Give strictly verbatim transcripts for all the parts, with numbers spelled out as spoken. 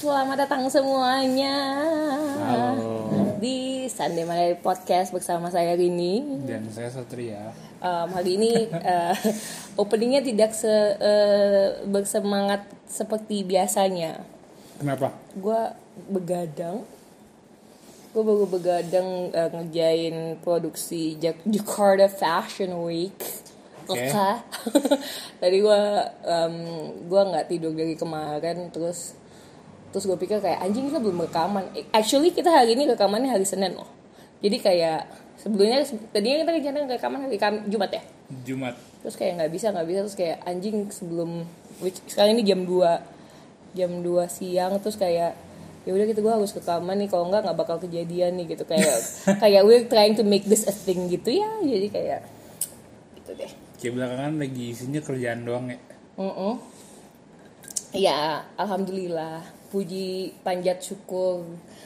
Selamat datang semuanya. Halo. Di Sunday Malam Podcast bersama saya Rini dan saya Satria. Um, hari ini uh, openingnya tidak se uh, bersemangat seperti biasanya. Kenapa? Gue begadang. Gue baru begadang uh, ngerjain produksi Jak- Jakarta Fashion Week. Oke. Okay. Tadi gue um, gue nggak tidur dari kemarin, terus terus gue pikir kayak anjing kita belum rekaman. Actually kita hari ini rekamannya hari Senin loh. Jadi kayak sebelumnya tadinya kita rencana rekaman hari Kam- Jumat ya. Jumat. Terus kayak nggak bisa nggak bisa terus kayak anjing sebelum which, sekarang ini jam dua jam dua siang, terus kayak ya udah gitu gue harus rekaman nih, kalau nggak nggak bakal kejadian nih gitu, kayak kayak we're trying to make this a thing gitu ya, jadi kayak gitu deh. Kayak belakangan lagi isinya kerjaan doang ya. Mm-mm. Ya alhamdulillah, puji panjat syukur.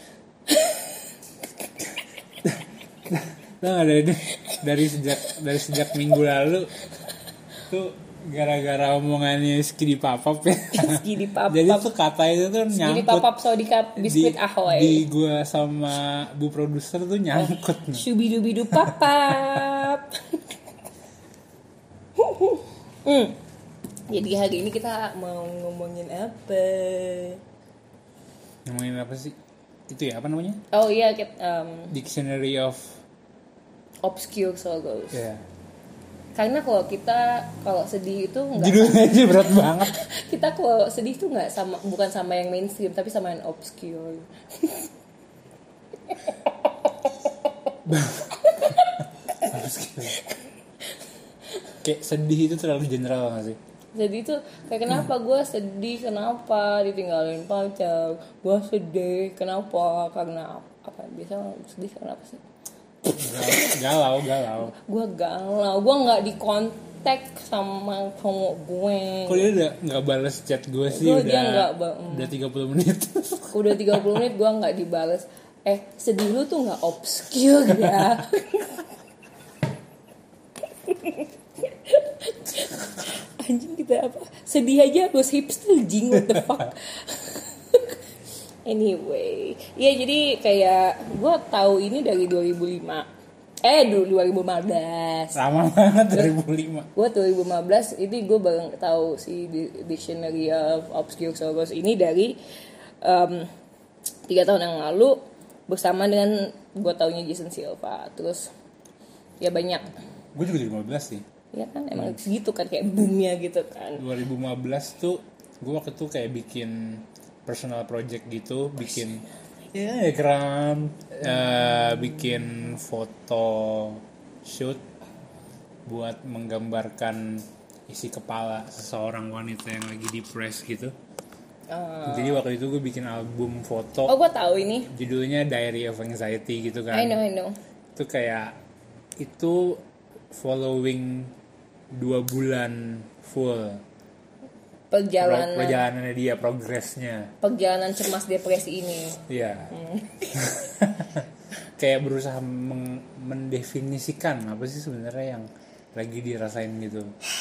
Nah, dari dari sejak dari sejak minggu lalu tuh gara-gara omongannya Skidi Papap ya. Skidi Papap. Jadi tuh kata itu tuh nyangkut. Skidi Papap Sodika biskuit di, ahoy. Di gua sama bu produser tuh nyangkut. Oh, Shubidubidu Papap. hmm. Jadi hari ini kita mau ngomongin apa? Ngomongin apa sih? Itu ya, apa namanya? Oh iya, kita, um, Dictionary of Obscure Sorrows. Yeah. Karena kalau kita kalau sedih itu nggak. Judulnya aja berat banget. Kita kalau sedih itu nggak sama, bukan sama yang mainstream, tapi sama yang obscure. Obscure. Kayak sedih itu terlalu general nggak sih? Jadi itu kayak kenapa gue sedih, kenapa ditinggalin pacar, gue sedih kenapa, karena apa, biasa sedih karena apa sih? Galau, galau. Gue galau, gue nggak dikontak sama cowok gue. Kok dia udah nggak balas chat gue sih? Gua udah dia gak, um, udah tiga puluh menit. Udah tiga puluh menit gue nggak dibales. Eh sedih lu tuh nggak obscure ya? Anjing kita apa? Sedih aja harus hipster jing, what the fuck. Anyway, ya jadi kayak gue tahu ini dari dua ribu lima. Eh dulu dua ribu lima belas. Lama banget dua ribu lima. Gue dua ribu lima belas ini gue baru tahu si Dictionary of Obscure Sorrows ini dari um, tiga tahun yang lalu bersama dengan gue taunya Jason Silva. Terus ya banyak. Gue juga dua ribu lima belas sih. Ya kan emang hmm. segitu kan kayak boomnya gitu kan. dua ribu lima belas tuh gue waktu itu kayak bikin personal project gitu, bikin ya diagram, uh, bikin foto shoot buat menggambarkan isi kepala seseorang wanita yang lagi depressed gitu. Uh. Jadi waktu itu gue bikin album foto. Oh gue tahu ini. Judulnya Diary of Anxiety gitu kan. I know I know. Itu kayak itu following dua bulan full perjalanan Pro, perjalanannya dia, progresnya, perjalanan cemas depresi ini. Iya. Hmm. Kayak berusaha meng- mendefinisikan apa sih sebenarnya yang lagi dirasain gitu.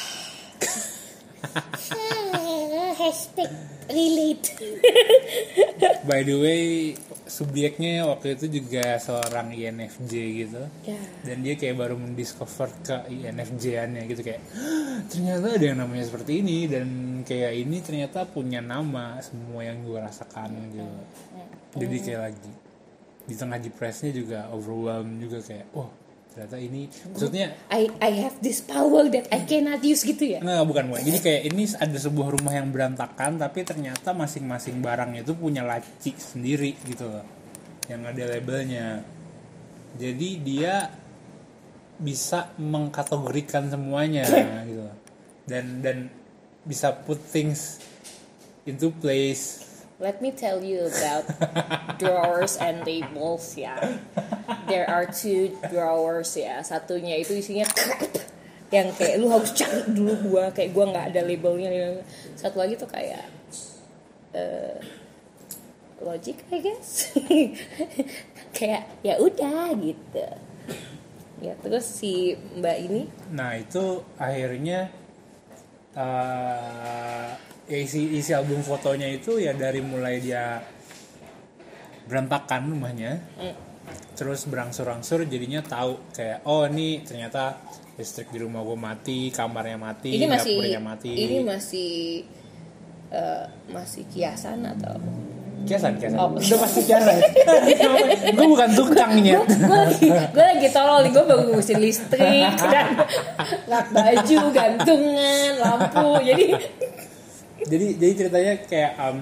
Hashtag relate. By the way, subjeknya waktu itu juga seorang I N F J gitu. Yeah. Dan dia kayak baru mendiscover ke I N F J-annya gitu, kayak ternyata ada yang namanya seperti ini, dan kayak ini ternyata punya nama semua yang gue rasakan gitu. Jadi kayak lagi di tengah depresinya juga overwhelmed juga, kayak oh ternyata ini maksudnya I I have this power that I cannot use gitu ya. Nggak, bukan bukan. Jadi kayak ini ada sebuah rumah yang berantakan, tapi ternyata masing-masing barangnya itu punya laci sendiri gitu loh, yang ada labelnya. Jadi dia bisa mengkategorikan semuanya gitu loh. Dan dan bisa put things into place. Let me tell you about drawers and labels ya. There are two drawers ya. Satunya itu isinya crap, yang kayak lu harus cari dulu gua, kayak gua nggak ada labelnya. Satu lagi tuh kayak uh, logic I guess. Kayak ya udah gitu. Ya terus si Mbak ini. Nah itu akhirnya uh, ya isi isi album fotonya itu ya dari mulai dia berantakan rumahnya, mm. terus berangsur-angsur jadinya tahu kayak oh ini ternyata listrik di rumah gue mati, kamarnya mati, ini masih, dapurnya mati. Ini masih uh, masih kiasan atau kiasan kiasan oh. Udah pasti kiasan. Gue bukan tukangnya. Gue lagi gue lagi tolol nih, gue baru ngurusin listrik dan lap baju, gantungan, lampu. Jadi jadi jadi ceritanya kayak um,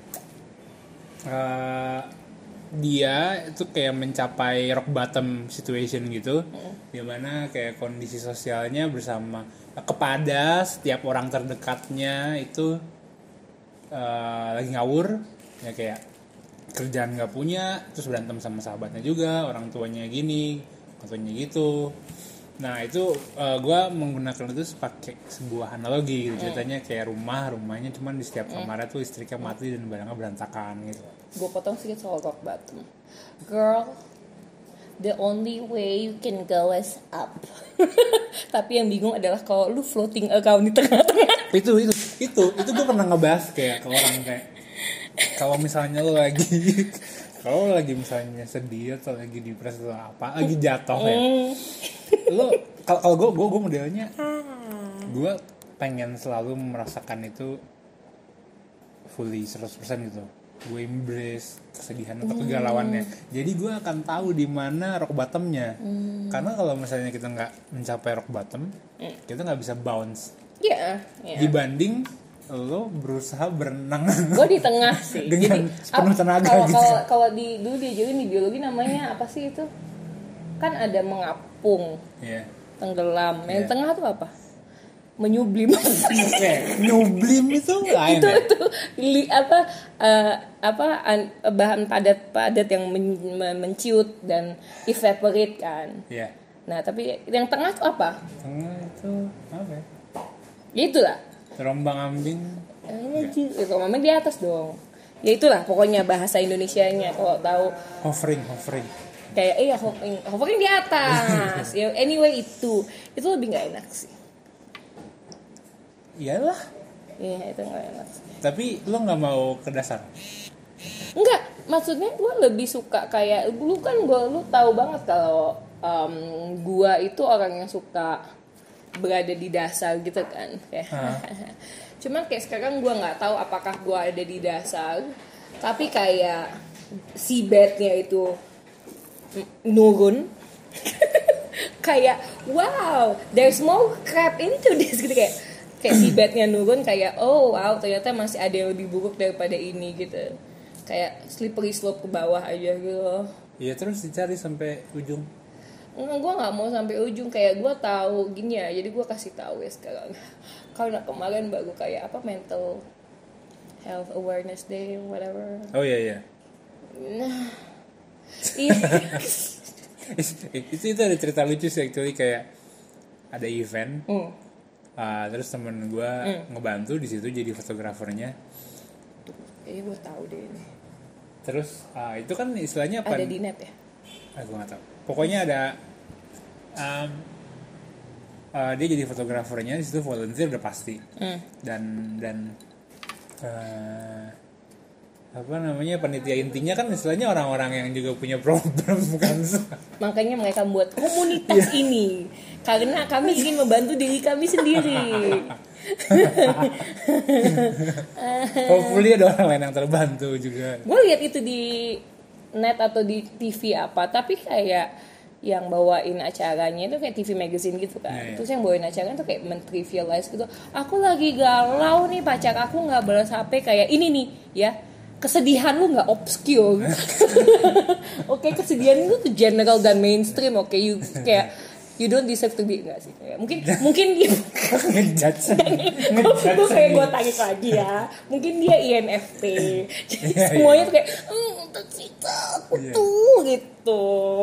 uh, dia itu kayak mencapai rock bottom situation gitu, hmm. dimana kayak kondisi sosialnya bersama kepada setiap orang terdekatnya itu uh, lagi ngawur, ya kayak kerjaan nggak punya, terus berantem sama sahabatnya juga, orang tuanya gini, orang tuanya gitu. Nah itu uh, gue menggunakan itu pakai sebuah analogi gitu, ceritanya kayak rumah rumahnya cuman di setiap kamarnya tuh listriknya mati dan barangnya berantakan gitu. Gue potong sedikit soal rock bottom. Girl, the only way you can go is up. Tapi yang bingung adalah kalau lu floating account di tengah-tengah. Itu itu itu itu gue pernah ngebahas kayak ke orang kayak kalau misalnya lu lagi kalau lagi misalnya sedih atau lagi depres atau apa, lagi jatuh ya. Lu kalau gue gue gue modelnya gue pengen selalu merasakan itu fully seratus persen gitu. Gue embrace kesedihan atau kegalauannya. Mm. Jadi gue akan tahu di mana rock bottomnya. Mm. Karena kalau misalnya kita nggak mencapai rock bottom, mm. kita nggak bisa bounce. Iya. Yeah, yeah. Dibanding lo berusaha berenang. Gue di tengah sih. Dengan jadi, penuh tenaga kalau, gitu. Kalau kalau di dulu diajarin di biologi namanya apa sih itu? Kan ada mengapung, yeah. tenggelam. Yang yeah. tengah tuh apa? Menyublim. eh, nyublim itu lain itu ya? itu li, apa uh, apa an, bahan padat-padat yang men, men, menciut dan evaporate kan. Iya. Yeah. Nah, tapi yang tengah tuh apa? Tengah itu apa ya? Ya itulah. Terombang-ambing. Eh, terombang-ambing di atas dong. Ya itulah pokoknya bahasa Indonesianya kalau tahu. Hovering, hovering. Kayak iya hovering, hovering di atas. Ya anyway itu itu lebih nggak enak sih. Iyalah. Iya itu nggak enak. Tapi lo nggak mau ke dasar? Enggak, maksudnya gue lebih suka kayak lu kan gue lu tahu banget kalau um, gue itu orang yang suka berada di dasar gitu kan. Kayak. Cuman kayak sekarang gue nggak tahu apakah gue ada di dasar, tapi kayak seabednya itu nurun. Kayak wow, there's more crap into this gitu kayak. Kayak seabednya nurun kayak oh wow ternyata masih ada yang lebih buruk daripada ini gitu, kayak slippery slope ke bawah aja gitu. Iya terus dicari sampai ujung. Enggak, gue nggak mau sampai ujung, kayak gue tahu gini ya, jadi gue kasih tahu ya sekarang karena kemarin baru kayak apa mental health awareness day whatever. Oh iya iya. Nah iya. itu itu ada cerita lucu sih actually, kayak ada event. Mm. Uh, terus temen gue mm. ngebantu di situ jadi fotografernya. Iya gue tahu deh ini. Terus uh, itu kan istilahnya apa? Ada di net ya? Ah, gue nggak tahu. Pokoknya ada um, uh, dia jadi fotografernya di situ, volunteer udah pasti. Mm. Dan dan uh, apa namanya panitia intinya kan istilahnya orang-orang yang juga punya problem kan. Makanya mereka buat komunitas yeah. ini karena kami ingin membantu diri kami sendiri. Hopefully ada orang lain yang terbantu juga. Gue lihat itu di net atau di T V apa, tapi kayak yang bawain acaranya itu kayak T V magazine gitu kan. Yeah, yeah. Terus yang bawain acaranya tuh kayak men-trivialize gitu. Aku lagi galau nih, pacar aku nggak balas H P kayak ini nih ya. Kesedihan lu nggak obscure. Oke, okay, kesedihan lu tuh general dan mainstream. Oke, okay, you kayak you don't deserve to be enggak sih? Kayak, mungkin mungkin dia ngejudge. Gue kayak gue tanya lagi ya. Mungkin dia I N F P. Jadi yeah, semuanya yeah. tuh kayak hmm, tercita aku yeah. tuh gitu.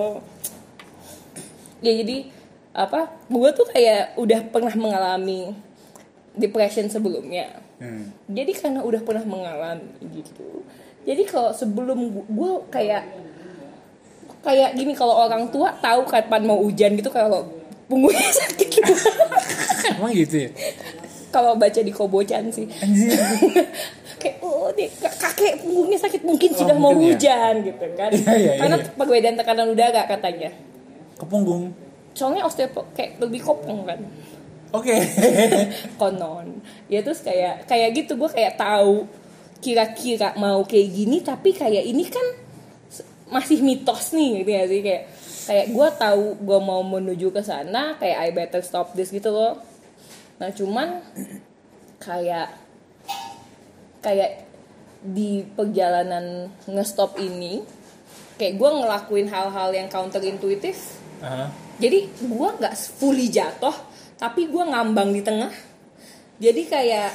Ya jadi apa? Gue tuh kayak udah pernah mengalami depression sebelumnya. Hmm. Jadi karena udah pernah mengalami gitu. Jadi kalau sebelum gue kayak kayak gini, kalau orang tua tahu kapan mau hujan gitu kalau punggungnya sakit. Emang gitu ya? kalau baca di Kobo-chan sih. Anjir. Kayak oh dia kakek punggungnya sakit mungkin Oh, sudah mau mungkin ya. hujan gitu kan. Iya, iya, Karena iya. perbedaan tekanan udara katanya. Ke punggung. Soalnya osteopo kayak lebih kopong kan. Oke. Konon. Ya terus kayak kayak gitu gue kayak tahu kira-kira mau kayak gini tapi kayak ini kan masih mitos nih gitu ya sih kayak kayak gue tahu gue mau menuju ke sana kayak I better stop this gitu loh. Nah cuman kayak kayak di perjalanan ngestop ini kayak gue ngelakuin hal-hal yang counterintuitif. Uh-huh. Jadi gue nggak fully jatuh tapi gue ngambang di tengah. Jadi kayak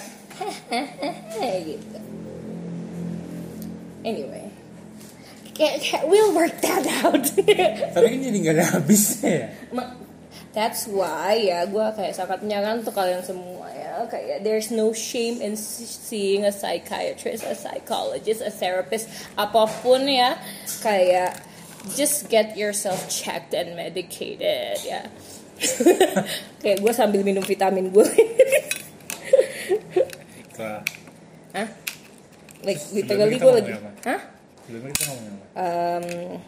gitu. Anyway, kayak, kayak we'll work that out. Tapi kan jadi nggak ada habisnya ya. That's why ya gue kayak sangat menyarankan untuk kalian semua ya kayak there's no shame in seeing a psychiatrist, a psychologist, a therapist, apapun ya kayak just get yourself checked and medicated ya. Kayak gue sambil minum vitamin gue. Hah? Like literally gue lagi. Hah? Sebelumnya kita ngomongin apa? Um,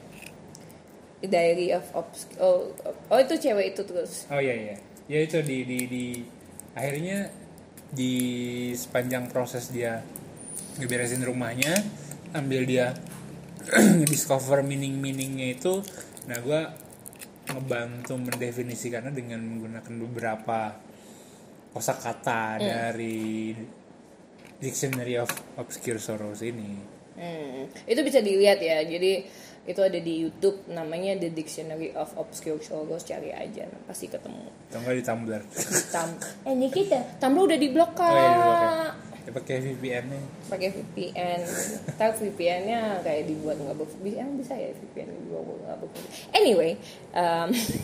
Diary of Obs- oh, oh itu cewek itu terus. Oh iya iya. Ya itu di di di akhirnya di sepanjang proses dia ngeberesin rumahnya, ambil dia discover meaning-meaningnya itu, nah gue ngebantu mendefinisikannya dengan menggunakan beberapa kosakata hmm. dari Dictionary of Obscure Sorrows ini. Hmm. Itu bisa dilihat ya. Jadi itu ada di YouTube namanya The Dictionary of Obscure Sorrows, cari aja nah, pasti ketemu. Atau enggak di Tumblr. Di Tum- eh Nikita, Tumblr udah diblok Kak. Oh iya, diblok ya. Ya pakai V P N-nya. Pakai V P N. Tahu V P N-nya kayak dibuat enggak ber emang bisa ya V P N dibuat enggak ber. Anyway, um,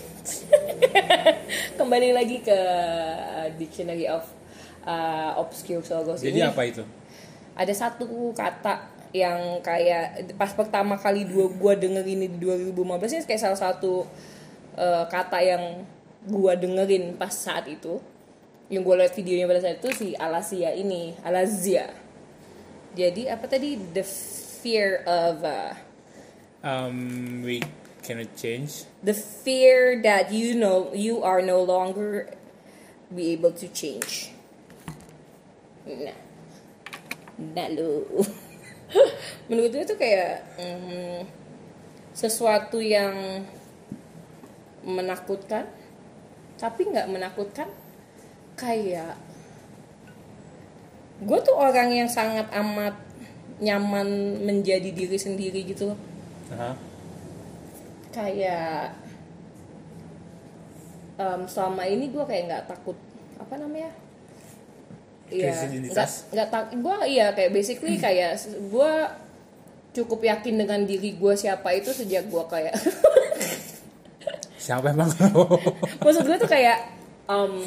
kembali lagi ke Dictionary of uh, Obscure Sorrows. Jadi ini. apa itu? Ada satu kata yang kayak pas pertama kali dua gua denger ini di dua ribu lima belas ini kayak salah satu uh, kata yang gua dengerin pas saat itu, yang gua lihat videonya pada saat itu si Alasia ini, Alazia. Jadi apa tadi, the fear of uh, um we cannot change, the fear that you know you are no longer be able to change. Nah, nah lu. Menurut gue itu kayak mm, sesuatu yang menakutkan tapi nggak menakutkan. Kayak gue tuh orang yang sangat amat nyaman menjadi diri sendiri gitu loh. uh-huh. Kayak um, selama ini gue kayak nggak takut apa namanya. Iya, nggak nggak tak, gue iya kayak basically kayak gue cukup yakin dengan diri gue siapa itu sejak gue kayak siapa emang lo? Maksud gue tuh kayak um,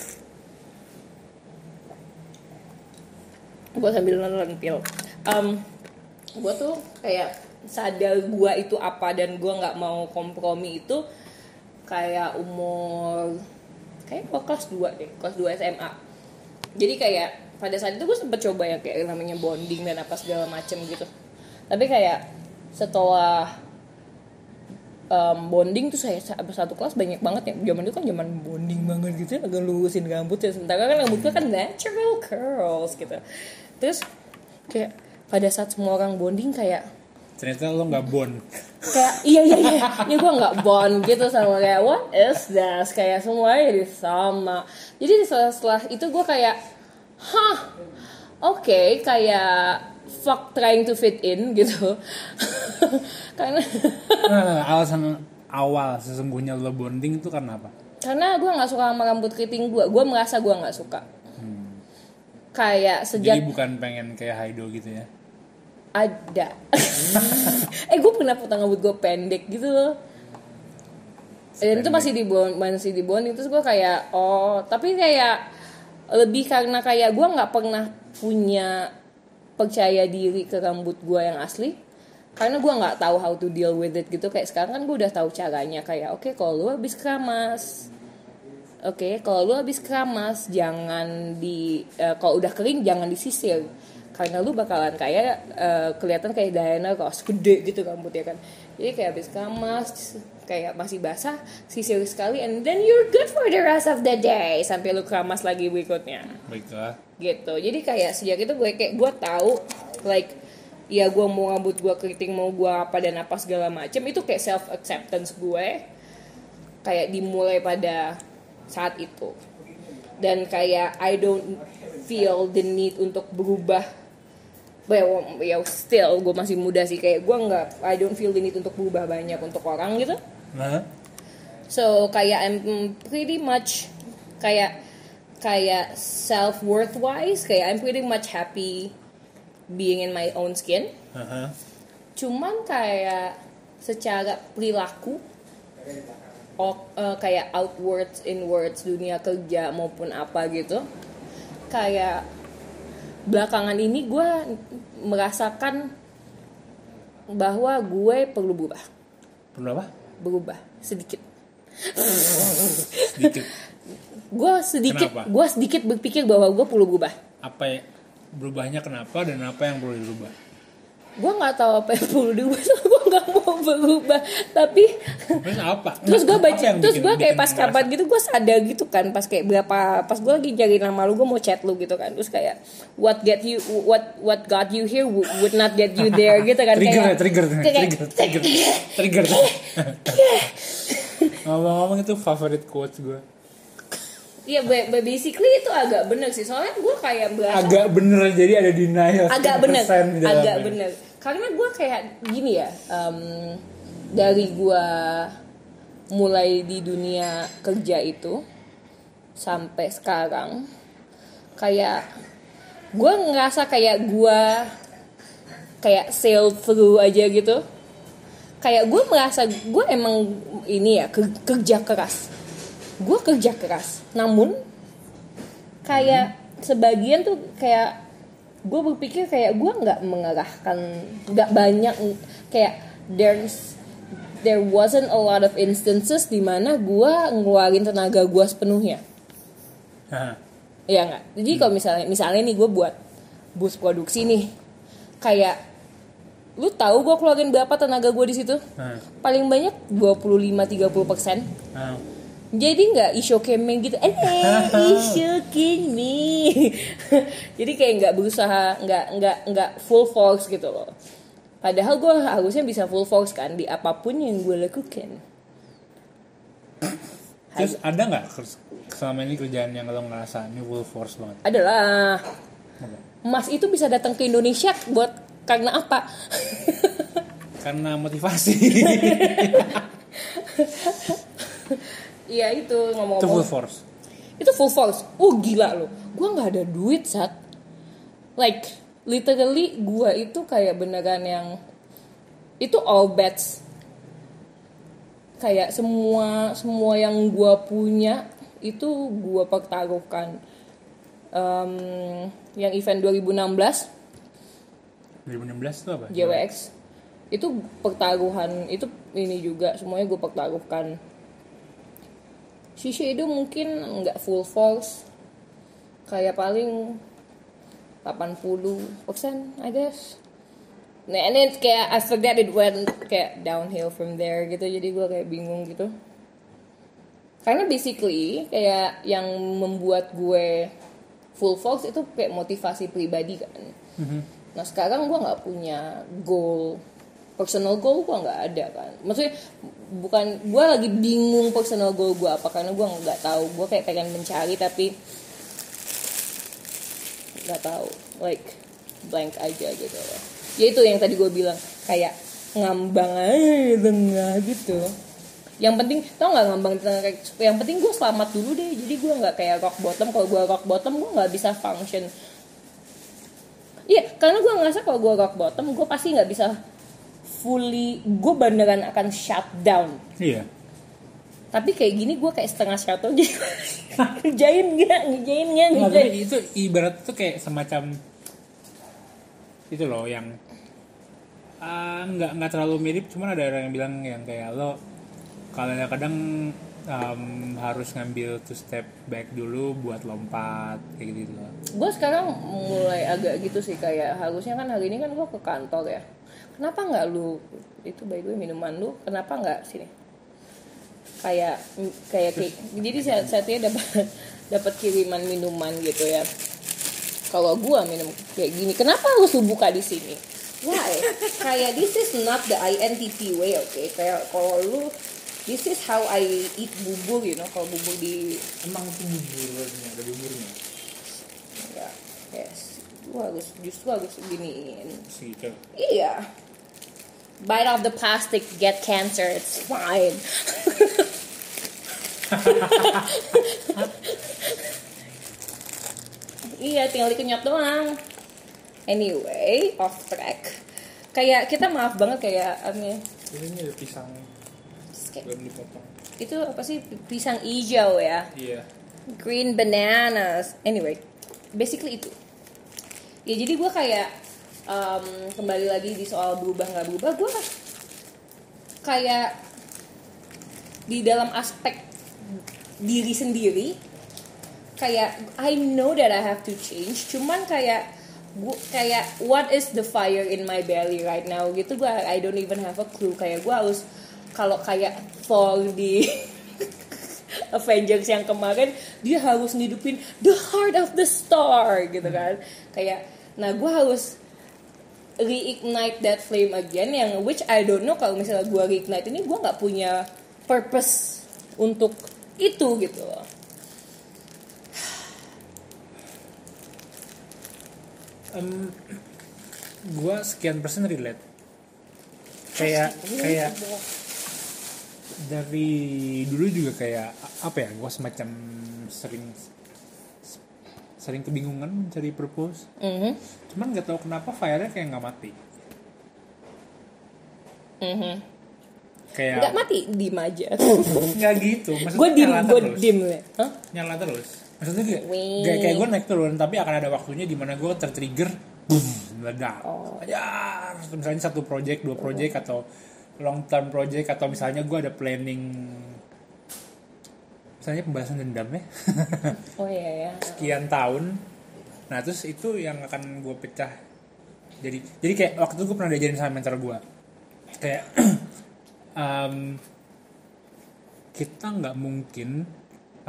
gue sambil nonton pil, um, gue tuh kayak sadar gue itu apa dan gue nggak mau kompromi itu kayak umur kayak gue kelas dua deh, kelas dua S M A. Jadi kayak pada saat itu gue sempet coba ya kayak namanya bonding dan apa segala macem gitu. Tapi kayak setelah um, bonding tuh saya satu kelas banyak banget ya. Zaman itu kan zaman bonding banget gitu ya, agak lurusin rambut ya. Sementara kan rambutnya kan natural curls gitu. Terus kayak pada saat semua orang bonding kayak ternyata lo nggak bond. Kayak iya iya iya, ya gue nggak bond gitu sama kayak what is this, kayak semuanya jadi sama. Jadi setelah, setelah itu gue kayak, hah, oke, okay, kayak fuck trying to fit in gitu. Karena nah, alasan awal sesungguhnya lo bonding itu karena apa? Karena gue nggak suka sama rambut keriting gue, gue merasa gue nggak suka. Hmm. Kayak sejak. Jadi bukan pengen kayak Haido gitu ya? Ada. eh gue pernah potong rambut gue pendek gitu loh. Dan itu masih di bond, masih di bond. Terus gue kayak oh, tapi kayak lebih karena kayak gue nggak pernah punya percaya diri ke rambut gue yang asli. Karena gue nggak tahu how to deal with it gitu. Kayak sekarang kan gue udah tahu caranya. Kayak oke okay, kalau lu habis keramas, Oke, okay, kalau lu habis keramas jangan di uh, kalau udah kering jangan disisir. Karena lu bakalan kayak uh, kelihatan kayak Diana Ross gede gitu rambutnya kan. Jadi kayak habis keramas kayak masih basah, sisir sekali and then you're good for the rest of the day sampai lu keramas lagi berikutnya. Baiklah. Gitu. Jadi kayak sejak itu gue kayak gue tahu like ya gue mau rambut gue keriting mau gue apa dan apa segala macam itu kayak self acceptance gue kayak dimulai pada saat itu. Dan kayak I don't feel the need untuk berubah. Well, ya still gue masih muda sih kayak gue nggak I don't feel the need untuk berubah banyak untuk orang gitu. Nah. So kayak I'm pretty much kayak kayak self worth wise kayak I'm pretty much happy being in my own skin. Uh-huh. Cuman kayak secara perilaku oh, uh, kayak outwards inwards dunia kerja maupun apa gitu kayak belakangan ini gue merasakan bahwa gue perlu berubah. Perlu apa? Berubah sedikit. Sedikit. Gue sedikit, gue sedikit berpikir bahwa gue perlu berubah. Apa ya, berubahnya kenapa dan apa yang perlu dirubah? Gue nggak tahu apa yang perlu dirubah, gue nggak mau berubah. Tapi terus apa? Terus gue baca, terus gue kayak pas merasa? kapan gitu gue sadar gitu kan, pas kayak berapa, pas gue lagi cari nama lu, gue mau chat lu gitu kan, terus kayak what get you, what what got you here would not get you there gitu kan. Trigger, kayak, trigger, kayak, trigger, trigger, trigger. Ngomong-ngomong itu favorit quotes gue. Iya, basically itu agak bener sih. Soalnya gue kayak berasa agak bener, jadi ada denial. Agak bener, agak bener. Karena gue kayak gini ya, um, dari gue mulai di dunia kerja itu sampai sekarang, kayak gue ngerasa kayak gue kayak sail through aja gitu. Kayak gue merasa gue emang ini ya kerja keras. Gue kerja keras, namun kayak hmm. sebagian tuh kayak gue berpikir kayak gue nggak mengerahkan, nggak banyak kayak there's there wasn't a lot of instances di mana gue ngeluarin tenaga gue sepenuhnya. Iya nggak? Jadi hmm. kalau misalnya misalnya nih gue buat bus produksi nih, kayak lu tahu gue keluarin berapa tenaga gue di situ? Hmm. Paling banyak dua puluh lima sampai tiga puluh persen. Hmm. Jadi nggak isyokeme gitu, eh isyokeme. Jadi kayak nggak berusaha, nggak nggak nggak full force gitu loh. Padahal gue harusnya bisa full force kan di apapun yang gue lakukan. Terus ada nggak selama ini kerjaan yang lo ngerasa ini full force banget? Adalah. Mas itu bisa datang ke Indonesia buat karena apa? Karena motivasi. Iya itu ngomong-ngomong. Itu full force. Itu full force. Oh gila loh. Gue nggak ada duit saat. Like literally gue itu kayak beneran yang itu all bets. Kayak semua semua yang gue punya itu gue pertaruhkan. Um, yang event dua ribu enam belas. dua ribu enam belas itu apa? J W X. Itu pertaruhan. Itu ini juga semuanya gue pertaruhkan. Sisi itu mungkin nggak full force, kayak paling delapan puluh persen I guess. Nah ini kayak I forget it went kayak downhill from there gitu, jadi gue kayak bingung gitu. Karena basically kayak yang membuat gue full force itu kayak motivasi pribadi kan. Mm-hmm. Nah sekarang gue nggak punya goal. Personal goal gue nggak ada kan, maksudnya bukan gue lagi bingung personal goal gue apa karena gue nggak tahu, gue kayak pengen mencari tapi nggak tahu, like blank aja gitu loh. Ya itu yang tadi gue bilang kayak ngambang aja tengah gitu. Yang penting tau nggak ngambang tengah, yang penting gue selamat dulu deh, jadi gue nggak kayak rock bottom. Kalau gue rock bottom gue nggak bisa function. Iya karena gue ngerasa kalau gue rock bottom gue pasti nggak bisa fully, gue beneran akan shut down. Iya. Tapi kayak gini gue kayak setengah shut down jadi ngejain nggak, ngejain nggak, ngejain. Itu ibarat tuh kayak semacam itu loh yang uh, nggak nggak terlalu mirip, cuman ada orang yang bilang yang kayak lo kadang-kadang um, harus ngambil two step back dulu buat lompat kayak gitu. Gue sekarang mulai agak gitu sih, kayak harusnya kan hari ini kan gue ke kantor ya. Kenapa nggak lu itu by the way minuman lu kenapa nggak sini? Kayak kayak kayak jadi saat saatnya dapat dapat kiriman minuman gitu ya. Kalau gue minum kayak gini, kenapa harus lu buka di sini? Why? Kayak this is not the I N T P way, oke? Okay? Kayak kalau lu this is how I eat bubur, you know, kalau bubur di emang itu buburnya, ada buburnya. Ya, yes. Lu harus justru harus giniin. Gitu. Iya. Bite off the plastic, get cancer, it's fine. Iya, tinggal dikenyot doang. Anyway, off track. Kayak kita maaf banget kayak ini. Ini ada pisang. Belum dipotong. Itu apa sih, pisang hijau ya? Iya. Green bananas. Anyway, basically itu. Ya jadi gue kayak um, kembali lagi di soal berubah nggak berubah. Gue kayak di dalam aspek diri sendiri. Kayak I know that I have to change. Cuman kayak gue kayak what is the fire in my belly right now gitu, gue I don't even have a clue. Kayak gue harus kalau kayak Thor di Avengers yang kemarin, dia harus ngidupin the heart of the star gitu kan. Kayak nah gue harus reignite that flame again, yang which I don't know kalau misalnya gue reignite ini gue nggak punya purpose untuk itu gitu loh. Um, gue sekian persen relate. Kayak kayak dari dulu juga kayak apa ya, gue semacam sering sering kebingungan mencari purpose. Mm-hmm. Cuman nggak tahu kenapa fire-nya kayak nggak mati. Mm-hmm. Kayak nggak mati, dim aja. Nggak gitu. Gue dim, gue dim ya. Huh? Nyala terus. Maksudnya kayak, kayak, kayak gue naik turun, tapi akan ada waktunya di mana gue tertrigger, boom, meledak. Oh. Ya, misalnya satu project, dua project, oh. atau long term project, atau misalnya gue ada planning, misalnya pembahasan dendam ya. Oh iya ya. Sekian tahun, nah terus itu yang akan gue pecah. Jadi, jadi kayak waktu itu gue pernah diajarin sama mentor gue, kayak um, kita nggak mungkin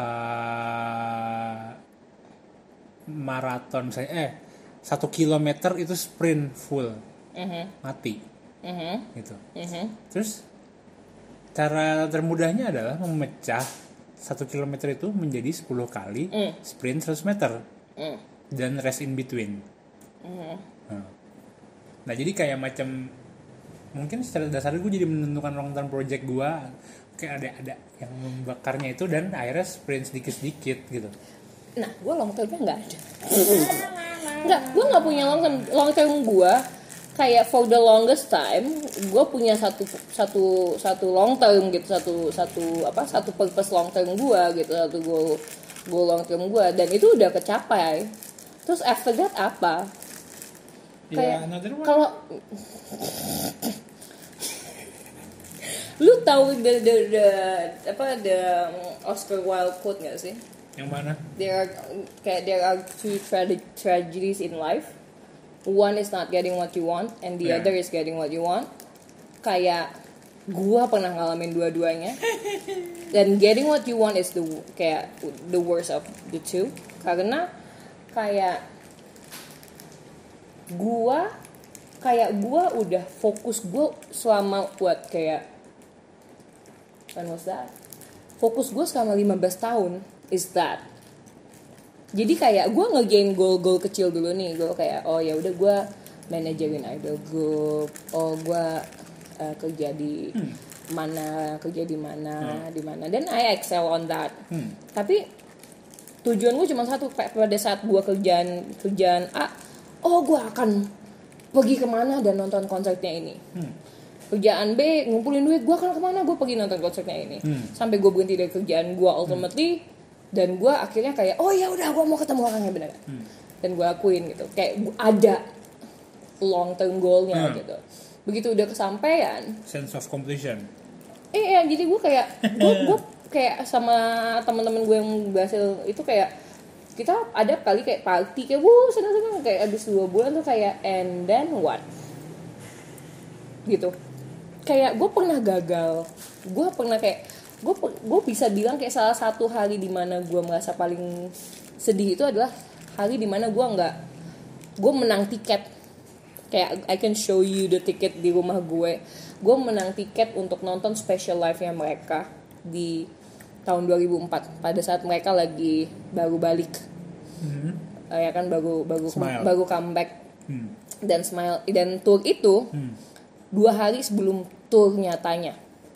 Uh, maraton misalnya eh satu kilometer itu sprint full, uh-huh. mati, uh-huh. gitu. Uh-huh. Terus cara termudahnya adalah memecah satu kilometer itu menjadi sepuluh kali uh. sprint seratus meter uh. dan rest in between. Uh-huh. Nah. nah jadi kayak macam mungkin secara dasar gue jadi menentukan long term project gue. Kayak ada ada yang membakarnya itu dan akhirnya sprint sedikit-sedikit gitu. Nah, gue long termnya nggak ada. Nggak, gue nggak punya long term. Long term gue kayak for the longest time, gue punya satu satu satu long term gitu, satu satu apa satu purpose long term gue gitu, satu goal goal long term gue, dan itu udah kecapai. Terus after that apa? Kayak yeah, kalau lu tahu the, the the apa the Oscar Wilde quote nggak sih? Yang mana? There are kayak there are two tra- tragedies in life. One is not getting what you want, and the yeah. other is getting what you want. Kayak gua pernah ngalamin dua-duanya. Dan getting what you want is the kayak the worst of the two. Karena kayak gua kayak gua udah fokus gua selama buat kayak when was that? Fokus gue selama lima belas tahun is that. Jadi kayak gue nge-gain goal-goal kecil dulu nih. Gue kayak oh ya udah gue manajerin idol group. Oh gue uh, kerja di hmm. mana, kerja di mana, hmm. di mana. Dan I excel on that. Hmm. Tapi tujuan gue cuma satu. Pada saat gue kerjaan kerjaan A, oh gue akan pergi kemana dan nonton konsernya ini. Hmm. Kerjaan B, ngumpulin duit, gue akan kemana, gue pergi nonton konsernya ini. Hmm. Sampai gue berhenti dari kerjaan gue ultimately, hmm. dan gue akhirnya kayak, oh ya udah, gue mau ketemu orangnya beneran. Hmm. Dan gue akuin gitu, kayak ada long term goalnya hmm. gitu. Begitu udah kesampaian, sense of completion. Eh ya, jadi gue kayak, gue gue kayak sama teman-teman gue yang berhasil itu kayak kita ada kali kayak party kayak wuh senang-senang kayak abis dua bulan tuh kayak and then what gitu. Kayak gue pernah gagal, gue pernah kayak gue gue bisa bilang kayak salah satu hari dimana gue merasa paling sedih itu adalah hari dimana gue nggak gue menang tiket. Kayak I can show you the ticket di rumah gue. Gue menang tiket untuk nonton special live-nya mereka di tahun dua ribu empat pada saat mereka lagi baru balik. Mm-hmm. Uh, ya kan baru baru Smile. baru comeback. Mm. Dan Smile dan tour itu mm. dua hari sebelum tour nyatanya.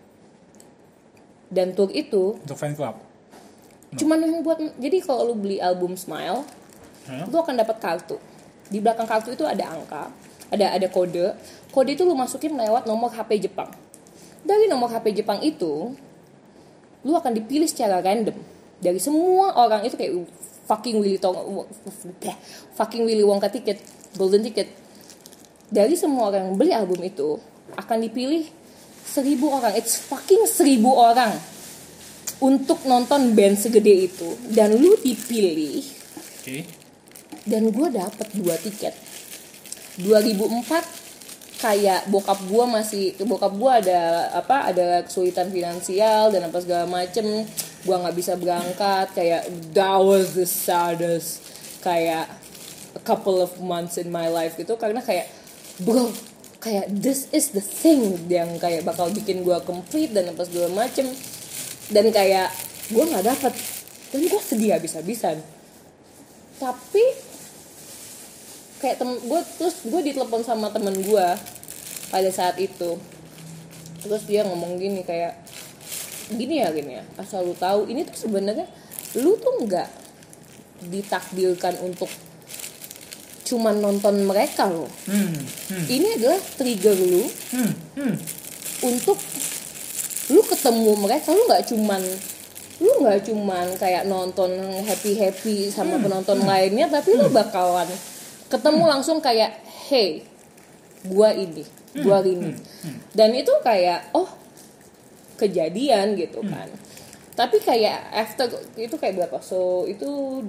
Dan tour itu untuk fan club. No. Cuman yang buat jadi kalau lu beli album Smile, huh? Lu akan dapat kartu. Di belakang kartu itu ada angka, ada ada kode. Kode itu lu masukin lewat nomor H P Jepang. Dari nomor H P Jepang itu, lu akan dipilih secara random dari semua orang itu kayak fucking Willy Tong, fucking Willy Wonka ticket, golden ticket. Dari semua orang yang beli album itu akan dipilih seribu orang, it's fucking seribu orang untuk nonton band segede itu dan lu dipilih. Okay. Dan gue dapet dua tiket. dua ribu empat kayak bokap gue masih bokap gue ada apa ada kesulitan finansial dan apa segala macem, gue nggak bisa berangkat, kayak that was the saddest kayak a couple of months in my life gitu, karena kayak bro kayak this is the thing yang kayak bakal bikin gue complete dan apa segala macem, dan kayak gue nggak dapet dan gue sedih habis-habisan. Tapi kayak tem gue terus gue ditelepon sama temen gue pada saat itu, terus dia ngomong gini kayak gini ya gini ya asal lu tahu ini tuh sebenarnya lu tuh nggak ditakdirkan untuk cuman nonton mereka loh. hmm, hmm. Ini adalah trigger lu hmm, hmm. untuk lu ketemu mereka. Lu nggak cuman lu nggak cuman kayak nonton happy happy sama hmm, penonton hmm. lainnya, tapi hmm. lu bakalan ketemu langsung kayak hey gua ini gua ini hmm. dan itu kayak oh kejadian gitu kan. hmm. Tapi kayak after itu kayak berapa, so itu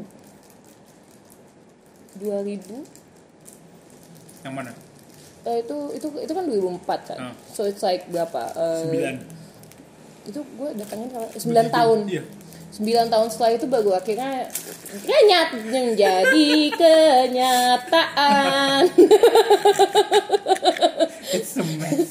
dua ribu yang mana? Uh, itu itu itu kan dua ribu empat kan. uh. So it's like berapa uh, sembilan itu gue datangin kalau sembilan tahun. Iya. sembilan tahun setelah itu baru akhirnya nyat menjadi kenyataan. It's a mess.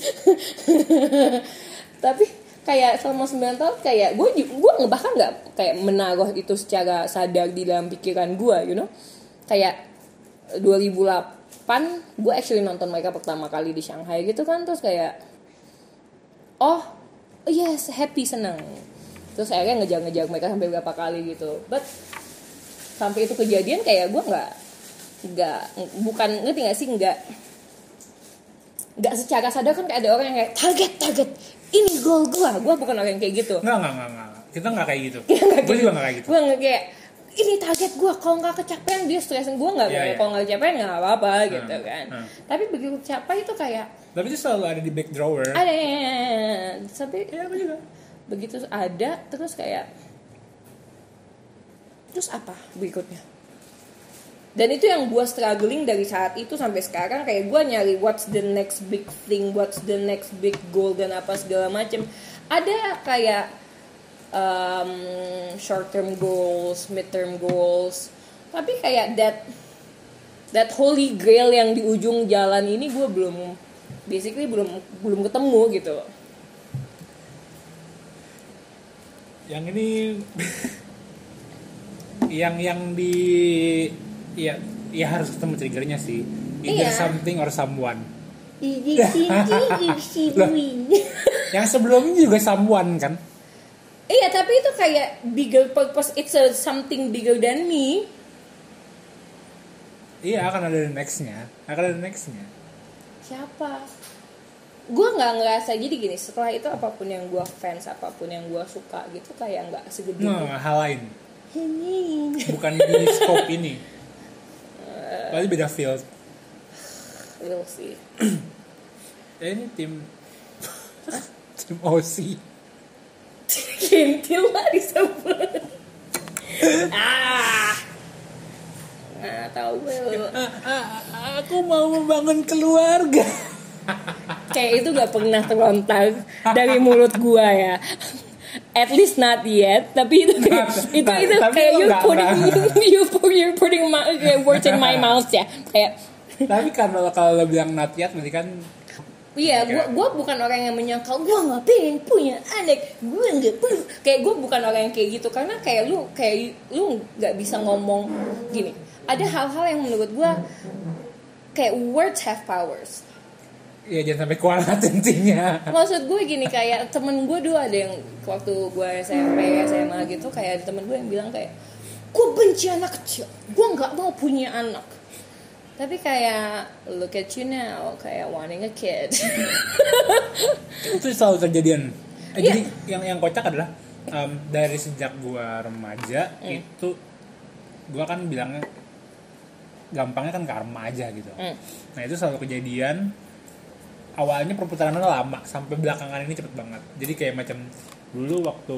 Tapi kayak selama sembilan tahun kayak gue gue bahkan nggak kayak menaruh itu secara sadar di dalam pikiran gue, you know. Kayak dua ribu delapan gue actually nonton mereka pertama kali di Shanghai gitu kan, terus kayak oh yes happy seneng. Terus akhirnya ngejar-ngejar mereka sampai berapa kali gitu. But sampai itu kejadian kayak gue nggak nggak bukan ngerti nggak sih nggak nggak secara sadar kan kayak ada orang yang kayak target target ini goal gue. Gue bukan orang yang kayak gitu. Nggak nggak nggak nggak. Kita nggak kayak gitu. Gue juga nggak kayak gitu. Gue nggak kayak ini target gue, kalau nggak kecapean dia stresin gue nggak. Yeah, yeah. Kalau nggak kecapean nggak apa-apa hmm, gitu kan. Hmm. Tapi begitu capai itu kayak. Tapi itu selalu ada di back drawer. Ada sampai. Ya aku juga. Begitu ada terus kayak terus apa berikutnya, dan itu yang gue struggling dari saat itu sampai sekarang. Kayak gue nyari what's the next big thing, what's the next big goal dan apa segala macem. Ada kayak um, short term goals, mid term goals, tapi kayak that that holy grail yang di ujung jalan ini gue belum basically belum belum ketemu gitu. Yang ini yang yang di ya ya harus ketemu triggernya sih, either iya. something or someone. Loh, yang sebelumnya juga someone kan? Iya, tapi itu kayak bigger purpose, it's a something bigger than me. Iya, akan ada nextnya, akan ada nextnya. Siapa? Gue nggak ngerasa jadi gini. Setelah itu apapun yang gue fans, apapun yang gue suka gitu kayak nggak segede. Nah, hal lain. Bukan di scope ini. Pasti beda field. We'll see. Ya ini tim tim O C. Kintil lah disebut. ah nggak tahu gue. Aku mau membangun keluarga. Kayak itu gak pernah terlontar dari mulut gua ya. At least not yet. Tapi itu nah, itu nah, itu kayak you putting you you putting my words in my mouth ya. Kayak. Tapi kalau kalau lo bilang not yet berarti kan. Iya, gue gue bukan orang yang menyangkal gue nggak pengen punya anak, gue nggak perlu. Kayak gue bukan orang yang kayak gitu karena kayak lu kayak lu nggak bisa ngomong gini. Ada hal-hal yang menurut gue kayak words have powers. Iya, jangan sampai kualat intinya. Maksud gue gini, kayak temen gue dulu ada yang waktu gue S M P S M A gitu, kayak ada temen gue yang bilang kayak gue benci anak kecil, gue nggak mau punya anak. Tapi kayak look at you now, kayak wanting a kid. Itu selalu kejadian. Eh, yeah. Jadi yang yang kocak adalah um, dari sejak gua remaja mm. itu gua kan bilangnya gampangnya kan karma aja gitu. Mm. Nah itu selalu kejadian. Awalnya perputarannya lama sampai belakangan ini cepet banget. Jadi kayak macam dulu waktu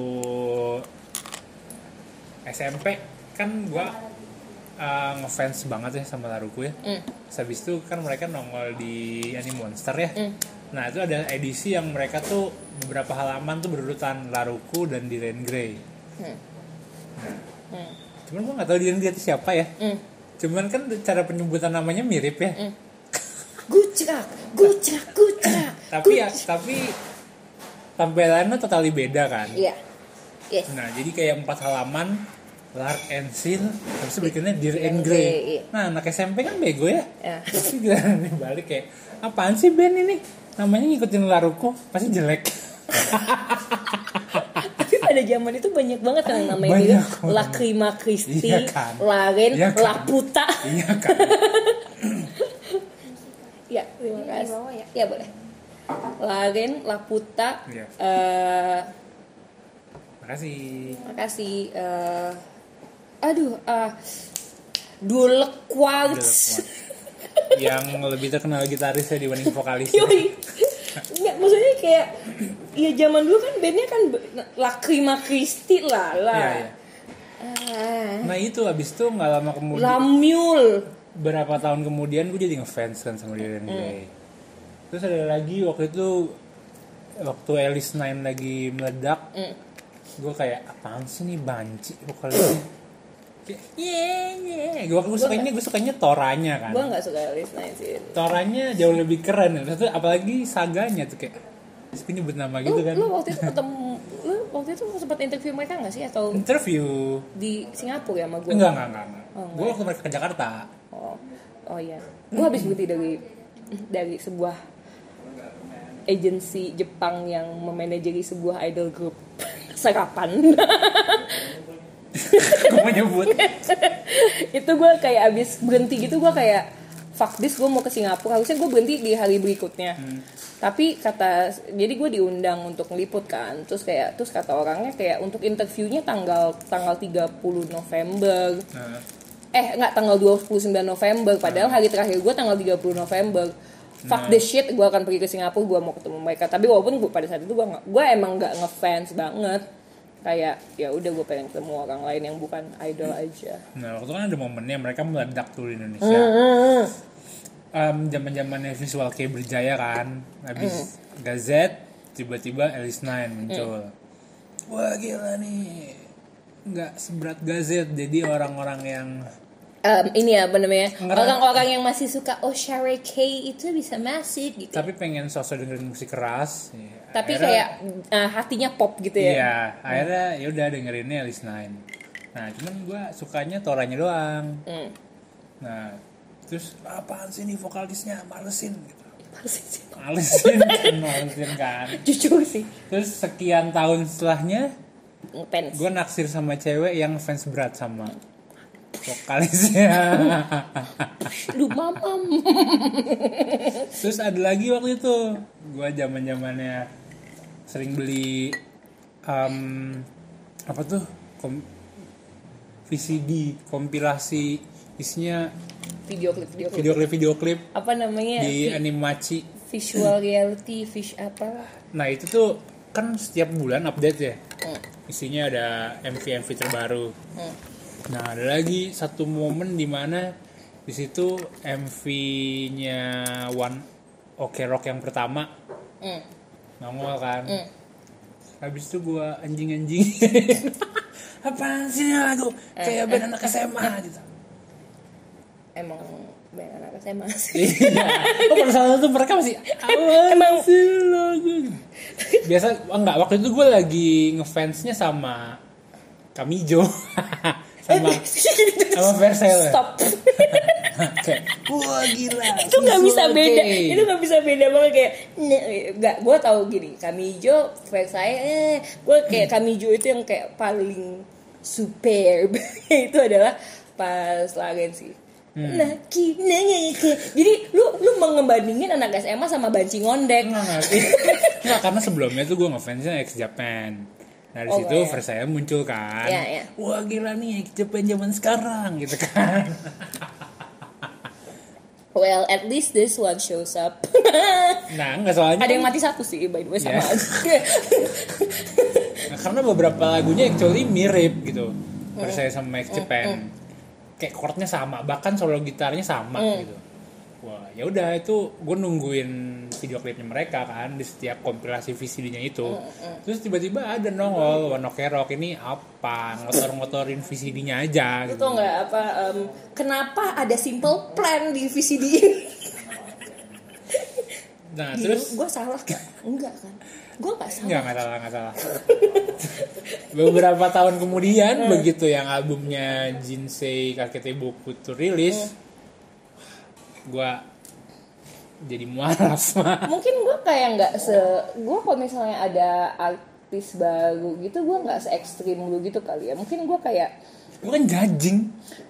S M P kan gua Uh, ngefans banget ya sama Laruku ya. Mm. Habis itu kan mereka nongol di Anime Monster ya. Mm. Nah itu ada edisi yang mereka tuh beberapa halaman tuh berurutan Laruku dan Diren Grey. Mm. Nah, mm. Cuman gue nggak tahu Diren Grey itu siapa ya. Mm. Cuman kan cara penyebutan namanya mirip ya. Mm. Gucrak, gucrak, gucrak. Tapi ya, tapi tampilannya totally beda kan. Iya. Yeah. Yes. Nah jadi kayak empat halaman. Lark and Seal, habis itu berikutnya Dear and Grey. Nah, anak S M P kan bego ya. Ya. Tapi giliran nih balik kayak, apaan sih band ini? Namanya ngikutin Laruku, pasti jelek. Tapi pada zaman itu banyak banget kan namanya dia Lacrima Christi, iya kan? Laren, iya kan? Laputa. Iya kan. Ya, terima kasih. Ya. ya boleh. Laren, Laputa. Ya. Uh, Makasih. Makasih. Uh, aduh, uh, Dulek Quartz. Yang lebih terkenal gitarisnya dibanding vokalisnya. Nggak, maksudnya kayak ya zaman dulu kan bandnya kan Lacrima Christi lah lah. Iya, iya. Uh, nah itu abis itu nggak lama kemudian. Lamul. Berapa tahun kemudian gue jadi ngefans kan sama Diren Grey. Mm. Terus ada lagi waktu itu waktu Alice Nine lagi meledak. Mm. Gue kayak apaan sih nih banci vokalisnya. Yeah, yeah. Gue gue sukanya gue sukanya Toranya kan. Gue nggak suka Alice Nine sih. Toranya jauh lebih keren. Terus apalagi saganya tuh kayak, gue nyebut nama gitu kan. Lu waktu itu ketemu, lu waktu itu sempat interview mereka nggak sih atau? Interview di Singapura ya sama gue. Enggak enggak enggak. enggak. Oh, gue waktu mereka ke Jakarta. Oh oh iya. Gue habis berhenti dari dari sebuah agensi Jepang yang memanajeri sebuah idol group. Serapan. Gue mau nyebut. Itu gue kayak abis berhenti gitu, gue kayak fuck this, gue mau ke Singapura. Harusnya gue berhenti di hari berikutnya. Hmm. Tapi kata, jadi gue diundang untuk ngeliput kan. Terus kayak, terus kata orangnya kayak untuk interviewnya tanggal tanggal tiga puluh November. Hmm. Eh nggak, tanggal dua puluh sembilan November. Padahal hari terakhir gue tanggal tiga puluh November. Fuck nah. this shit, gue akan pergi ke Singapura, gue mau ketemu mereka. Tapi walaupun gue pada saat itu gue gue emang nggak ngefans banget. Kayak ya udah gue pengen ketemu orang lain yang bukan idol aja. Nah waktu kan ada momennya mereka meledak tuh di Indonesia. Mm-hmm. Um, zaman-zamannya Visual Kei berjaya kan. Habis mm. Gazette tiba-tiba Alice Nine muncul. Mm. Wah gila nih. Nggak seberat Gazette, jadi orang-orang yang Um, ini ya apa namanya, orang-orang yang masih suka oh Share K itu bisa masif gitu. Tapi pengen sosok dengerin musik keras. Ya. Tapi akhirnya, kayak uh, hatinya pop gitu ya. Iya, hmm. akhirnya ya udah dengerinnya Alice Nine. Nah, cuman gue sukanya Toranya doang. Hmm. Nah, terus apaan sih nih vokalisnya, malesin gitu. Malesin. Malesin kan, malesin kan. Jujur sih. Terus sekian tahun setelahnya ngefans. Gue naksir sama cewek yang fans berat sama vokalisnya. Lu mamam. Terus ada lagi waktu itu gue zaman zamannya sering beli um, apa tuh kom- V C D kompilasi isinya video klip video klip video klip video klip apa namanya di vi- Animachi visual reality fish apa. Nah itu tuh kan setiap bulan update ya. Hmm. isinya ada M V M V terbaru. Hmm. Nah ada lagi satu momen di mana di situ M V-nya One Ok Rock yang pertama hmm. nongol kan. Hmm. Habis itu gue anjing-anjing. Apaan sih ini lagu kayak band anak S M A gitu. Emang band anak S M A sih. Iya. Oh pada saat itu mereka masih emang sih lagu. Biasa enggak, waktu itu gue lagi ngefansnya sama Kamijo. sama sama Versailles. Stop. Kayak wah gila. Itu nggak bisa beda. Itu nggak bisa beda banget kayak nggak. Gue tahu gini. Kamijo, Versailles. Eh, gue kayak Kamijo itu yang kayak paling superb. Itu adalah pas lagen sih. Hmm. Nah, kina jadi lu lu mengebandingin anak S M A sama Banci Ngondek. Enggak, enggak, karena sebelumnya tuh gue ngefansnya X Japan. Dari oh, situ ya. Versailles muncul kan. Ya, ya. Wah gila nih X Japan zaman sekarang gitu kan. Well, at least this one shows up. Nah, enggak soalnya ada yang mati satu sih by the way sama. Yeah. Nah, karena beberapa lagunya actually mirip gitu. Versailles sama X Japan. Mm, mm. Kayak chordnya sama, bahkan solo gitarnya sama mm. gitu. Wah, ya udah itu gue nungguin video klipnya mereka kan di setiap kompilasi V C D-nya itu. Mm, mm. Terus tiba-tiba ada nongol One Ok Rock ini apa? Ngotor-ngotorin V C D-nya aja gitu. Itu enggak apa um, kenapa ada Simple Plan di V C D ini? Nah, Gini, terus gue salah kan? Enggak kan? Gue gak salah. Enggak, gak salah, gak salah. Beberapa tahun kemudian hmm. begitu yang albumnya Jinsei Kakete Boku itu rilis, hmm. gue jadi mualas. Mungkin gue kayak gak se... Gue kalau misalnya ada artis baru gitu, gue gak se ekstrim lu gitu kali ya. Mungkin gue kayak... Gue kan judging.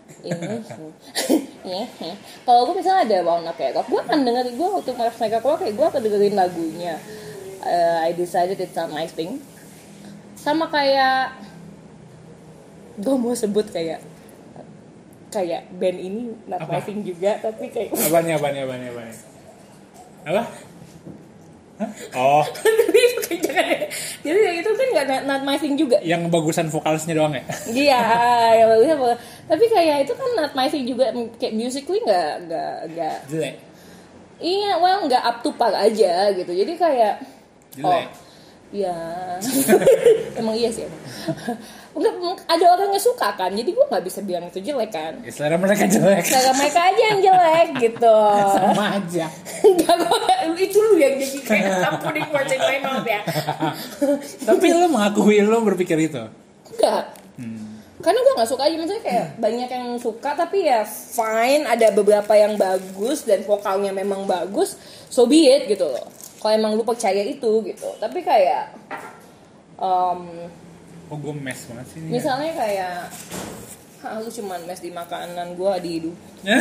Ini kalau gue misalnya ada One Ok Rock, gue akan dengerin, gue waktu mereka keluar kayak gue akan dengerin lagunya. Uh, I decided it's not my thing. Sama kayak gue mau sebut kayak kayak band ini not apa? My thing juga, tapi kayak apa nih apa nih apa nih apa nih apa? Hah? Oh. Tapi itu kayak jangan. Jadi itu kan nggak not my thing juga. Yang bagusan vokalisnya doang ya? Iya, yang bagusnya vokal. Tapi kayak itu kan not my thing juga, kayak musically nggak nggak nggak. Jelek. Iya, well nggak up to par aja gitu. Jadi kayak jelek. Oh, ya. Emang iya sih. Enggak, ada orang yang suka kan, jadi gue nggak bisa bilang itu jelek kan. Ya, selera mereka jelek. Selera mereka aja yang jelek gitu. Sama aja. Enggak, gue itu lu yang jadi kayak tampuning words in my mouth ya. Tapi lu mengakui lu berpikir itu? Enggak. Hmm. Karena gue nggak suka aja, maksudnya kayak hmm. banyak yang suka tapi ya fine, ada beberapa yang bagus dan vokalnya memang bagus, so be it gitu loh. Kalau emang lu percaya itu gitu, tapi kayak um, oh gue mes banget sih. Misalnya kayak ah, lu cuman mes di makanan gue di hidup.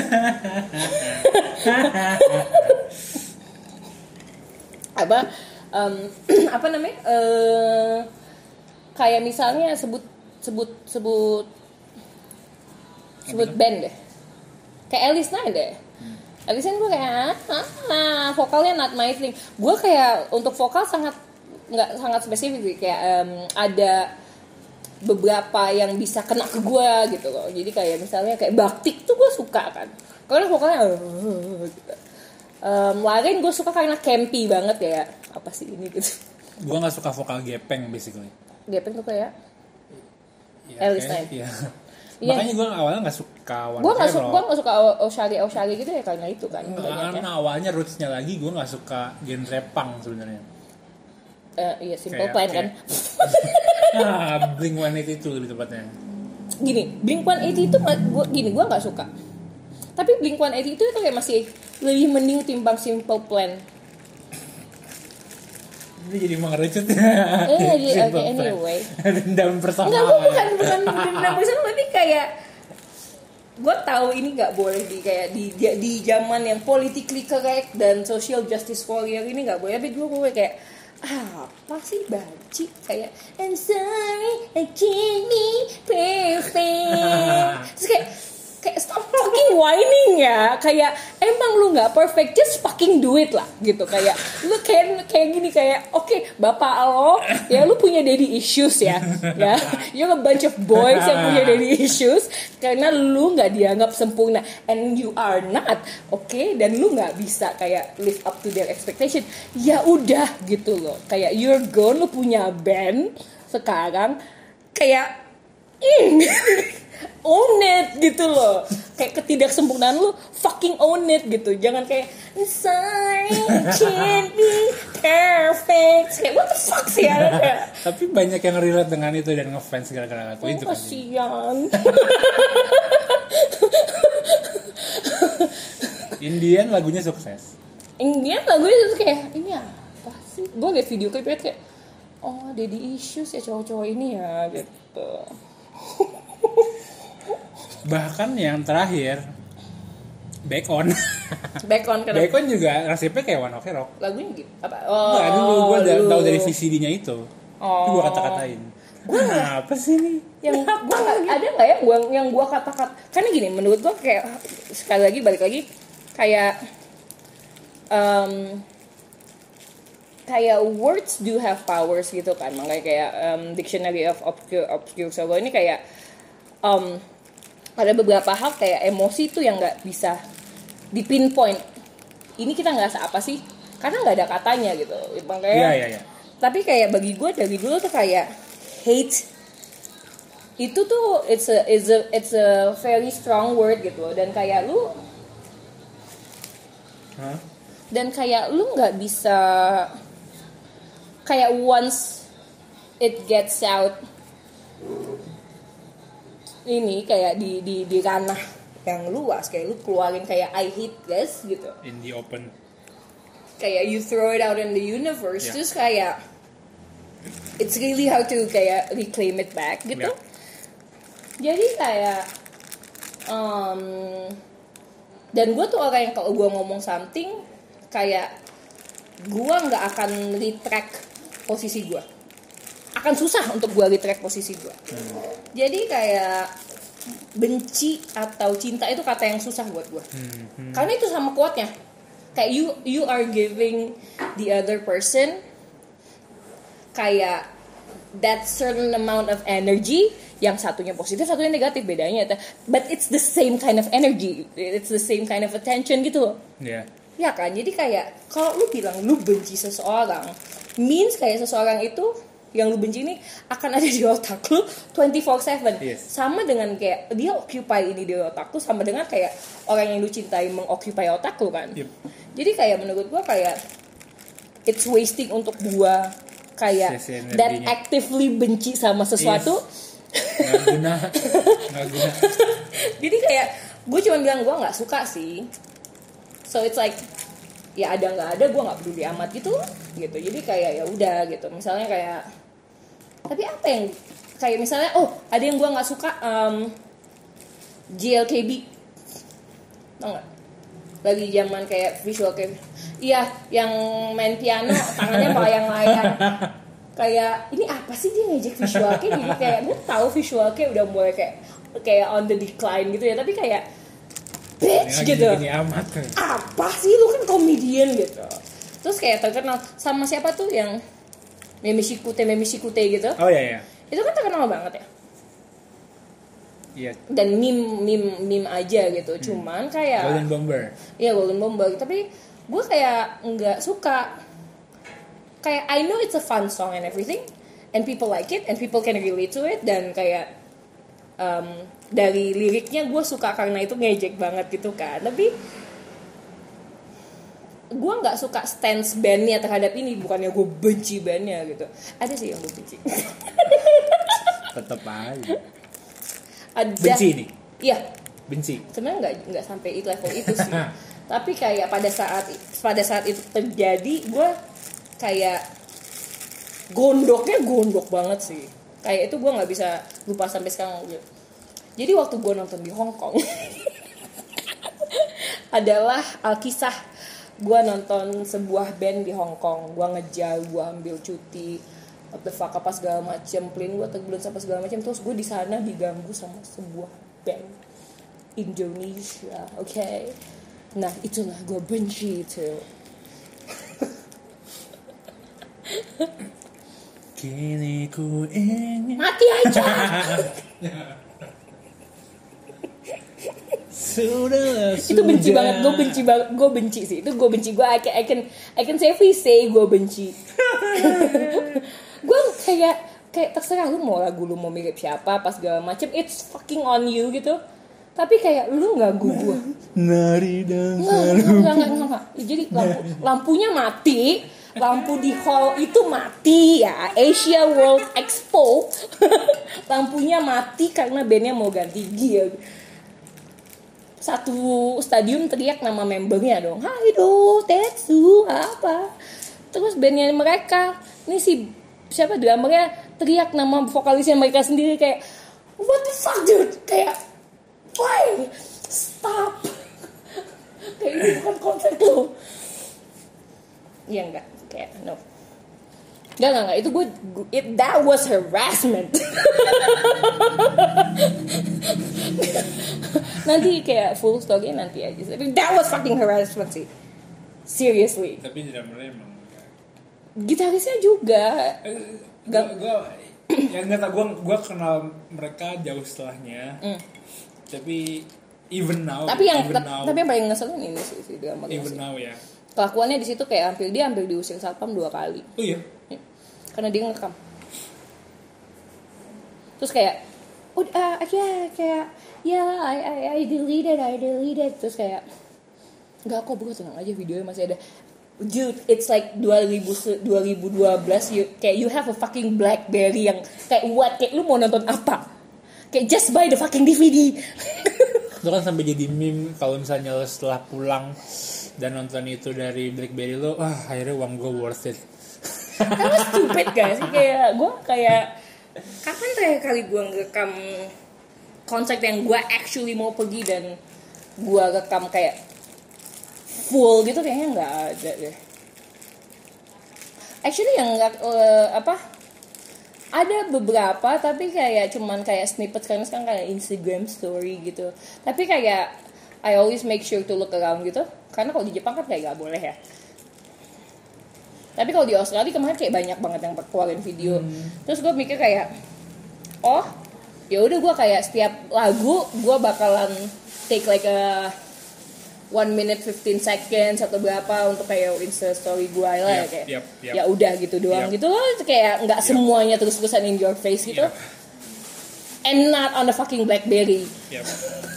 apa um, apa namanya? Uh, kayak misalnya sebut sebut sebut sebut band deh. Kayak Alice Nine deh. Hmm. Alice Nine gue kayak ah, vokalnya not my thing. Gue kayak untuk vokal sangat nggak sangat spesifik kayak um, ada beberapa yang bisa kena ke gue gitu loh. Jadi kayak misalnya kayak Baktik tuh gue suka kan, karena vokalnya uh, gitu. um, lain gue suka karena campy banget ya, apa sih ini gitu. Gue nggak suka vokal gepeng basically. Gepeng tuh kayak ya, Alice Nine. Iya. Makanya gue awalnya nggak suka One Gue nggak suka, gue nggak suka Oshari Oshari gitu ya karena itu kan. Karena awalnya rootsnya lagi gue nggak suka genre punk sebenarnya. Uh, iya Simple Plan kan. Ah, Blink one eighty-two lebih tepatnya. Gini, Blink one eighty-two gua gini, gua enggak suka. Tapi Blink one eighty-two itu kayak masih lebih mending timbang Simple Plan. Ini jadi mengerucut. Eh, jadi oke okay, anyway. Dendam personal. Enggak, gua bukan bukan dendam personal, tapi kayak gue tahu ini nggak boleh di kayak di di zaman yang politically correct dan social justice warrior ini nggak boleh. Tapi gue kayak ah, apa sih Banci kayak I'm sorry I can't be perfect. Terus kayak kayak stop fucking whining ya, kayak emang lu nggak perfect, just fucking do it lah gitu. Kayak lu kayak kayak gini, kayak oke okay, bapak lo ya, lu punya daddy issues ya, ya you're a bunch of boys yang punya daddy issues karena lu nggak dianggap sempurna, and you are not, oke okay? Dan lu nggak bisa kayak live up to their expectation. Ya udah gitu loh, kayak you're gone, lu punya band sekarang, kayak mm, own it gitu loh. Kayak ketidaksempurnaan lu fucking own it gitu. Jangan kayak sorry can't be perfect. Kayak what the fuck sih ya. Tapi banyak yang relate dengan itu dan ngefans gara-gara lagu oh, itu kan. Kasian. Indian lagunya sukses. Indian lagunya itu kayak ini apa sih? Gue liat video klipnya kayak oh daddy issues ya cowok-cowok ini ya gitu. Bahkan yang terakhir Back On Back On kenapa? Back On juga resepnya kayak One Ok Rock. Lagunya gitu apa? Oh, nggak, dulu gue udah tahu dari V C D-nya itu. Oh. Itu gue kata-katain. Gue apa sih nih? Yang gue ada nggak ya? Gua yang gue kata-kata. Karena gini, menurut gue kayak sekali lagi balik lagi kayak um, kayak words do have powers gitu kan. Makanya kayak um, Dictionary of Obscure Obscure Solo ini kayak um, ada beberapa hal kayak emosi tuh yang nggak bisa dipinpoint. Ini kita ngerasa apa sih? Karena nggak ada katanya gitu. Makanya. Iya iya iya. Tapi kayak bagi gue dari dulu tuh kayak hate itu tuh it's a it's a it's a very strong word gitu. Dan kayak lu huh? dan kayak lu nggak bisa kayak once it gets out ini kayak di di di ranah yang luas, kayak lu keluarin kayak I hate this gitu in the open, kayak you throw it out in the universe, yeah. Terus kayak it's really hard to kayak reclaim it back gitu, yeah. Jadi kayak um, dan gue tuh orang yang kalau gue ngomong something kayak gue nggak akan retract posisi gue, akan susah untuk gue retract posisi gue. Hmm. Jadi kayak benci atau cinta itu kata yang susah buat gue. Hmm. Hmm. Karena itu sama kuatnya. Kayak you you are giving the other person kayak that certain amount of energy, yang satunya positif, satunya negatif, bedanya. But it's the same kind of energy, it's the same kind of attention gitu loh. Yeah. Ya kan, jadi kayak kalau lu bilang lu benci seseorang, means kayak seseorang itu yang lu benci ini akan ada di otak lu twenty-four seven. Yes. Sama dengan kayak dia occupy ini di otak lu, sama dengan kayak orang yang lu cintai mengoccupy otak lu kan. Yep. Jadi kayak menurut gua kayak it's wasting untuk gua kayak that actively benci sama sesuatu. Yes. Nggak guna. Nggak guna. Jadi kayak gue cuma bilang gue nggak suka sih. So it's like ya ada nggak ada gue nggak peduli amat gitu gitu. Jadi kayak ya udah gitu. Misalnya kayak tapi apa yang kayak misalnya oh ada yang gue nggak suka um, J L K B, tau nggak? Lagi zaman kayak visual kayak iya yang main piano tangannya melayang-layang. Kayak ini apa sih dia ngejek visual kayak gini, kayak gue tahu visual kayak udah mulai kayak kayak on the decline gitu ya, tapi kayak bitch gini, gitu gini amat, kan? Apa sih lu kan komedian gitu. Terus kayak terkenal sama siapa tuh yang Memishikute Memishikute gitu. Oh iya iya. Itu kan terkenal banget ya. Iya. Dan meme meme meme aja gitu. Hmm. Cuman kayak Golden Bomber. Iya Golden Bomber, tapi gue kayak nggak suka. Kayak I know it's a fun song and everything, and people like it, and people can relate to it, dan kayak um, dari liriknya gue suka karena itu ngejek banget gitu kan. Tapi gue nggak suka stance bandnya terhadap ini, bukannya gue benci bandnya gitu. Ada sih yang gue benci. Tetep aja. Ada. Benci nih. Iya. Benci. Sebenarnya nggak nggak sampai itu level itu sih. Tapi kayak pada saat pada saat itu terjadi gue kayak gondoknya gondok banget sih. Kayak itu gue nggak bisa lupa sampai sekarang. Jadi waktu gue nonton di Hong Kong adalah Alkisah. Gue nonton sebuah band di Hong Kong. Gue ngejar, gue ambil cuti, what the fuck apa segala macem, plane gue terbulan apa segala macem. Terus gue di sana diganggu sama sebuah band. Indonesia, oke? Okay? Nah itulah gue benci itu. Kini ku ingin mati aja. Sudah, itu benci sudah. banget, gue benci banget, gue benci sih, itu gue benci, gue I can I can, I can safely say gue benci. Gue kayak kayak terserah lu mau lagu lu mau mirip siapa pas segala macem, it's fucking on you gitu. Tapi kayak lu ganggu gue. Nari dan nggak, nggak, nggak, nggak, nggak. Jadi lampu, lampunya mati, lampu di hall itu mati ya, Asia World Expo. Lampunya mati karena bandnya mau ganti gear. Satu stadium teriak nama membernya dong, Haido, Tetsu, apa. Terus bandnya mereka, ini si siapa drummernya teriak nama vokalisnya mereka sendiri kayak, what the fuck dude, kayak why stop. Kayak ini bukan konser lo. Iya enggak, kayak no. Enggak, enggak, enggak, itu gue, it, that was harassment. Nanti kayak full story nanti aja. Tapi that was fucking harassment sih. Seriously. Tapi drummernya emang gitarisnya juga. Gue, gue, ya nggak tau, gue, gue kenal mereka jauh setelahnya. Mm. Tapi even now. Tapi yang even t- now, tapi yang paling ngeselin ini sih si drummer. Even sih. now ya. Kelakuannya di situ kayak hampir dia hampir diusir satpam dua kali. Oh iya. Ya. Karena dia ngerekam. Terus kayak, udah, uh, ya kayak, ya yeah, I, I, I deleted, I deleted. Terus kayak, nggak kok bro, tenang aja, videonya masih ada. Dude, it's like dua ribu dua belas, you, kayak you have a fucking BlackBerry yang kayak what, kayak lu mau nonton apa? Kayak just buy the fucking D V D. Itu kan sampai jadi meme kalau misalnya lo setelah pulang dan nonton itu dari BlackBerry lo, ah akhirnya uang gue worth it. Karena stupid gak sih, kayak gue kayak kapan terakhir kali gue ngerekam konser yang gue actually mau pergi dan gue rekam kayak full gitu, kayaknya nggak ada deh. Actually yang nggak uh, apa ada beberapa tapi kayak cuman kayak snippet karena sekarang kayak Instagram story gitu. Tapi kayak I always make sure to look around gitu karena kalau di Jepang kan kayak nggak boleh ya. Tapi kalau di Australia kemarin kayak banyak banget yang keluarin video. Hmm. Terus gue mikir kayak, oh, ya udah gue kayak setiap lagu gue bakalan take like a one minute fifteen seconds atau berapa untuk kayak Insta story gue lah yep, ya kayak. Yep, yep. Ya udah gitu doang yep. gitu loh, kayak nggak yep. semuanya terus-terusan in your face gitu. Yep. And not on the fucking BlackBerry. Yep.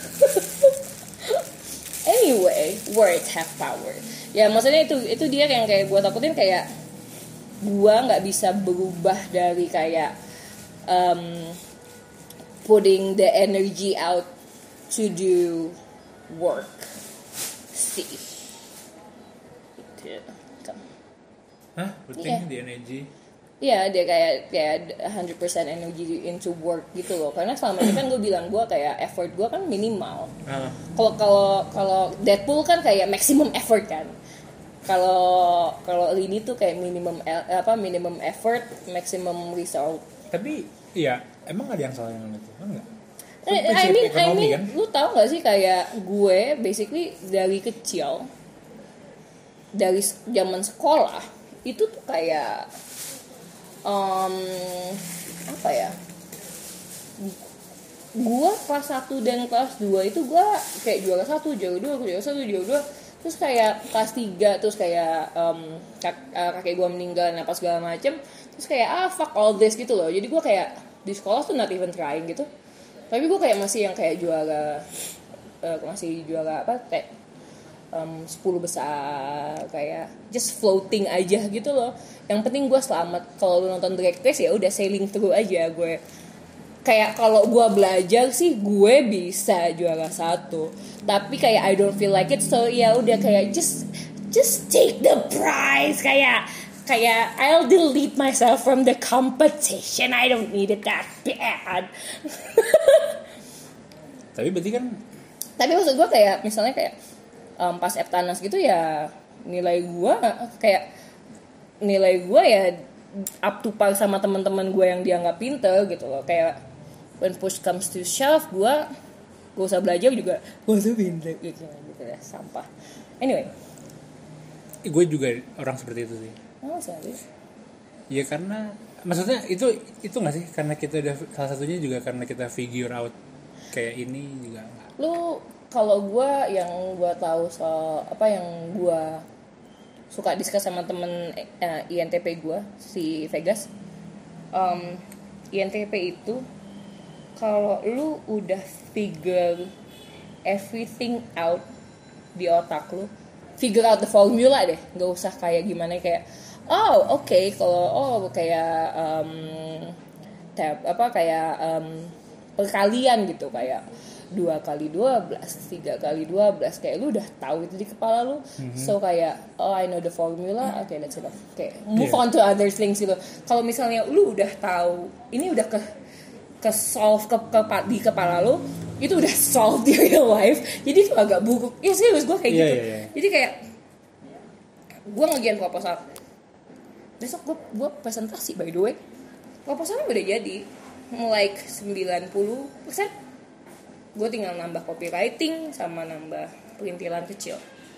Anyway, words have power. Ya maksudnya itu itu dia yang kayak gue takutin, kayak gue nggak bisa berubah dari kayak um, putting the energy out to do work. See. Hah? Putting yeah. the energy? Iya, dia kayak kayak one hundred percent energy into work gitu loh. Karena selama ini kan gue bilang gue kayak effort gue kan minimal. Kalau uh. kalau kalau Deadpool kan kayak maximum effort kan. Kalau kalau ini tuh kayak minimum apa minimum effort, maximum result. Tapi iya, emang ada yang salah dengan itu? Enggak. I mean, I mean, kan? Lu tau gak sih kayak gue basically dari kecil, dari zaman sekolah itu tuh kayak Um, apa ya, gue kelas satu dan kelas dua itu gue kayak juara satu, juara dua, juara satu, juara dua. Terus kayak kelas tiga, terus kayak um, kak, uh, kakek gue meninggal, apa segala macem. Terus kayak ah fuck all this gitu loh. Jadi gue kayak di sekolah tuh not even trying gitu. Tapi gue kayak masih yang kayak juara uh, Masih juara apa kayak Um, sepuluh besar, kayak just floating aja gitu loh. Yang penting gue selamat. Kalau lu nonton Drag Race ya udah sailing through aja gue. Kayak kalau gue belajar sih gue bisa juara satu. Tapi kayak I don't feel like it, so ya udah kayak just just take the prize. Kayak kayak I'll delete myself from the competition. I don't need it that bad. Tapi berarti kan. Tapi maksud gue kayak misalnya kayak Um, pas Eptanas gitu ya nilai gue kayak nilai gue ya up to par sama teman-teman gue yang dianggap pinter gitu loh. Kayak when push comes to shove gue Gak usah belajar juga, gak usah pintar gitu, gitu ya, sampah. Anyway, gue juga orang seperti itu sih. Oh serius? Ya karena maksudnya itu itu nggak sih karena kita udah salah satunya juga karena kita figure out kayak ini juga. Lu kalau gue yang gue tahu soal apa yang gue suka discuss sama temen uh, I N T P gue si Vegas, um, I N T P itu kalau lu udah figure everything out di otak lu, figure out the formula deh, nggak usah kayak gimana kayak oh oke okay, kalau oh kayak um, tab apa kayak um, perkalian gitu kayak dua kali dua belas, tiga kali dua belas kayak lu udah tahu itu di kepala lu. Mm-hmm. So kayak oh I know the formula, oke okay, that's enough. Kayak move yeah. on to other things gitu. Kalau misalnya lu udah tahu ini udah ke ke solve ke, ke di kepala lu, itu udah solve di real life. Jadi itu agak buruk. Ya serius gue kayak yeah, gitu. Yeah, yeah. Jadi kayak gue ngerjain proposal. Besok gue gue presentasi by the way. Proposalnya udah jadi mulai sembilan puluh persen. Gue tinggal nambah copywriting sama nambah perintilan kecil.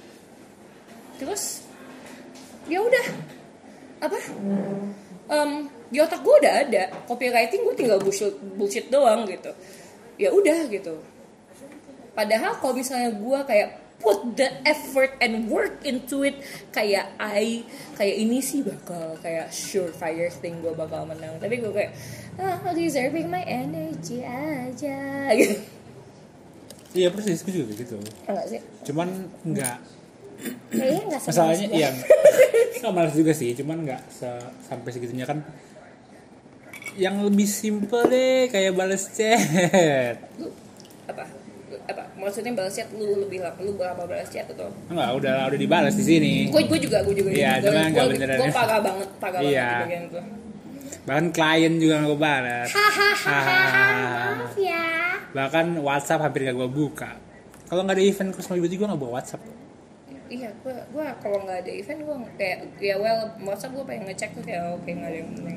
Terus ya udah apa? Um, di otak gue udah ada copywriting, gue tinggal bullshit, bullshit doang gitu. Ya udah gitu. Padahal kalau misalnya gue kayak put the effort and work into it, kayak I kayak ini sih bakal kayak surefire thing gue bakal menang. Tapi gue kayak ah, reserving my energy aja gitu. Iya persis, gue juga gitu. Enggak sih? Cuman enggak. Kayaknya enggak sama. Masalahnya yang enggak malas juga sih, cuman enggak se- sampai segitunya kan. Yang lebih simple deh kayak balas chat. Lu apa? Apa? Maksudnya balas chat lu lebih lama, lu berapa balas chat atau? Enggak, udah udah dibalas di sini. Gue gue juga, gue juga. Iya, cuman enggak beneran. Gue parah banget, parah iya. banget di bagian itu. Bahkan klien juga gak gue balas. Maaf ya. Bahkan WhatsApp hampir gak gue buka. Kalau gak ada event Cosmo Beauty gue gak bawa WhatsApp. Iya, gue gue kalau nggak ada event gue kayak ya well WhatsApp gue pengen ngecek tuh kayak oke okay, nggak ada yang penting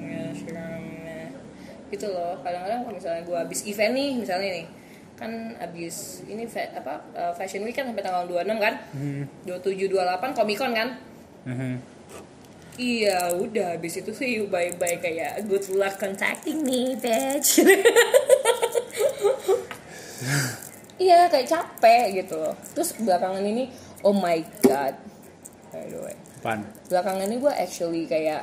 gitu loh. Kadang-kadang kalau misalnya gue habis event nih misalnya nih kan habis ini fa- apa uh, Fashion Week kan sampai tanggal dua puluh enam kan, hmm. dua puluh tujuh dua puluh delapan Comic Con kan. Hmm. Iya udah habis itu sih bye bye kayak good luck contacting me bitch. Iya kayak capek gitu loh. Terus belakangan ini oh my god, by the way. Apaan? Belakangan ini gue actually kayak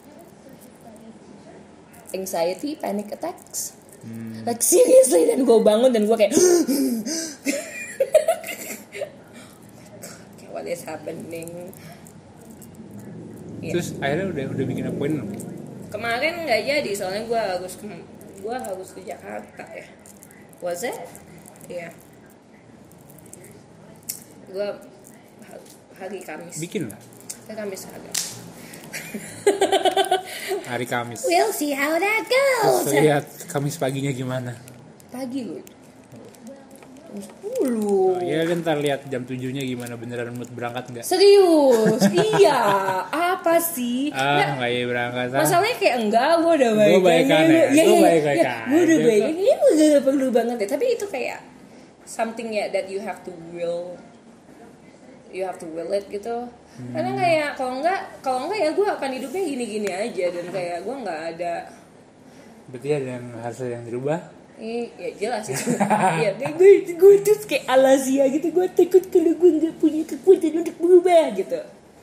anxiety, panic attacks. Hmm. Like seriously, dan gue bangun dan gue kayak what is happening? Terus yeah. akhirnya udah udah bikin appointment. Kemarin nggak jadi soalnya gue harus ke gue harus ke Jakarta ya. Was it? Iya. Yeah. Gue hari Kamis. Bikin lah. Hari Kamis ada. Hari Kamis. We'll see how that goes. So, lihat Kamis paginya gimana? Pagi loh. jam sepuluh. Oh, iya kan ntar lihat jam tujuhnya gimana, beneran mood berangkat nggak? Serius? Iya. Apa sih? Ah nggak ya berangkat. Ah. Masalahnya kayak enggak, gue udah baik. Gue baik kan ya. ya, Gue ya, baik ya, kan. Gue udah baik. Ini udah perlu banget ya. Tapi itu kayak something ya that you have to will. You have to will it gitu. Hmm. Karena kayak kalau enggak, kalau enggak ya gue akan hidupnya gini-gini aja dan kayak gue nggak ada. Berarti ada yang harus yang dirubah? Eh, ya jelas itu. Ya, gue gue tuh kayak Alazia gitu. Gue takut kalau gue nggak punya kekuatan untuk berubah gitu.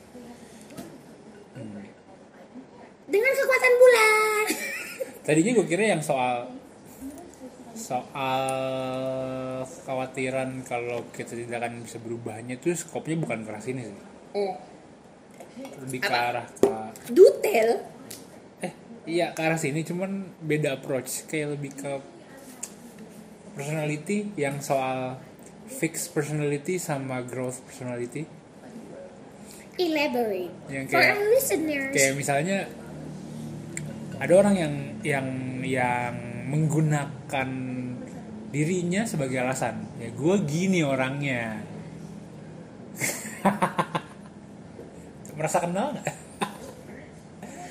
Hmm. Dengan kekuatan bulan. Tadinya gue kira yang soal soal kekhawatiran kalau kita tidak akan bisa berubahnya itu skopnya bukan ke arah sini sih. Oh. Lebih ke arah ke detail. Eh, iya ke arah sini cuman beda approach, kayak lebih ke personality yang soal fixed personality sama growth personality. Elaborate. Yang kayak, for our listeners. Kayak misalnya ada orang yang yang yang menggunakan dirinya sebagai alasan. Ya gue gini orangnya. Merasa kenal nggak?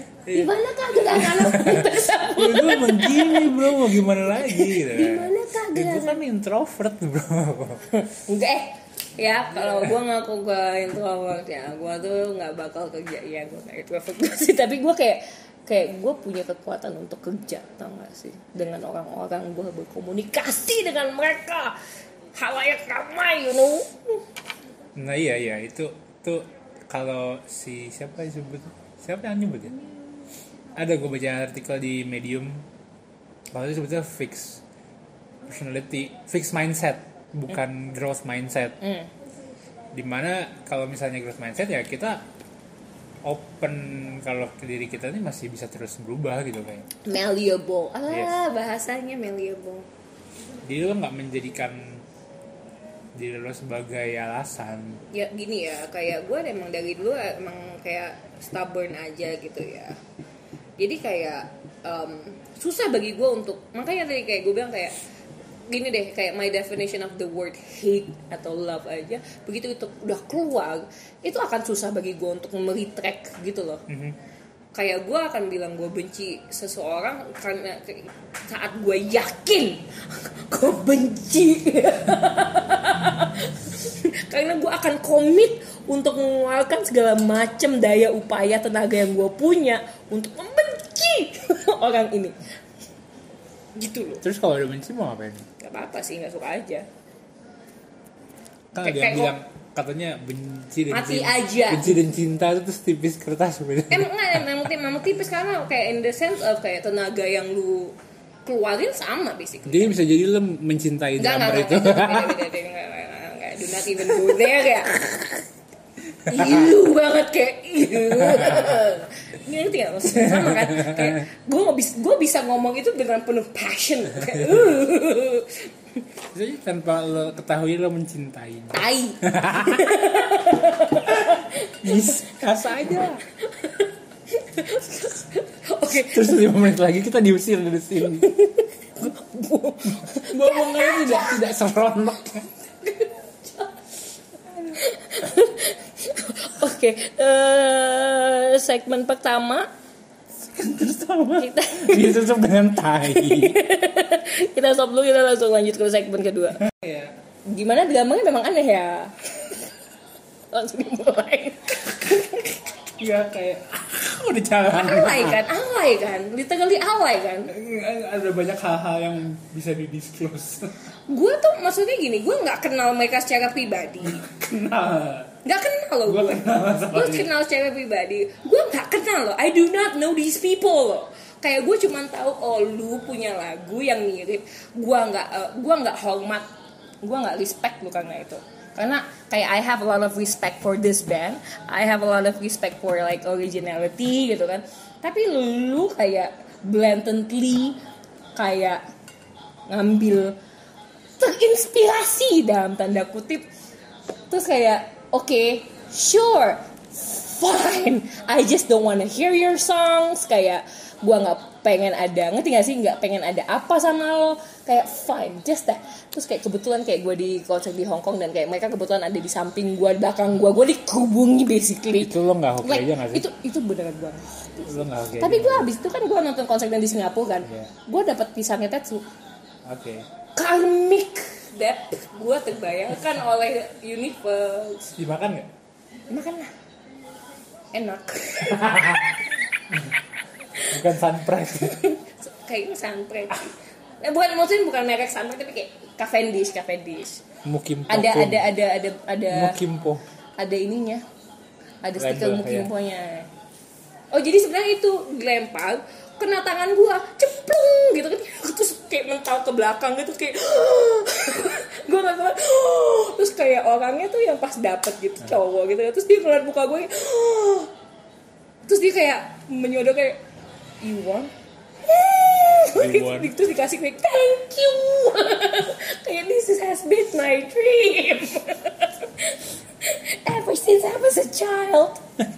Gimana kah dengan anak tersebut? Ya gue emang gini bro, mau gimana lagi? Gitu. Gimana kah Gue kan introvert bro. Enggak eh ya kalau gue ngaku gue introvert ya gue tuh nggak bakal kerja ya gue kayak introvert sih, tapi gue kayak kayak gue punya kekuatan untuk kerja, tau gak sih, dengan orang-orang. Gue berkomunikasi dengan mereka halayak ramai, you know. Nah iya iya itu tuh kalau si siapa yang sebut siapa yang nyebut ya, ada gue baca artikel di Medium kalau itu sebutnya fix personality, fix mindset, bukan mm. growth mindset. Mm. Dimana kalau misalnya growth mindset ya kita open kalau diri kita ini masih bisa terus berubah gitu kayak. Malleable, ah yes. Bahasanya malleable. Jadi lo nggak menjadikan diri lo sebagai alasan. Ya gini ya, kayak gue emang dari dulu emang kayak stubborn aja gitu ya. Jadi kayak um, susah bagi gue untuk, makanya tadi kayak gue bilang kayak gini deh, kayak my definition of the word hate atau love aja, begitu itu udah keluar itu akan susah bagi gue untuk meretract gitu loh. Mm-hmm. Kayak gue akan bilang gue benci seseorang karena saat gue yakin gue benci karena gue akan komit untuk mengeluarkan segala macam daya upaya tenaga yang gue punya untuk membenci orang ini gitu loh. Terus kalau udah benci mau ngapain? Gak apa-apa sih, gak suka aja. Kan ada yang bilang katanya benci dan mati cinta, aja. benci dan cinta itu tuh tipis kertas sebenarnya. Emang enggak, emang, emang tipis karena kayak in the sense of kayak tenaga yang lu keluarin sama basically. Jadi bisa jadi lu mencintai drummer itu. Enggak, do not even go there ya. Ilu banget kayak ilu. Ini ngerti gak maksudnya, sama kan kayak gue nggak bisa gue bisa ngomong itu dengan penuh passion kayak uh. Jadi tanpa lo ketahui lo mencintai tai kasa aja. Oke, terus lima menit lagi kita diusir dari sini. Ngomongnya tidak tidak seronok. Oke, okay, uh, segmen pertama kita ditutup dengan tai. Kita stop dulu, kita langsung lanjut ke segmen kedua. Ya. Gimana dramanya memang aneh ya. Langsung dimulai. Iya kayak udah jalan. Alay kan, alay kan, literally alay kan. Ada banyak hal-hal yang bisa di-disclose. Gue tuh maksudnya gini, gue nggak kenal mereka secara pribadi. Kenal. Nggak kenal loh gue. Gue kenal secara pribadi. Gue nggak kenal loh. I do not know these people loh. Kayak gue cuma tahu oh lu punya lagu yang mirip. Gue nggak, uh, gue nggak hormat, gue nggak respect lu karena itu. Karena kayak I have a lot of respect for this band, I have a lot of respect for like originality gitu kan. Tapi lu kayak blatantly kayak ngambil terinspirasi dalam tanda kutip. Terus kayak oke, okay, sure, fine, I just don't wanna hear your songs. Kayak gue nggak pengen ada, ngerti gak sih, nggak pengen ada apa sama lo, kayak fine, just that. Terus kayak kebetulan kayak gue di konser di Hong Kong dan kayak mereka kebetulan ada di samping gue, di belakang gue, gue dikerubungi basically. Itu lo nggak oke like, aja nggak sih? Itu itu beneran banget. Lo nggak oke. Tapi gue abis itu kan gue nonton konser di Singapura kan, yeah. Gue dapat pisangnya Tetsu. Oke. Okay. Karmic debt gue terbayangkan oleh universe. Dimakan nggak? Makan lah. Enak. Bukan sunpress. Kayaknya sunpress. Eh, bukan, maksudnya bukan merek sunpress tapi kayak Cavendish, Cavendish. Mukimpo. Ada ada ada ada ada Mukimpo. Ada ininya. Ada stiker Mukimponya. Ya. Oh, jadi sebenarnya itu dilempar kena tangan gua, ceplung gitu kan. Terus kayak mental ke belakang gitu kayak gua enggak tahu. Terus kayak orangnya tuh yang pas dapet gitu cowok gitu. Terus dia ngeliat muka gua. Terus dia kayak menyodok kayak you want? You want? Terus dikasih kayak thank you. Kayak this has been my dream ever since I was a child.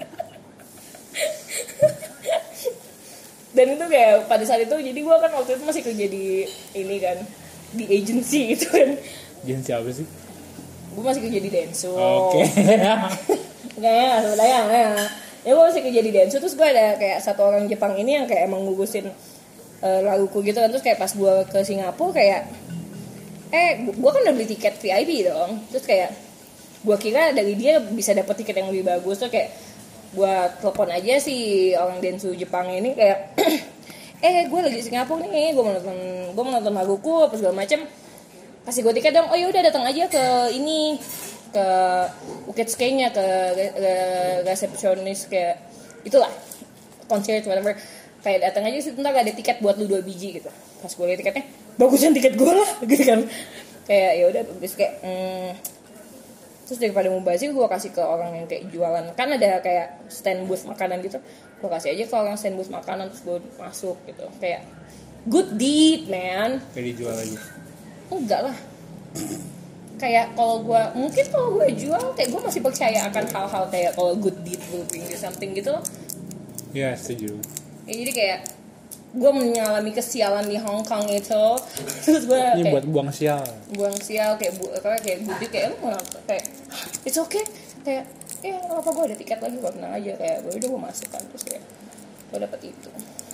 Dan itu kayak pada saat itu, jadi gue kan waktu itu masih kerja di ini kan, di agency gitu kan. Agency apa sih? Gue masih kerja di Denso. Oke. Okay. Nggak, sebenarnya ya. Ya gue masih kerja di Denso, terus gue ada kayak satu orang Jepang ini yang kayak emang ngurusin uh, laguku gitu kan. Terus kayak pas gue ke Singapura kayak eh gue kan udah beli tiket V I P dong, terus kayak gue kira dari dia bisa dapat tiket yang lebih bagus, tuh kayak gue telepon aja si orang Densu Jepang ini kayak eh gue lagi di Singapura nih, gue mau nonton gue mau nonton laguku apa segala macem, kasih gue tiket dong. Oh ya udah datang aja ke ini ke Bukit Skenya ke, ke resepsionis kayak itulah concert whatever, kayak datang aja sih ntar ada tiket buat lu dua biji gitu. Pas gue liat tiketnya bagusan tiket gue lah gitu kan, kayak ya udah bagus kayak hmm. Terus daripada mubazir gue kasih ke orang yang kayak jualan, kan ada kayak stand booth makanan gitu, gue kasih aja ke orang stand booth makanan terus gue masuk gitu, kayak good deed man. Kayak dijual aja? Enggak lah, kayak kalau gue mungkin kalau gue jual kayak gue masih percaya akan hal-hal kayak kalau good deed will bring you something gitu loh. Ya setuju. Ya, jadi kayak gue mengalami kesialan di Hong Kong itu, terus gue ini kayak buat buang sial buang sial kayak bu kayak kayak budi kayak lu mau kayak it's okay kayak ya nggak apa gue ada tiket lagi gue tenang aja kayak gue udah gue masuk kan, terus kayak gue dapet itu.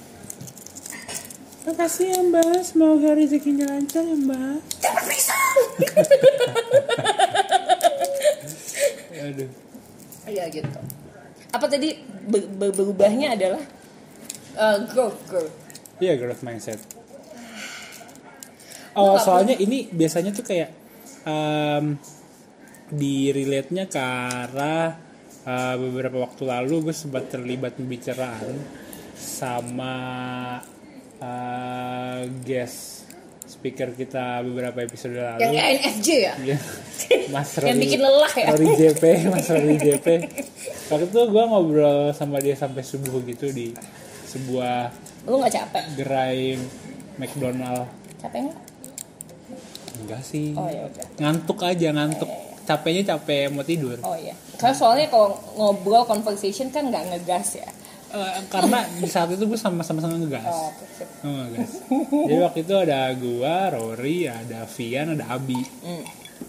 Makasih ya mbak, semoga rezekinya lancar ya mbak. Dapat pisang. Aduh. Iya gitu. Apa tadi ber- ber- berubahnya adalah uh, growth growth. Iya, growth mindset. Oh, soalnya ini biasanya tuh kayak um, di relate-nya ke arah uh, beberapa waktu lalu gue sempat terlibat pembicaraan sama uh, guest speaker kita beberapa episode lalu. Yang N F J ya? Mas Rory, yang bikin lelah ya? Rory J P, Mas Rory J P. Waktu itu gue ngobrol sama dia sampai subuh gitu di sebuah lu nggak capek? gerai McDonald. Capek nggak? Enggak sih. Oh ya udah. Ngantuk aja, ngantuk. Capeknya capek mau tidur. Oh iya. Karena soalnya kalau ngobrol conversation kan nggak ngegas ya. Uh, karena di saat itu gue sama-sama ngegas. Oh, okay. Oh, ngegas. Jadi waktu itu ada gue, Rory, ada Vian, ada Abi. Mm.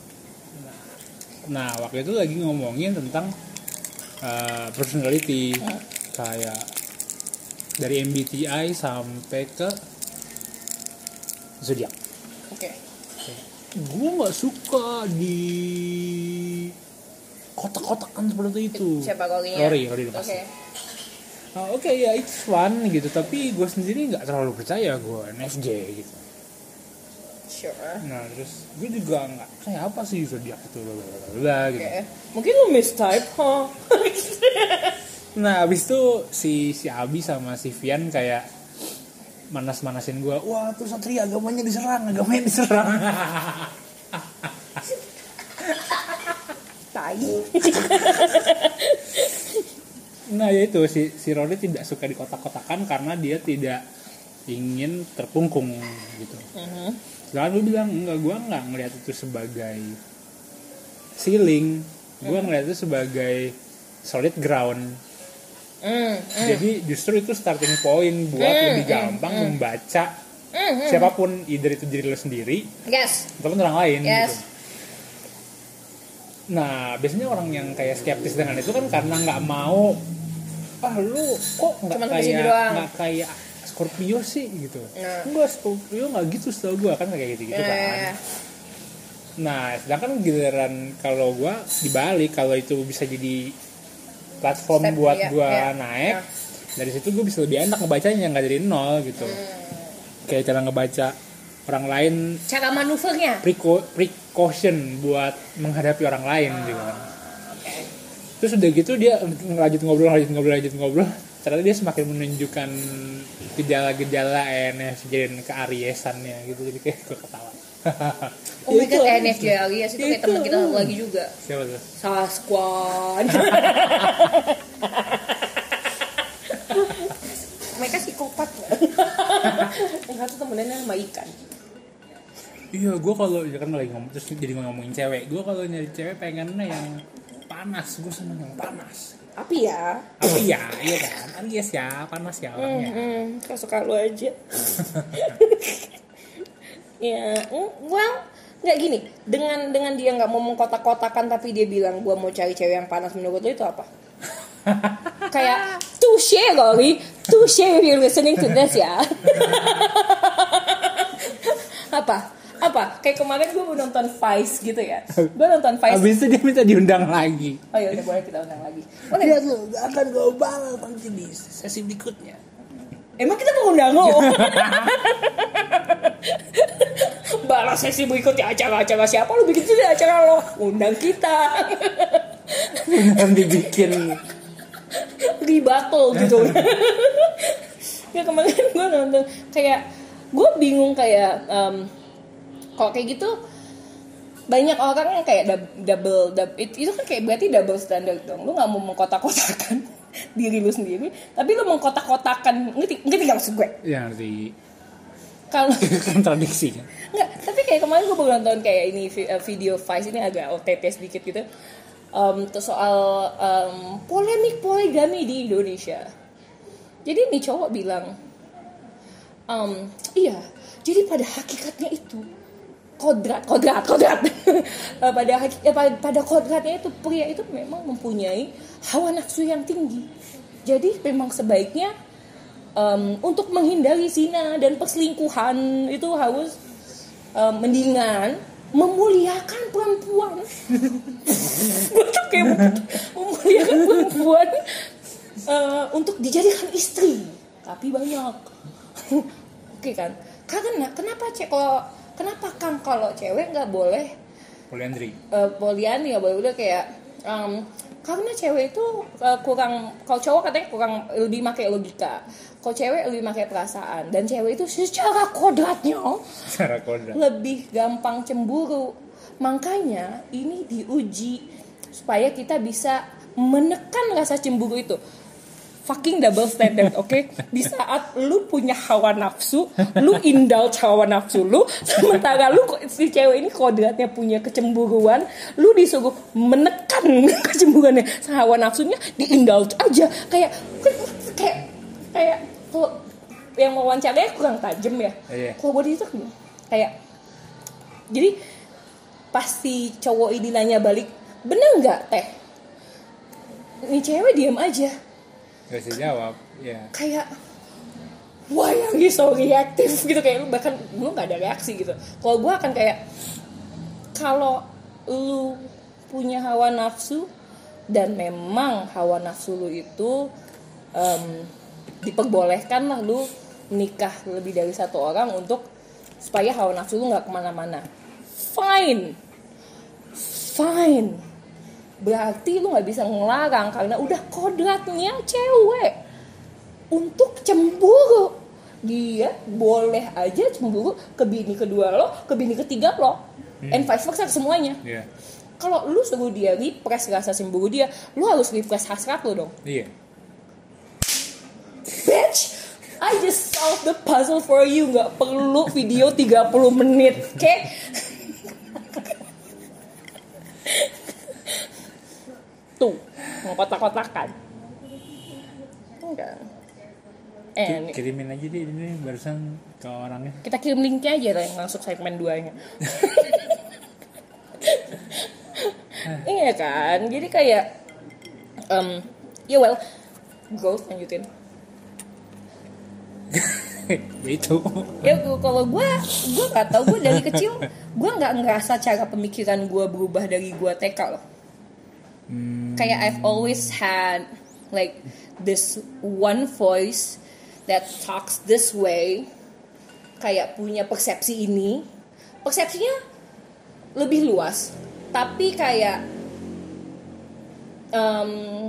Nah, waktu itu lagi ngomongin tentang uh, personality, mm. kayak dari M B T I sampai ke zodiak. Oke. Okay. Gue nggak suka di kotak-kotakan seperti itu. Siapa Rory? Rory, Rory Oke. Okay. Nah, Oke okay, ya it's fun gitu, tapi gue sendiri nggak terlalu percaya gue N F J gitu. Sure. Nah terus gue juga nggak kayak apa sih zodiak itu bla gitu. Okay. Mungkin lu mistype, huh? Nah abis itu si si Abi sama si Vian kayak manas-manasin gue, wah tuh Satria agamanya diserang, agamanya diserang. Tai. Nah ya itu si si Rory tidak suka di kotak-kotakan karena dia tidak ingin terkungkung gitu. Uh-huh. Sedangkan gue bilang enggak, gue nggak ngelihat itu sebagai ceiling, gue uh-huh. ngelihat itu sebagai solid ground. Mm, mm. Jadi justru itu starting point buat mm, lebih gampang mm, membaca mm, siapapun, either itu diri lo sendiri, yes, ataupun orang lain. Yes. Gitu. Nah biasanya orang yang kayak skeptis dengan itu kan karena nggak mau, ah lu kok nggak kayak nggak kayak Scorpio sih gitu. Nah. Enggak, Scorpio nggak gitu setahu gue kan kayak gitu gitu nah. kan. Nah sedangkan giliran kalau gue dibalik, kalau itu bisa jadi platform step, buat ya, gue ya, naik ya. Dari situ gue bisa lebih enak ngebacanya, nggak dari nol gitu. hmm. Kayak cara ngebaca orang lain, cara manuvernya, preco- precaution buat menghadapi orang lain ah, gitu kan. Okay. Terus udah gitu dia lanjut ngobrol lanjut ngobrol lanjut ngobrol ternyata dia semakin menunjukkan gejala-gejala N F J dan keariesannya gitu, jadi kayak gue ketawa. Oh my god, N F J Aries itu kayak teman kita satu lagi juga. Siapa tuh? Sasquatch. Mereka psikopat. Yang satu temennya sama ikan. Iya, gue kalau ya kan lagi ngomong terus jadi ngomongin cewek, gue kalau nyari cewek pengennya yang panas, gue seneng yang panas. Api ya? Api ya, iya kan? Aries ya, panas ya orangnya. Hmm, kau suka lu aja. Ya, well, nggak gini. Dengan dengan dia nggak mau mengkotak-kotakan tapi dia bilang gue mau cari cewek yang panas, menurut lo itu apa? Kayak touche Rory, touche if you're listening to this ya. Apa? Apa apa? Kayak kemarin gue mau nonton Vice gitu ya. Gue nonton Vice. Habis itu dia minta diundang lagi. Oh ya udah boleh kita undang lagi. Boleh. Lihat lu, akan gue balas nanti di sesi berikutnya. Emang kita mau undang lo? Balas sesi berikutnya acara-acara siapa lu bikin sih acara lo? Undang kita. Nanti bikin ribatul gitu. Ya kemarin gue nonton kayak gue bingung kayak um, kalau kayak gitu banyak orang yang kayak double, double it, itu kan kayak berarti double standard dong. Lu nggak mau mengkotak-kotakan diri lu sendiri, tapi lu mengkotak-kotakan, ngerti ngerti nggak maksud gue? Ya ngerti. Kalau kontradiksi kan? Nggak, tapi kayak kemarin gue baru nonton kayak ini video Vice ini agak O T T sedikit gitu. Um, terus soal um, polemik poligami di Indonesia. Jadi nih cowok bilang, um, iya, jadi pada hakikatnya itu kodrat, kodrat, kodrat. pada hakik, ya, pada, pada kodratnya itu pria itu memang mempunyai hawa nafsu yang tinggi. Jadi memang sebaiknya um, untuk menghindari zina dan perselingkuhan itu harus um, mendingan memuliakan perempuan. Gue tuh kayak memuliakan perempuan uh, untuk dijadikan istri, tapi banyak. Oke kan? Karena kenapa cek kalau kenapa kan kalau cewek nggak boleh poliandri? Uh, poliandri nggak boleh udah kayak um, karena cewek itu uh, kurang, kalau cowok katanya kurang lebih pakai logika, kalau cewek lebih pakai perasaan, dan cewek itu secara kodratnya secara kodrat lebih gampang cemburu. Makanya ini diuji supaya kita bisa menekan rasa cemburu itu. Fucking double standard, oke? Okay? Di saat lu punya hawa nafsu, lu indulge hawa nafsu lu, sementara lu si cewek ini kodratnya punya kecemburuan, lu disuruh menekan kecemburuannya, hawa nafsunya diindulge aja, kayak kayak kayak kalau yang wawancaranya kurang tajam ya. Yeah. Kalau buat itu kayak jadi pasti cowok ini nanya balik, bener nggak teh? Ini cewek diam aja. Gak bisa jawab, ya. Kayak why are you so reactive gitu, kayak bahkan gue nggak ada reaksi gitu. Kalau gue akan kayak kalau lu punya hawa nafsu dan memang hawa nafsu lu itu um, diperbolehkan lah lu nikah lebih dari satu orang untuk supaya hawa nafsu lu nggak kemana-mana. Fine, fine. Berarti lu gak bisa ngelarang karena udah kodratnya cewek untuk cemburu. Dia boleh aja cemburu ke bini kedua lo, ke bini ketiga lo, hmm. and vice versa semuanya. Yeah. Kalau lu suruh dia repress rasa cemburu dia, lu harus repress hasrat lo dong. Iya. Yeah. Bitch, I just solved the puzzle for you. Gak perlu video tiga puluh menit, oke? Okay? Tuh, mau kotak-kotakan. Enggak. Eh, kirimin aja deh ini barusan ke orangnya. Kita kirim linknya aja lah yang langsung segmen dua-nya. Iya kan? Jadi kayak um, ya well, growth lanjutin. Ya itu. Ya kalau gue, gue nggak tahu, gue dari kecil gue nggak ngerasa cara pemikiran gue berubah dari gue T K loh. Hmm. Kayak I've always had like this one voice that talks this way, kayak punya persepsi ini, persepsinya lebih luas, tapi kayak um,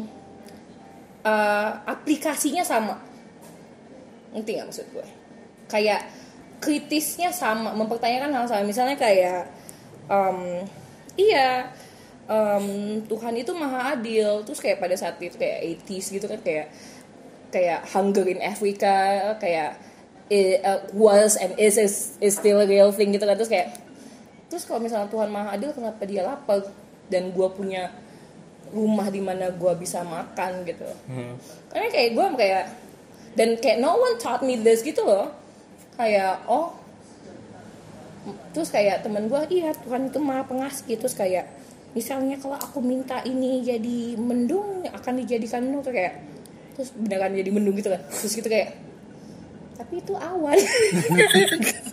uh, aplikasinya sama, ngerti nggak maksud gue? Kayak kritisnya sama, mempertanyakan hal sama, misalnya kayak um, iya. Um, Tuhan itu maha adil, terus kayak pada saat itu kayak eighties gitu kan, kayak kayak hunger in Africa, kayak it, uh, was and is, is is still a real thing gitu kan, terus kayak terus kalau misalnya Tuhan maha adil, kenapa dia lapar dan gue punya rumah di mana gue bisa makan gitu, hmm. Karena kayak gue kayak dan kayak no one taught me this gitu loh, kayak oh terus kayak teman gue, iya Tuhan itu maha pengasih, terus kayak misalnya kalau aku minta ini jadi mendung akan dijadikan mendung, tuh kayak terus beneran jadi mendung gitu kan, terus gitu kayak tapi itu awan.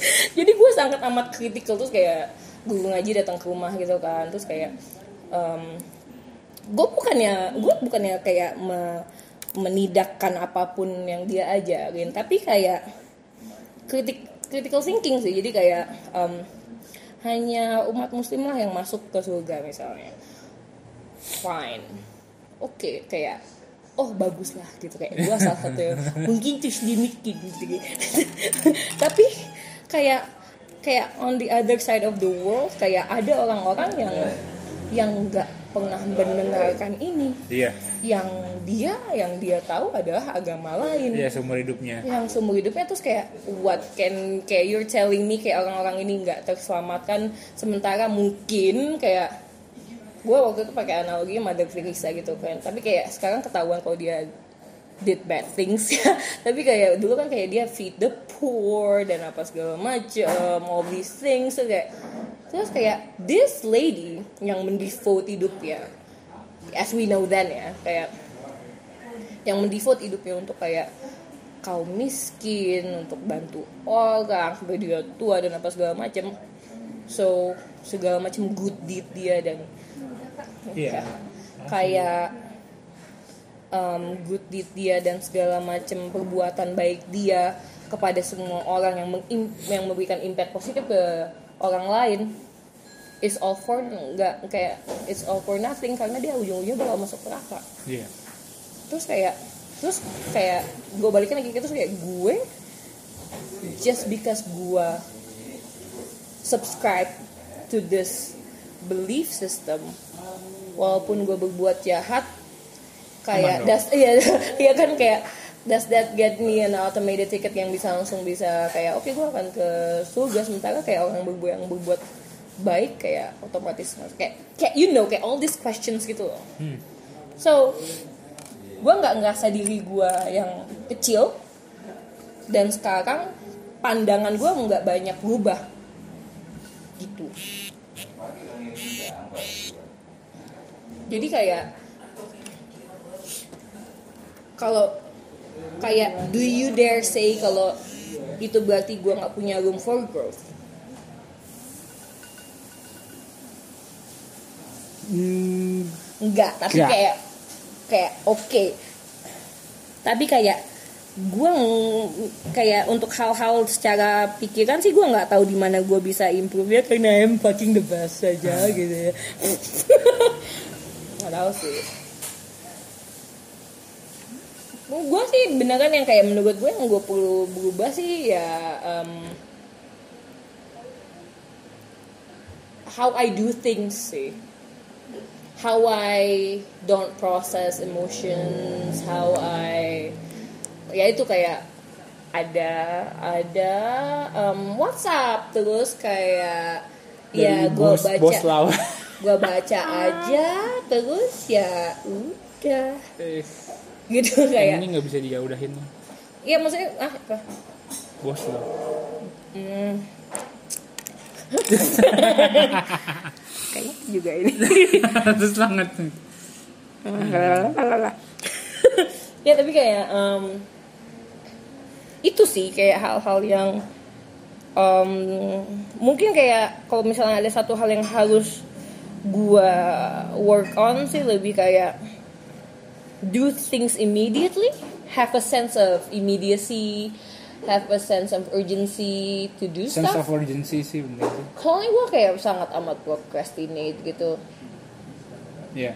Jadi gue sangat amat kritikal, terus kayak guru ngaji datang ke rumah gitu kan, terus kayak um, gue bukannya gue bukannya kayak me, menidakkan apapun yang dia ajarin, tapi kayak kritik critical thinking sih. Jadi kayak um, hanya umat muslim lah yang masuk ke surga misalnya, fine, oke, okay, kayak oh bagus lah gitu, kayak gue salah satu yang mungkin terus dimikir gitu. Tapi kayak kayak on the other side of the world, kayak ada orang-orang yang yang nggak pernah mendengarkan ini. Iya. Yang dia yang dia tahu adalah agama lain. Iya, seumur hidupnya. Yang seumur hidupnya, terus kayak what can kayak you're telling me kayak orang-orang ini nggak terselamatkan, sementara mungkin kayak gue waktu itu pakai analogi Mother Teresa gitu kan. Tapi kayak sekarang ketahuan kalau dia did bad things ya. Tapi kayak dulu kan kayak dia feed the poor dan apa segala macam, all these things. So kayak, terus kayak this lady yang mendevote hidupnya, as we know then ya, kayak yang mendevote hidupnya untuk kayak kaum miskin, untuk bantu orang sampai dia tua dan apa segala macam. So segala macam good deed dia dan yeah. ya, kayak Um, good deed dia dan segala macam perbuatan baik dia kepada semua orang yang meng- yang memberikan impact positif ke orang lain is all for nggak kayak it's all for nothing, karena dia ujung-ujungnya bakal masuk neraka. Yeah. Terus kayak terus kayak gue balikin lagi terus kayak gue just because gue subscribe to this belief system, walaupun gue berbuat jahat, kayak das iya iya kan kayak does that get me an automated ticket yang bisa langsung bisa kayak oke okay, gue akan ke surga, sementara kayak orang yang berbuat yang berbuat baik kayak otomatis kayak kayak you know kayak all these questions gitu loh. Hmm. So gue nggak ngerasa diri gue yang kecil, dan sekarang pandangan gue nggak banyak berubah gitu. Jadi kayak kalau kayak do you dare say kalau itu berarti gue nggak punya room for growth? Hmm, enggak, tapi enggak. kayak kayak oke, okay. Tapi kayak gue kayak untuk hal-hal secara pikiran sih gue nggak tahu di mana gue bisa improve ya, karena I'm fucking the best aja hmm. gitu ya. Nggak tahu sih. Gue sih beneran yang kayak menurut gue yang gue perlu berubah sih ya um, how I do things sih, how I don't process emotions, how I ya itu kayak ada ada um, WhatsApp terus kayak dari ya gue baca gue baca aja terus ya udah gitu kayak ini nggak bisa dijauhin. Iya maksudnya ah apa? Bos lo. Hmm. Kayaknya juga ini. Terus banget. Ya tapi kayak um, itu sih kayak hal-hal yang um, mungkin kayak kalau misalnya ada satu hal yang harus gua work on sih lebih kayak do things immediately, have a sense of immediacy, have a sense of urgency to do sense stuff. Sense of urgency sih bener. Soalnya gue kayak sangat amat procrastinate gitu. Iya. Yeah.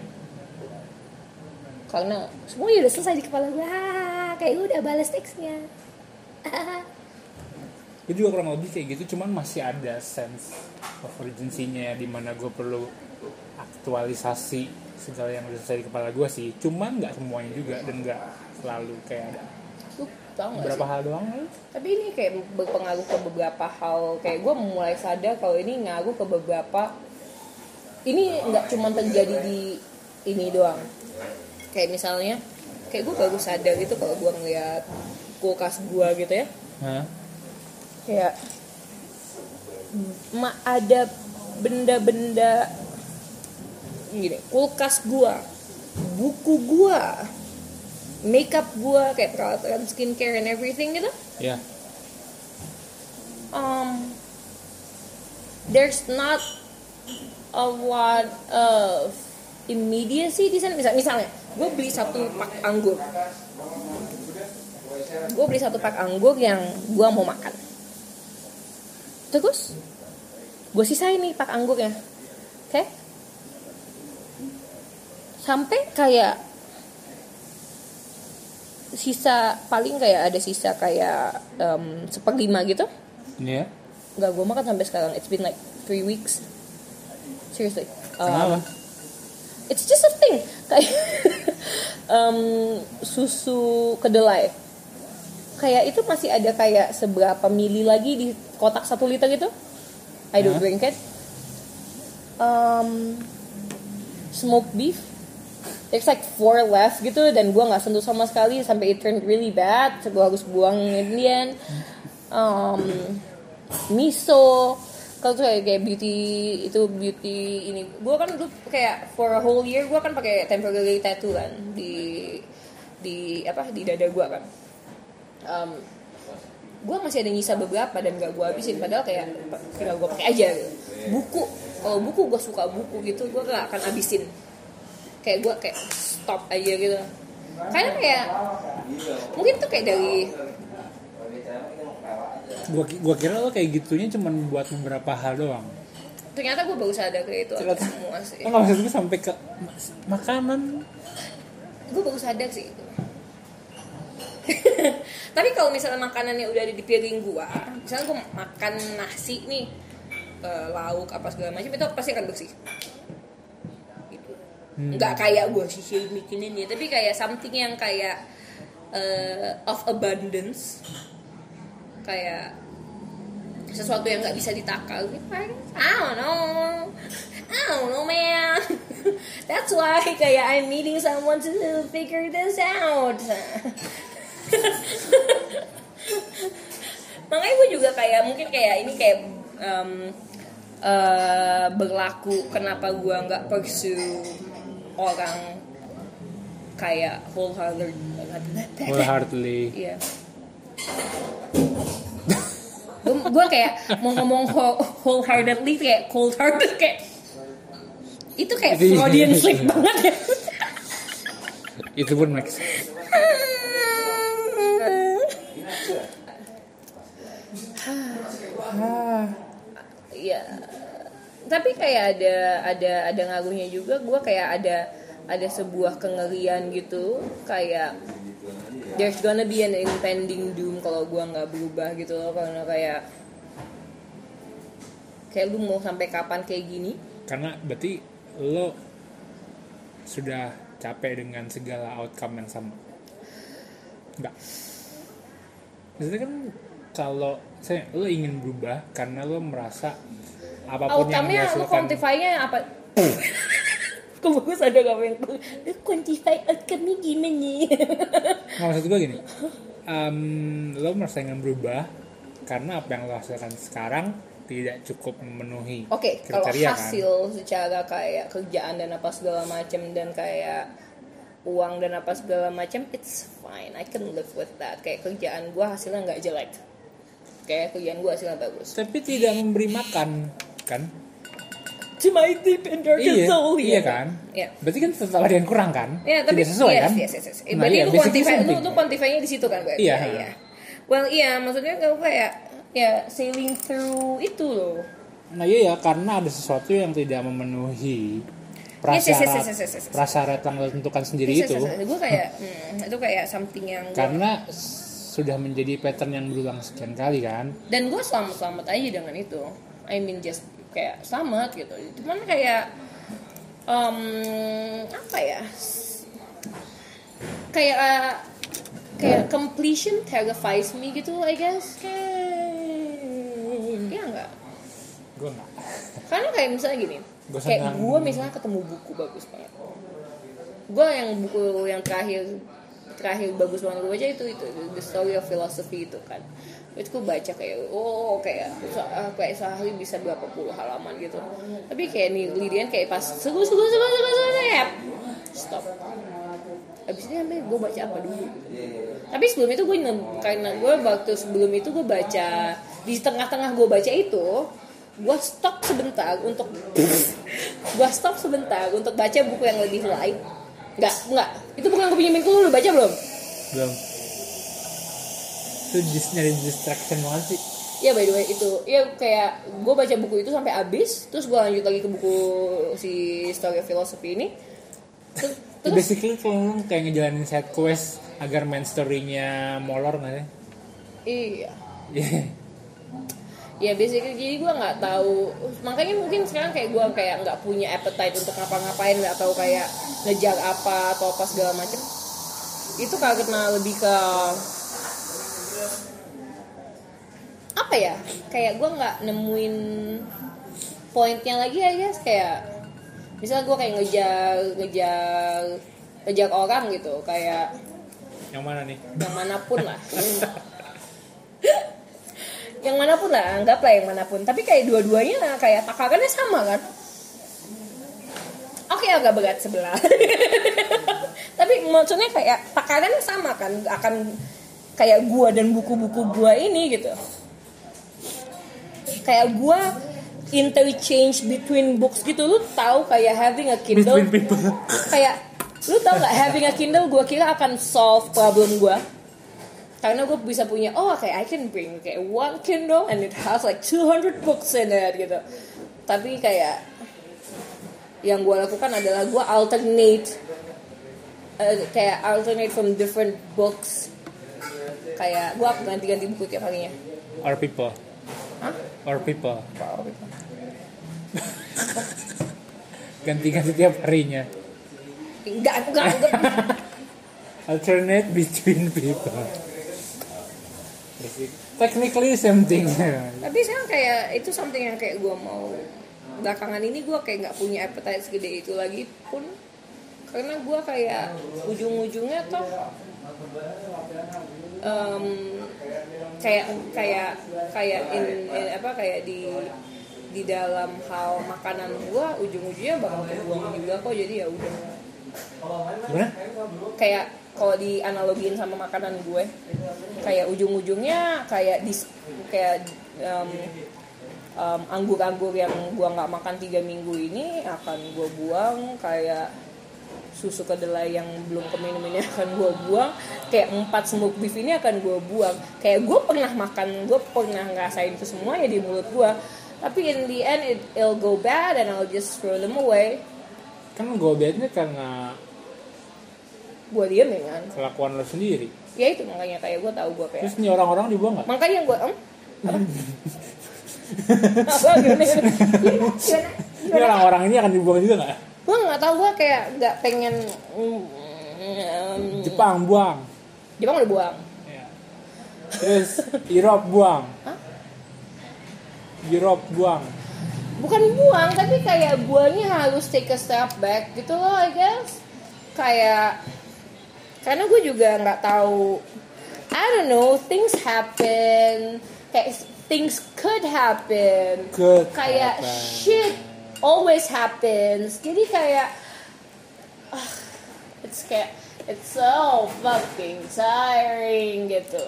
Karena semuanya udah selesai di kepala gue, ah, kayak udah balas teksnya. Gue juga kurang lebih kayak gitu, cuman masih ada sense of urgency-nya di mana gue perlu aktualisasi segala yang udah selesai di kepala gue sih, cuman nggak semuanya juga dan nggak selalu kayak ada beberapa hal doang kan? Tapi ini kayak berpengaruh ke beberapa hal, kayak gue mulai sadar kalau ini ngaruh ke beberapa, ini nggak cuma terjadi di ini doang. Kayak misalnya kayak gue baru sadar gitu kalau gue ngeliat kulkas gue gitu ya. Hah? Kayak ma ada benda-benda gini, kulkas gua, buku gua, makeup gua, kayak peralatan skincare and everything gitu. Iya. Yeah. um, there's not a lot of immediacy di sana. Misal, misalnya, gue beli satu pak anggur, gue beli satu pak anggur yang gue mau makan. Terus, gue sisain nih pak anggurnya, oke? Okay? Sampai kayak sisa paling kayak ada sisa kayak um, seperlima gitu. Iya. Yeah. Nggak gue makan sampai sekarang. It's been like three weeks. Seriously. Um, Kenapa? It's just a thing. Kayak um, susu kedelai. Kayak itu masih ada kayak seberapa mili lagi di kotak satu liter gitu. I don't huh? drink it. Um, smoked beef. There's like four left gitu dan gue nggak sentuh sama sekali sampai it turned really bad. So gue harus buang Indian. Um, miso. Kalau tuh kayak beauty itu beauty ini. Gue kan dulu kayak for a whole year gue kan pakai temporary tattoo kan di di apa di dada gue kan. Um, gue masih ada nyisa beberapa dan gak gue habisin padahal kayak tinggal gue pakai aja gitu. Buku kalau buku gue suka buku gitu gue gak akan habisin. Kayak gue kayak stop aja gitu. Karena kayak mungkin tuh kayak dari Gua gua kira lo kayak gitunya cuma buat beberapa hal doang. Ternyata gue baru sadar kayak itu Ternyata, semua sih. Oh, maksud gue sampai ke makanan. Gue baru sadar sih itu. Tapi kalau misalnya makanannya udah ada di piring gue, misalnya gue makan nasi nih, uh, lauk apa segala macam itu pasti akan bersih. Gitu. Hmm. Nggak kayak gue sih bikinin ya, tapi kayak something yang kayak uh, of abundance. Kayak sesuatu yang nggak bisa ditakal gitu. I don't know, I don't know man. That's why kayak I'm meeting someone to figure this out. Makanya gue juga kayak mungkin kayak ini kayak um, uh, berlaku kenapa gue nggak pursue orang kayak wholehearted, wholeheartedly. Iya. Gue kayak mau ngomong wholeheartedly kayak cold hearted kayak itu kayak Freudian slip banget ya. Itu pun max. Ya, tapi kayak ada ada ada ngaruhnya juga. Gue kayak ada ada sebuah kengerian gitu kayak there's gonna be an impending doom kalau gue nggak berubah gitu loh, karena kayak kayak lu mau sampai kapan kayak gini? Karena berarti lo sudah capek dengan segala outcome yang sama. Enggak. Maksudnya kan kalau saya lo ingin berubah karena lo merasa apapun yang outcome-nya dihasilkan. Lo quantify-nya apa? Kok bagus ada gak yang quantify outcome-nya gimana? Nah, maksud gue gini, um, lo merasa ingin berubah karena apa yang lo hasilkan sekarang tidak cukup memenuhi okay, kriteria kan. Oke, kalau hasil secara kayak kerjaan dan apa segala macam dan kayak uang dan apa segala macam, it's fine, I can live with that. Kayak kerjaan gue hasilnya nggak jelek, kayak kerjaan gue hasilnya bagus. Tapi tidak memberi makan, kan? To my deep and darkest iya, soul. Iya kan? Iya. Berarti kan tetap ada yang kurang kan? Iya, tapi tidak sesuai yes, kan? Yes, yes, yes. Nah, berarti iya, lu quantify, lu, lu quantify-nya di situ kan berarti? Iya. Ya, iya. Well, iya, maksudnya kalau kayak ya sailing through itu loh. Nah iya ya, karena ada sesuatu yang tidak memenuhi prasyarat, yes, yes, yes, yes, yes. prasyarat yang ditentukan sendiri yes, yes, yes, yes. itu. Gue kayak, hmm, itu kayak something yang gua... karena sudah menjadi pattern yang berulang sekian kali kan. Dan gue selamat-selamat aja dengan itu. I mean just kayak selamat gitu. Cuman kayak um, apa ya? Kayak uh, kayak completion terrifies me gitu, I guess. Kayak, ya enggak? Gue enggak. Karena kayak misalnya gini, gua kayak gue misalnya ketemu buku bagus banget. Gue yang buku yang terakhir terakhir bagus banget gue baca itu itu The Story of Philosophy itu kan. Itu gue baca kayak oh kayak kayak sehari bisa berapa puluh halaman gitu. Tapi kayak nih Lidian kayak pas seru seru seru seru seru ya stop. Abis itu sampai gue baca apa dulu. Tapi sebelum itu gue karena gue waktu sebelum itu gue baca di tengah-tengah gue baca itu gue stop sebentar untuk gue stop sebentar untuk baca buku yang lebih light. Nggak, nggak. Itu bukan gue pinjemin, lu baca belum? Belum. Itu just nyari distraction banget sih. Ya by the way itu, ya kayak gue baca buku itu sampai habis, terus gue lanjut lagi ke buku si Story of Philosophy ini. Terus, terus basically kayak kayak ngejalanin side quest agar main story-nya molor nggak ya? Iya. Yeah. Ya basically jadi gue nggak tahu, makanya mungkin sekarang kayak gue kayak nggak punya appetite untuk ngapa-ngapain, nggak tahu kayak ngejar apa atau apa segala macem. Itu karena lebih ke apa ya, kayak gue nggak nemuin pointnya lagi ya guys. Kayak misalnya gue kayak ngejar ngejar ngejar orang gitu, kayak yang mana nih? Yang manapun lah. Yang manapun lah, anggaplah yang manapun. Tapi kayak dua-duanya kayak takarannya sama kan? Oke, agak berat sebelah. Tapi maksudnya kayak takarannya sama kan? Akan kayak gua dan buku-buku gua ini gitu. Kayak gua interchange between books gitu. Lu tahu kayak having a Kindle. Kayak lu tahu gak having a Kindle gua kira akan solve problem gua. Karena gue bisa punya, oh kayak I can bring kayak one Kindle and it has like two hundred books in it gitu. Tapi kayak yang gue lakukan adalah gue alternate uh, kayak alternate from different books. Kayak gue ganti-ganti buku tiap harinya. Or people. Hah? Or people. Or people. Ganti-ganti tiap harinya. Enggak, enggak, enggak. Alternate between people. Technically same thing. Tapi sekarang kayak itu something yang kayak gue mau. Belakangan ini gue kayak nggak punya appetite segede itu lagi pun, karena gue kayak ujung-ujungnya tuh um, kayak kayak kayak in, in apa kayak di di dalam hal makanan gue ujung-ujungnya bakal kebuang juga kok. Jadi ya udah. Gimana? Kayak kalau dianalogiin sama makanan gue, kayak ujung-ujungnya kayak dis, kayak um, um, anggur-anggur yang gue nggak makan tiga minggu ini akan gue buang, kayak susu kedelai yang belum keminum ini akan gue buang, kayak empat smoke beef ini akan gue buang. Kayak gue pernah makan, gue pernah ngerasain itu semua ya di mulut gue, tapi in the end it, it'll go bad and I'll just throw them away. Kan go badnya karena gue diem ya kan, kelakuan lo sendiri. Ya itu makanya kayak gue tahu gue kayak. Terus nih orang-orang dibuang nggak? Makanya gue em apa gimana gimana gimana ini orang-orang ini akan dibuang juga nggak? Gue nggak tahu, gue kayak nggak pengen um, Jepang buang. Jepang udah buang ya. Terus Europe buang. Hah? Europe buang. Bukan buang, tapi kayak buangnya harus take a step back gitu loh, I guess. Kayak karena gue juga nggak tahu, I don't know, things happen, kayak things could happen, could kayak happen. Shit always happens. Jadi kayak uh, it's kayak it's so fucking tiring gitu.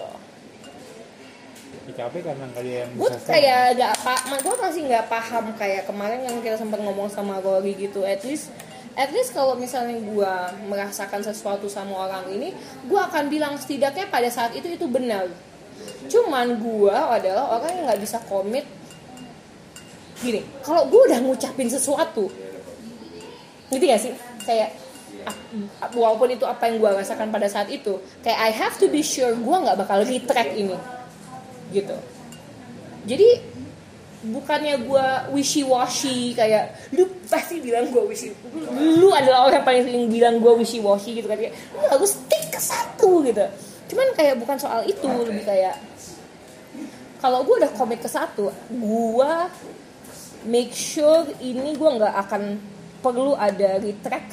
Capek karena kalian gue kayak gak paham, gue masih nggak paham kayak kemarin yang kita sempat ngomong sama Rory gitu. At least At least kalau misalnya gue merasakan sesuatu sama orang ini, gue akan bilang setidaknya pada saat itu itu benar. Cuman gue adalah orang yang nggak bisa komit. Gini, kalau gue udah ngucapin sesuatu, ngerti gak sih? Kayak walaupun itu apa yang gue rasakan pada saat itu, kayak I have to be sure gue nggak bakal retract ini, gitu. Jadi bukannya gue wishy-washy kayak lu pasti bilang gue wishy, lu adalah orang paling sering bilang gue wishy-washy gitu kan, kayak lu harus stick ke satu gitu. Cuman kayak bukan soal itu, lebih kayak kalau gue udah komit ke satu, gue make sure ini gue nggak akan perlu ada retract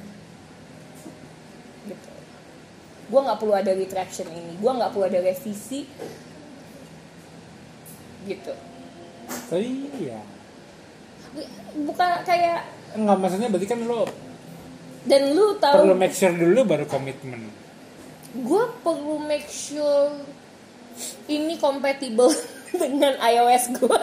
gitu. Gue nggak perlu ada retraction ini, gue nggak perlu ada revisi gitu. Tapi ya bukan kayak enggak, maksudnya berarti kan lo dan lu tahu perlu make sure dulu baru komitmen. Gue perlu make sure ini compatible dengan iOS gue.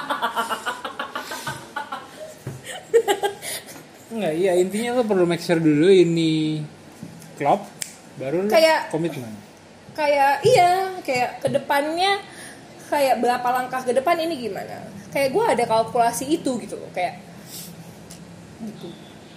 Enggak, iya intinya lo perlu make sure dulu ini klop, baru kayak, komitmen. Kayak iya, kayak kedepannya, kayak berapa langkah ke depan ini gimana? Kayak gue ada kalkulasi itu gitu loh, kayak gitu.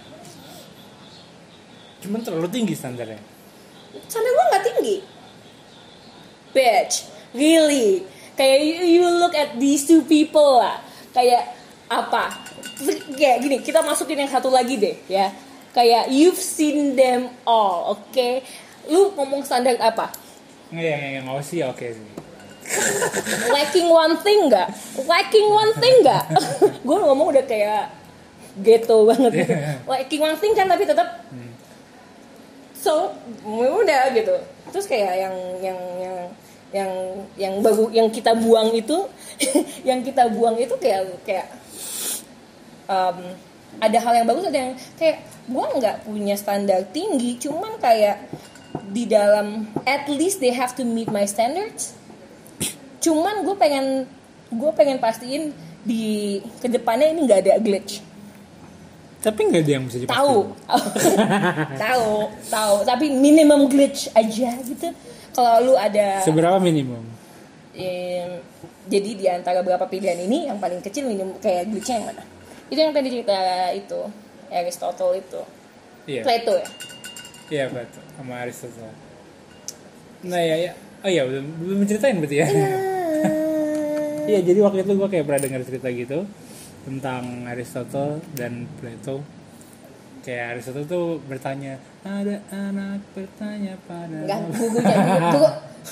Cuman terlalu tinggi standarnya. Standar gue nggak tinggi, bitch, really. Kayak you, you look at these two people lah, kayak apa? Kayak gini, kita masukin yang satu lagi deh ya. Kayak you've seen them all, oke? Okay? Lu ngomong standar apa? Nggak, yang yang mau sih oke okay sih. Lacking one thing nggak? Lacking one thing nggak? Gue ngomong udah kayak ghetto banget. Gitu. Lacking one thing kan tapi tetap. Hmm. So udah gitu. Terus kayak yang yang yang yang yang baru yang kita buang itu, yang kita buang itu kayak kayak um, ada hal yang bagus, ada yang kayak gue nggak punya standar tinggi, cuman kayak di dalam at least they have to meet my standards. Cuman gue pengen gue pengen pastiin di kedepannya ini nggak ada glitch. Tapi nggak ada yang bisa dipastikan. Tahu, tahu, tahu. Tapi minimum glitch aja gitu. Kalau lu ada. Seberapa minimum? Eh, jadi di antara beberapa pilihan ini yang paling kecil minimum kayak glitchnya yang mana? Itu yang tadi cerita itu Aristotle itu. Iya. Plato ya. Iya Plato sama Aristotle. Nah ya ya. Oh iya belum belum ceritain berarti ya. Iya jadi waktu itu gue kayak pernah dengar cerita gitu tentang Aristotle dan Plato. Kayak Aristotle tuh bertanya, ada anak bertanya pada. Enggak, gugunya gugu.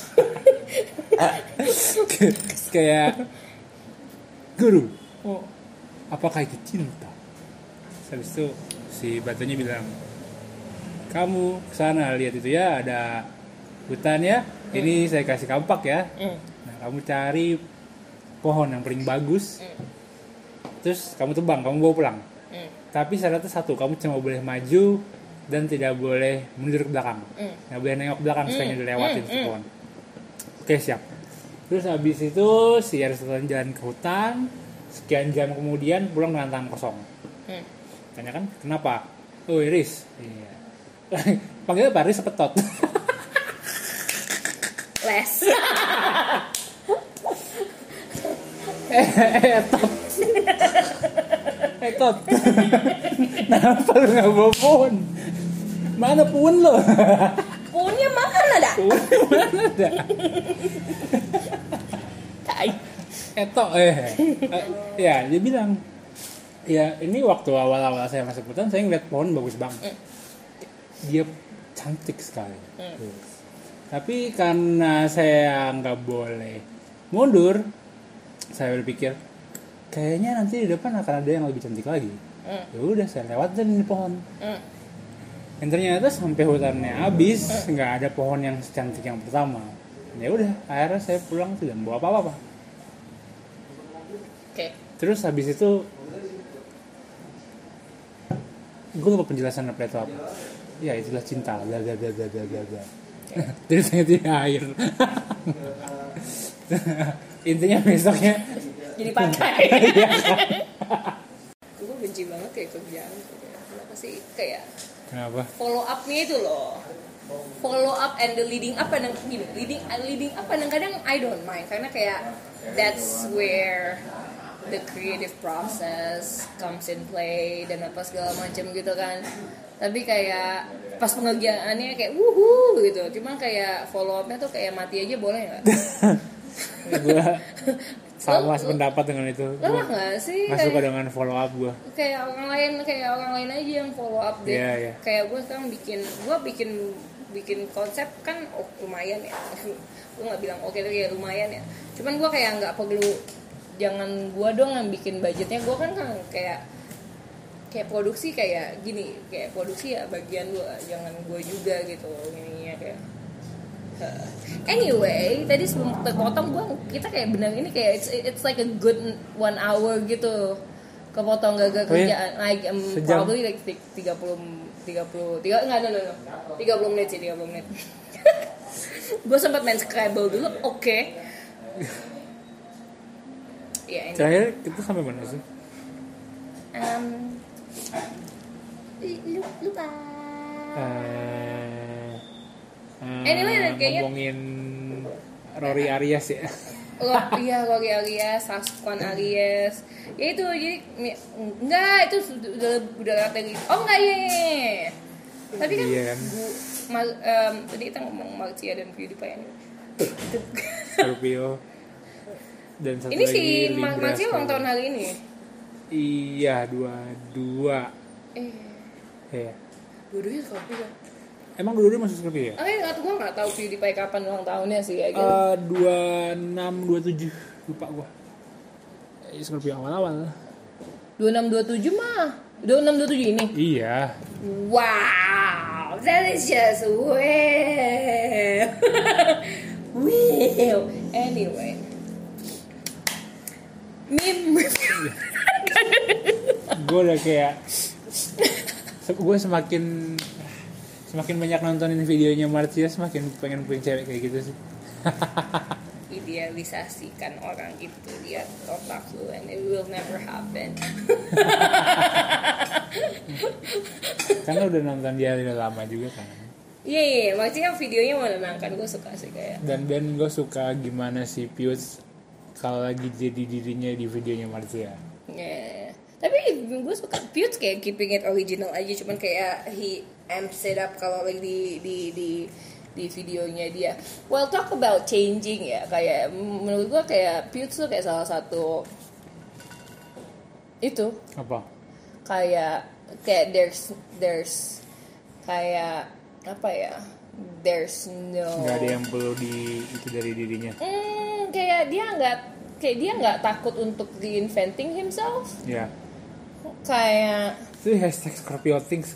Kayak guru, oh apakah itu cinta? Habis itu si batunya bilang, kamu kesana lihat itu ya ada hutan ya, mm. ini saya kasih kampak ya. Mm. Nah kamu cari pohon yang paling bagus, mm. terus kamu tebang, kamu bawa pulang. Mm. Tapi syaratnya satu, kamu cuma boleh maju dan tidak boleh mundur ke belakang. Mm. Nggak boleh nengok ke belakang, mm. setelahnya dilewatin mm. pohon. Oke siap. Terus habis itu si Aristotle jalan ke hutan, sekian jam kemudian pulang dengan tangan kosong. Mm. Tanya kan, kenapa? Oh Iris. Iya. Panggilnya apa? Iris Petot. Les. Eh, Tot. Eh, Tot. Kenapa lu gak bawa pohon? Mana pohon lo? Pohonnya mana dah? Pohonnya mana dah? Eto, eh. eh. Ya, dia bilang, ya ini waktu awal-awal saya masuk hutan, saya ngeliat pohon bagus banget. Dia cantik sekali. Mm. Tapi karena saya nggak boleh mundur, saya berpikir kayaknya nanti di depan akan ada yang lebih cantik lagi. Mm. Ya udah saya lewatin di pohon. Mm. Dan ternyata sampai hutannya habis nggak mm. ada pohon yang secantik yang pertama. Ya udah akhirnya saya pulang tidak bawa apa-apa. Okay. Terus habis itu gue lupa penjelasan Plato apa. Ya itulah cinta. Gaga gaga gaga gaga. Terus saya tidak air. Intinya besoknya jadi pantai. Gue benci banget kayak kerjaan. Kenapa sih kayak? Kenapa? Follow up-nya itu loh. Follow up and the leading up kadang gini, leading leading up kadang-kadang I don't mind karena kayak that's where the creative process comes in play dan apa segala macam gitu kan. Tapi kayak pas pengerjaannya kayak wuhu gitu. Cuma kayak follow up-nya tuh kayak mati aja boleh enggak? Gue sama sependapat dengan itu. Lelah nggak sih? Nggak suka dengan follow up gue. Kayak orang lain, kayak orang lain aja yang follow up deh. Yeah, yeah. Kayak gue sekarang bikin, gue bikin bikin konsep kan oh, lumayan ya. Gue nggak bilang oke okay, tapi ya lumayan ya. Cuman gue kayak nggak perlu, jangan gue dong yang bikin budgetnya. Gue kan kan kayak kayak produksi kayak gini, kayak produksi ya bagian gue, jangan gue juga gitu ininya kayak. Uh, anyway, tadi sebelum terpotong gue kita kayak benar ini kayak it's, it's like a good one hour gitu kepotong gagal kerjaan oh, iya? like um, probably like tiga puluh tiga puluh tiga enggak enggak enggak tiga puluh menit sih tiga puluh menit. Gue sempat main Scrabble dulu, oke. Okay. ya ini. Terakhir kita sampai mana sih? Um, lupa. Uh, uh, anyway, kayaknya ngomongin Rory Arias ya. Oh iya, Rory Arias, Sasquan Arias. Ya itu jadi enggak, itu udah udah strategi. Oh enggak ya. Tapi kan, iya kan? Bu, ma, um, tadi kita ngomong Marcia dan PewDiePie ini. Scorpio. Dan satu ini lagi si Libra. Marcia ulang tahun hari ini. Iya, dua dua. Eh. Iya. Dua-duanya Scorpio. Emang dua-duanya masuk Scorpio ya? Ah, enggak tuh, gue nggak tahu PewDiePie kapan ulang tahunnya sih ya. Uh, dua enam dua tujuh lupa gue. Eh, Scorpio awal-awal. dua enam dua tujuh mah. dua enam dua tujuh ini. Iya. Wow, that is just well. Well, anyway. Meme. Gue udah kayak gue semakin semakin banyak nontonin videonya Marcia, semakin pengen punya cewek kayak gitu sih. Idealisasikan orang itu, lihat otak lu, and it will never happen. Karena udah nonton dia udah lama juga kan. Iya, yeah, yeah, maksudnya videonya menenangkan, gue suka sih kayak. Dan dan gue suka gimana si Pius kalau lagi jadi dirinya di videonya Marcia. Yeah. Tapi gue suka Pius kayak keeping it original aja, cuman kayak he amps it up kalau lagi di di di di videonya dia. Well, talk about changing ya, kayak menurut gue kayak Pius tuh kayak salah satu itu Apa? kayak kayak there's there's kayak apa ya, there's no Nggak ada yang perlu di itu dari dirinya. hmm, kayak dia nggak kayak dia nggak takut untuk reinventing himself. Ya. Kayak Itu hashtag Scorpio Things.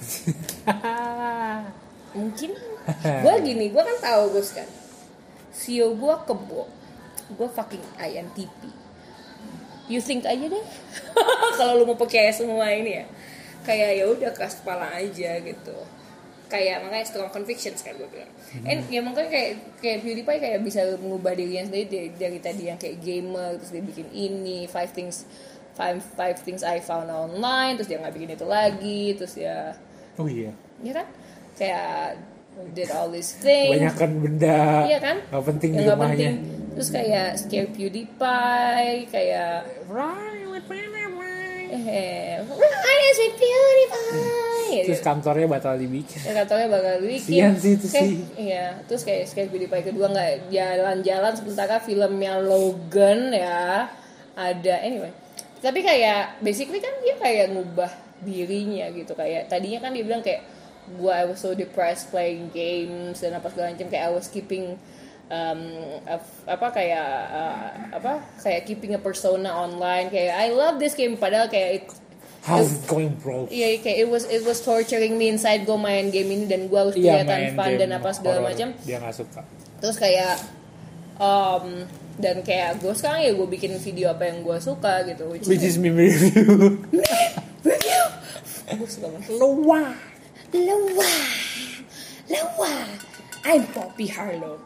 mungkin gue gini, gue kan tahu gue kan C E O gue kebo, gue fucking I N T P. You think aja deh. Kalau lu mau percaya semua ini ya, kayak ya udah keras kepala aja gitu. Kayak makanya strong convictions kayak gue bilang. Hmm. And ya makanya kayak kayak PewDiePie kayak bisa mengubah dirinya sendiri dari, dari tadi yang kayak gamer, terus dia bikin ini five things five five things I found online, terus dia nggak bikin itu lagi, terus ya. Oh iya. Ya kan? Kayak did all these things. Banyakan benda. Iya kan? Gak penting yang di gak rumahnya. penting. Terus kayak scare PewDiePie, kayak Right with PewDiePie. eh, Rise with PewDiePie. Terus kantornya batal dibikin. Ya, kantornya bakal bikin. Sian sih itu kayak, sih. Iya, terus kayak scare PewDiePie kedua nggak jalan-jalan, sementara filmnya Logan ya ada. Anyway, tapi kayak basically kan dia kayak ngubah dirinya gitu. Kayak tadinya kan dia bilang kayak gua I was so depressed playing games dan apa segala macam, kayak I was keeping um, apa kayak uh, apa kayak keeping a persona online, kayak I love this game, padahal kayak it, how's it going bro? iya kayak it was it was torturing me inside. Gue main game ini dan gue harus Iya, kelihatan fun dan apa segala macam. Dia nggak suka. Terus kayak um, dan kayak gue sekarang ya gue bikin video apa yang gue suka gitu, which, Which is meme review. review. Gue suka banget. Loa. Loa, Loa, I'm Poppy Harlow.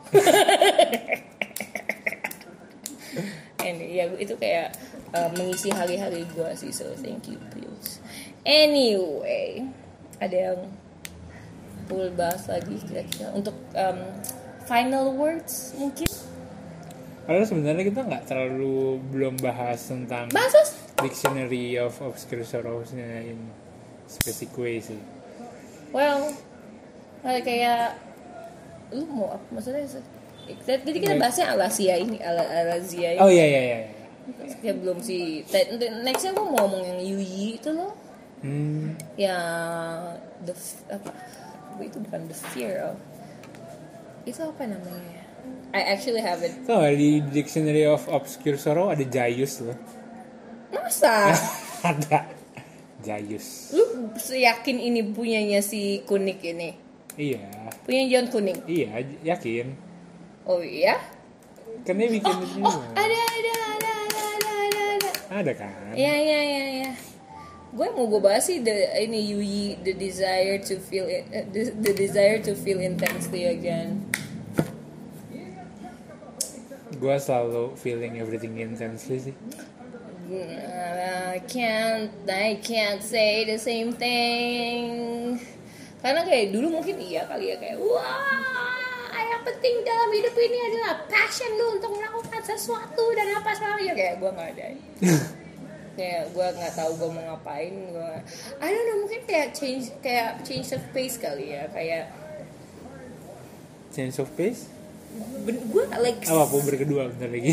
And ya itu kayak uh, mengisi hari-hari gue sih, so thank you please. Anyway, ada yang perlu bahas lagi kira-kira untuk um, final words mungkin? Padahal sebenarnya kita nggak terlalu belum bahas tentang Bahas Dictionary of Obscure Sorrows-nya in specific way sih. Well, kayak lu mau apa maksudnya? Jadi kita bahasnya Alasia ini, Al Alazia ini. Oh iya iya iya. Ya belum sih. Nextnya gue mau ngomong yang Yuyi itu loh. Hmm. Yang the apa? Itu bukan the fear of. Itu apa namanya? I actually have it. Tahu so, di Dictionary of Obscure Sorrow ada Jayus loh. Masa? Ada. Jayus. Lu yakin ini punyanya si Kunik ini? Iya. Punya John Kuning? Iya, yakin. Oh iya? Kan dia bikin oh, itu. Oh, ada ada ada ada ada ada ada. Ada kan? Iya iya iya iya. Gue mau gue bahas sih the ini Yuyi, the desire to feel it, uh, the, the desire to feel intensely again. Gue selalu feeling everything intensely sih. I can't I can't say the same thing. Karena kayak dulu mungkin iya kali ya, kayak wah yang penting dalam hidup ini adalah passion lu untuk melakukan sesuatu dan apa sebagainya. Kayak gue nggak ada. Kayak gue nggak tahu gue mau ngapain. Gue I don't know, mungkin kayak change kayak change of pace kali ya, kayak change of pace. Gue like apa pun berkedua bentar lagi.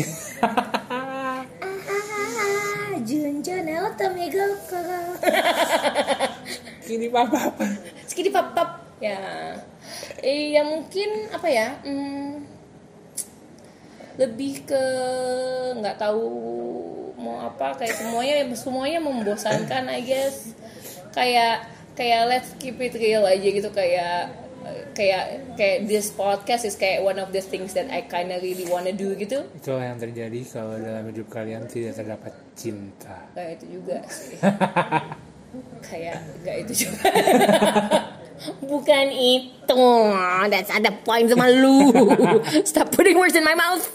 Junjun Eltomego. Skidi pap-pap. Skidi pap-pap. Ya. Eh, ya mungkin apa ya? Hmm, lebih ke nggak tahu mau apa, kayak semuanya semuanya membosankan I guess. Kayak kayak let's keep it real aja gitu, kayak kayak kayak this podcast is kayak one of the things that I kinda really wanna do gitu. Itulah yang terjadi kalau dalam hidup kalian tidak terdapat cinta. Kayak itu juga sih. Kayak enggak itu juga. Bukan itu. That's ada point sama lu. Stop putting words in my mouth.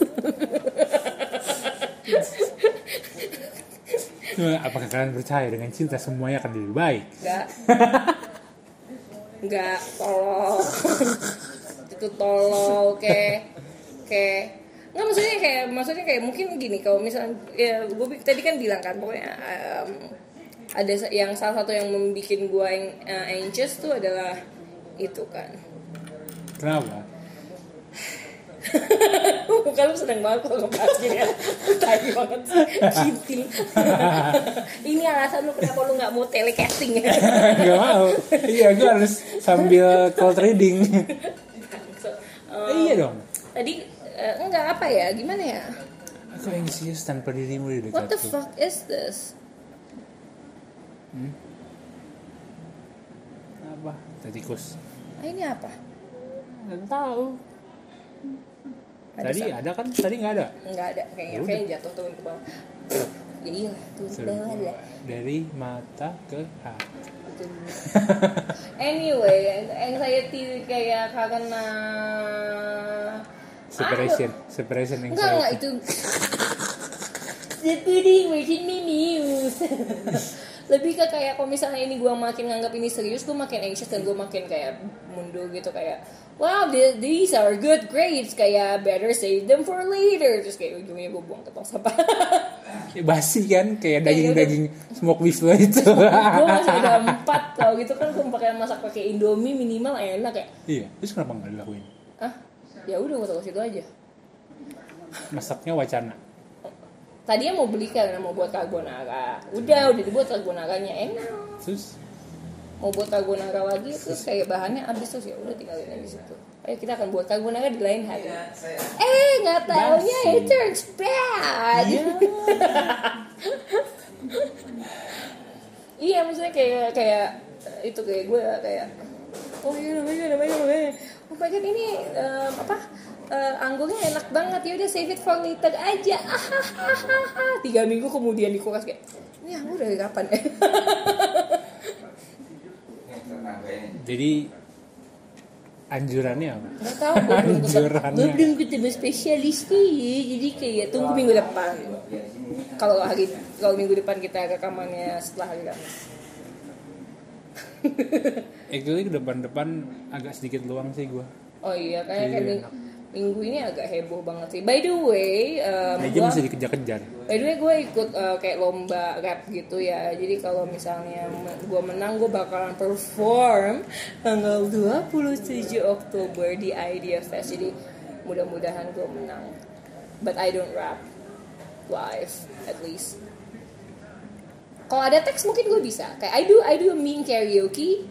Apakah kalian percaya dengan cinta semuanya akan lebih baik? Enggak. Enggak, tolol. Itu tolol kayak kayak nggak, maksudnya kayak maksudnya kayak mungkin gini, kalau misalnya ya gue tadi kan bilang kan pokoknya um, ada yang salah satu yang membuat gue yang uh, anxious tuh adalah itu kan. Kenapa? Muka lu seneng banget kalau ngebahas gini ya. Tai banget cintil. Ini alasan lu kenapa lu gak mau telecasting ya. Gak mau. Iya, gue harus sambil call trading. So, um, iya dong. Tadi uh, enggak apa ya, gimana ya. Aku anxious tanpa dirimu di dekatku. What the fuck is this? Hmm? Apa? Tikus. Ah, ini apa? Gak tahu. Ada tadi sama. Ada kan? Tadi nggak ada? Nggak ada, kayaknya Udah. kayaknya jatuh tuh ke bawah. Ya iya, tuh ke bawah lah. Dari mata ke hati. Anyway, anxiety kayak karena separation, ah, separation anxiety. Enggak, enggak itu. The pudding making me news. Lebih ke kayak kalau misalnya ini gue makin nganggap ini serius, gue makin anxious dan gue makin kayak mundur gitu, kayak wow, these are good grapes, kayak better save them for later. Terus kayak ujungnya gue buang ke tong sampah. Basi kan, kayak daging-daging smoke beef lo itu. Gue masih ada empat, kalau gitu kan gue pakai masak pakai Indomie minimal enak ya. Iya, terus kenapa nggak dilakuin? Ah, ya udah gue taruh situ aja. Masaknya wacana. Tadinya mau beli karena mau buat carbonara. Udah, udah dibuat carbonaranya enak. Terus mau buat carbonara lagi, terus kayak bahannya habis, terus ya udah tinggalin aja situ. Ayo kita akan buat carbonara di lain hari. Eh, nggak taunya it turns bad. Iya, maksudnya kayak kayak itu kayak gue kayak oh iya namanya namanya namanya. Oh my god, ini um, apa? Uh, anggurnya enak banget, ya udah save it for later aja. Tiga minggu kemudian di kulkas kayak ini anggur dari kapan ya? Jadi anjurannya apa? Nggak tahu, gue belum ketemu, gue belum ketemu spesialis nih. Jadi kayak tunggu minggu depan. Kalau hari kalau minggu depan kita rekamannya setelah hari Kamis. Actually ke depan-depan agak sedikit luang sih gue. Oh iya, kayak kayak minggu, minggu ini agak heboh banget sih. By the way, um, aja gua, masih dikejar-kejar. By the way, gue ikut uh, kayak lomba rap gitu ya. Jadi kalau misalnya gue menang, gue bakalan perform tanggal dua puluh tujuh Oktober di Idea Fest. Jadi mudah-mudahan gue menang. But I don't rap live, at least. Kalau ada teks mungkin gue bisa. Kayak I do I do mean karaoke.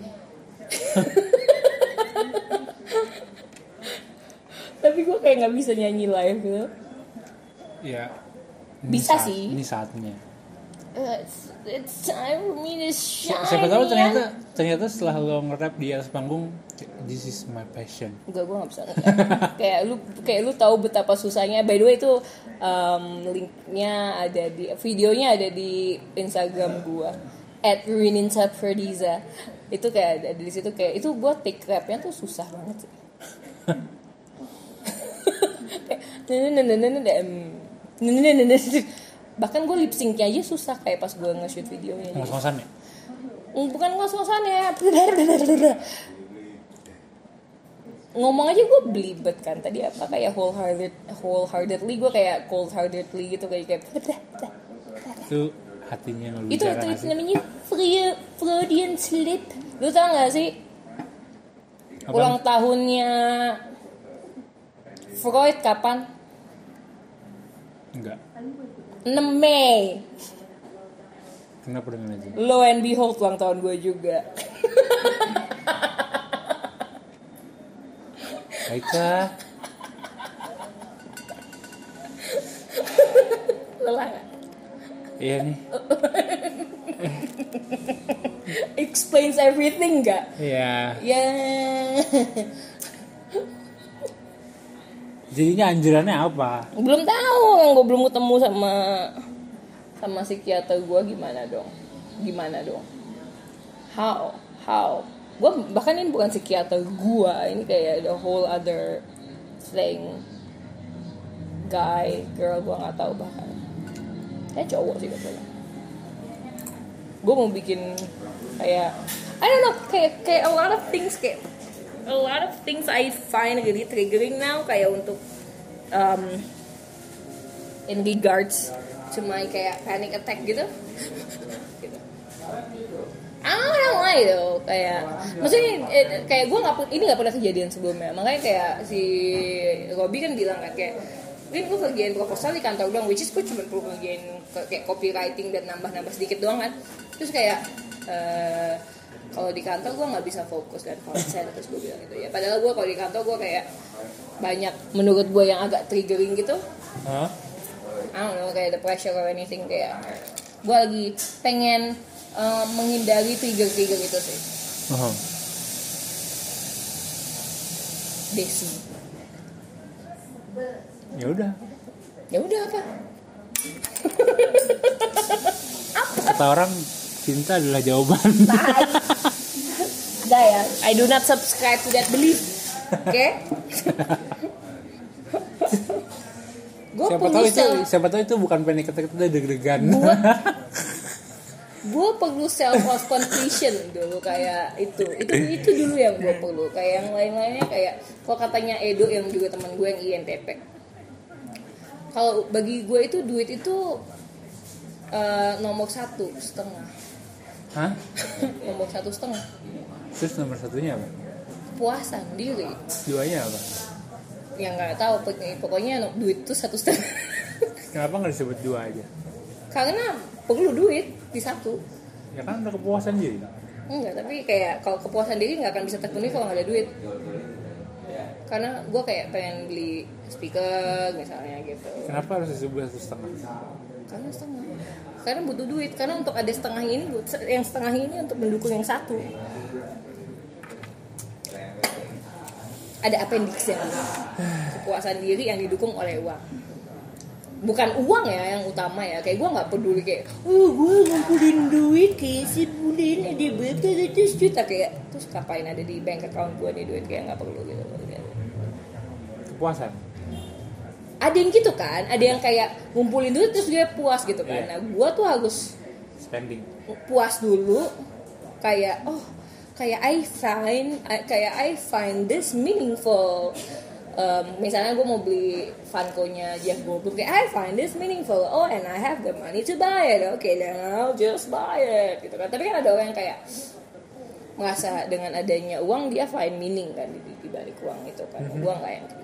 Tapi gue kayak nggak bisa nyanyi live gitu. Ya. Bisa saat, sih. Ini saatnya. It's, it's time for me to shine. Siapa tahu ternyata ternyata setelah lo nge-rap di atas panggung, this is my passion. Enggak, gue nggak bisa. kayak lu kayak lu tahu betapa susahnya. By the way itu um, linknya ada di videonya ada di Instagram gue at Rininsa Ferdiza. Itu kayak ada di situ, kayak itu buat take rapnya tuh susah banget sih. Bahkan gue lip syncnya aja susah kayak pas gue nge-shoot videonya. Ngos-ngosan ya? Bukan ngos-ngosan ya. Ngomong aja gue belibet kan. Tadi apa kayak wholehearted, wholeheartedly gue kayak cold-heartedly gitu kayak kayak. Itu hatinya ngeluh. Itu itu, itu namanya Freudian slip. Lu tau gak sih? Apa? Ulang tahunnya Freud kapan? Enggak. enam Mei. Kenapa dengan itu? Lo and behold ulang tahun gue juga. Baiklah. Lelah gak? Iya nih. Explains everything gak? Iya. Ya. Jadinya anjurannya apa? Belum tahu, yang gue belum ketemu sama sama psikiater gue gimana dong? Gimana dong? How? How? Gue bahkan ini bukan psikiater gue, ini kayak the whole other thing. Guy, girl, gue nggak tahu bahkan. Kayak cowok sih katanya. Gue mau bikin kayak I don't know, kayak kayak a lot of things kayak a lot of things I find really triggering now kayak untuk um, in regards to my kayak panic attack gitu. gitu. I don't know why though kayak maksudnya eh, kayak gue nggak ini nggak pernah kejadian sebelumnya, makanya kayak si Robby kan bilang kan kayak ini gue kerjain proposal di kantor doang, which is gue cuma perlu kerjain kayak copywriting dan nambah-nambah sedikit doang kan, terus kayak uh, kalau di kantor gue nggak bisa fokus dan konsen, terus gue bilang gitu ya. Padahal gue kalau di kantor gue kayak banyak menurut gue yang agak triggering gitu. Huh? I don't know kayak the pressure or anything kayak gue lagi pengen uh, menghindari trigger-trigger itu sih. Uh-huh. Desi. Ya udah. Ya udah apa? Kata orang cinta adalah jawaban. Dah ya, I do not subscribe to that belief. Oke? Okay? Siapa tahu itu, self, siapa tahu itu bukan panic attack, itu deg-degan. Gue perlu self of completion dulu kayak itu. Itu itu dulu yang gue perlu. Kayak yang lain-lainnya kayak kalau katanya Edo yang juga teman gue yang I N T P. Kalau bagi gue itu duit itu uh, nomor satu setengah. Hah? Nomor satu setengah. Terus nomor satunya apa? Puasan diri. Duanya apa? Yang nggak tahu pokoknya duit itu satu setengah. Kenapa nggak disebut dua aja? Karena perlu duit di satu. Ya kan udah kepuasan diri. Enggak, tapi kayak kalau kepuasan diri nggak akan bisa terpenuhi kalau nggak ada duit. Karena gue kayak pengen beli speaker misalnya gitu. Kenapa harus disebut satu setengah? Karena setengah. Karena butuh duit. Karena untuk ada setengah ini, yang setengah ini untuk mendukung yang satu. Ada appendix yang kepuasan diri yang didukung oleh uang. Bukan uang ya yang utama ya. Kayak gue nggak peduli kayak, oh gue ngumpulin duit kayak sebulan ada berapa ratus juta kayak terus ngapain ada di bank account gue nih duit kayak nggak perlu gitu. Kepuasan. Ada yang gitu kan, ada yang kayak ngumpulin duit terus dia puas gitu kan. Nah, gue tuh harus spending. Puas dulu, kayak oh, kayak I find, kayak I find this meaningful. Um, misalnya gue mau beli Funko-nya Jeff Goldblum, kayak I find this meaningful. Oh, and I have the money to buy it. Okay, then I'll just buy it. Gitu kan. Tapi kan ada orang yang kayak merasa dengan adanya uang dia find meaning kan di, di balik uang itu kan. Mm-hmm. Gue nggak yang kayak gitu.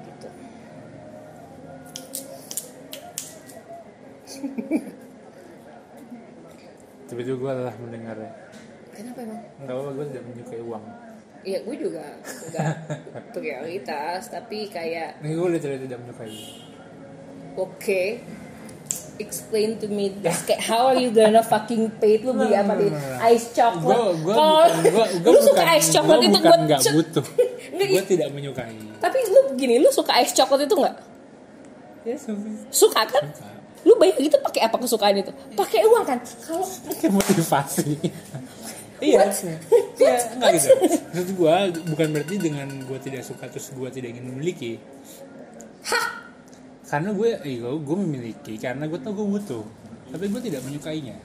Tiba-tiba gue lelah mendengarnya. Kenapa emang? Enggak apa-apa, gue tidak menyukai uang. Iya, gue juga enggak prioritas, tapi kayak ini gue literally tidak menyukai. Oke, okay. Explain to me this. Kayak how are you gonna fucking pay lu beli apa di ice chocolate? Kalau lu suka ice chocolate itu gue nggak butuh. Gue tidak menyukai. Tapi lu gini, lu suka ice chocolate itu nggak? Ya suka. Suka kan? Suka. Lu bayar gitu pakai apa kesukaan itu? Pakai uang kan? Kalau pakai motivasi. Iya, ya, enggak gitu. Maksud gue bukan berarti dengan gue tidak suka terus gue tidak ingin memiliki. Hah? Karena gue, iya, gue memiliki karena gue tau gue butuh. tapi gue tidak menyukainya.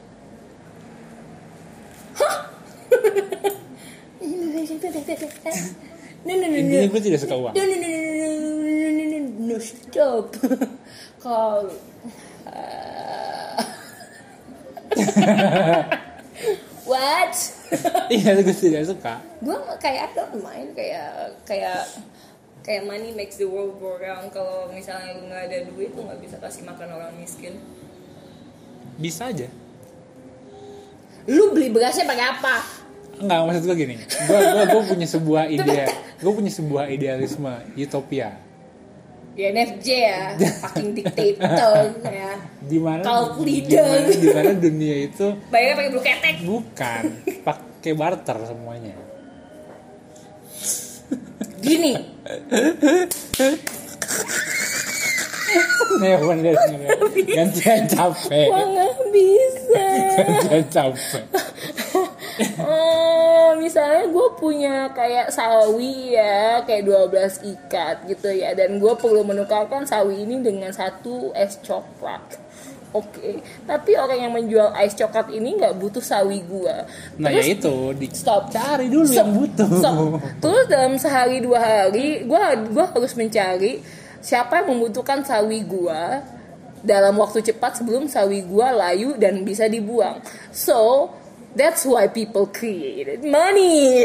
No, no, no, no. Intinya gue tidak suka uang. No, no, no, no, no, no, no, no, no, stop. Kalau what? Iya, gue tidak suka. Gue kayak I don't mind, kayak kayak kayak money makes the world go round. Kalau misalnya lu nggak ada duit, lu nggak bisa kasih makan orang miskin. Bisa aja. Lu beli berasnya pakai apa? Enggak, maksud gue gini. Gue gue gue punya sebuah ide, gue punya sebuah idealisme utopia. Ya N F J ya, fucking dictator ya. Di mana? Cult leader. Di mana dunia itu bayarnya pakai blue ketek. Bukan, pakai barter semuanya. Gini. Nih bener gantian capek. Gua nggak bisa. Gantian capek. Oh, misalnya gue punya kayak sawi ya, kayak dua belas ikat gitu ya, dan gue perlu menukarkan sawi ini dengan satu es coklat. Oke, okay. Tapi orang yang menjual es coklat ini nggak butuh sawi gue. Nah ya itu, di stop. Cari dulu stop. Yang butuh. Stop. Terus dalam sehari dua hari, gue gue harus mencari siapa yang membutuhkan sawi gue dalam waktu cepat sebelum sawi gue layu dan bisa dibuang. So that's why people created money.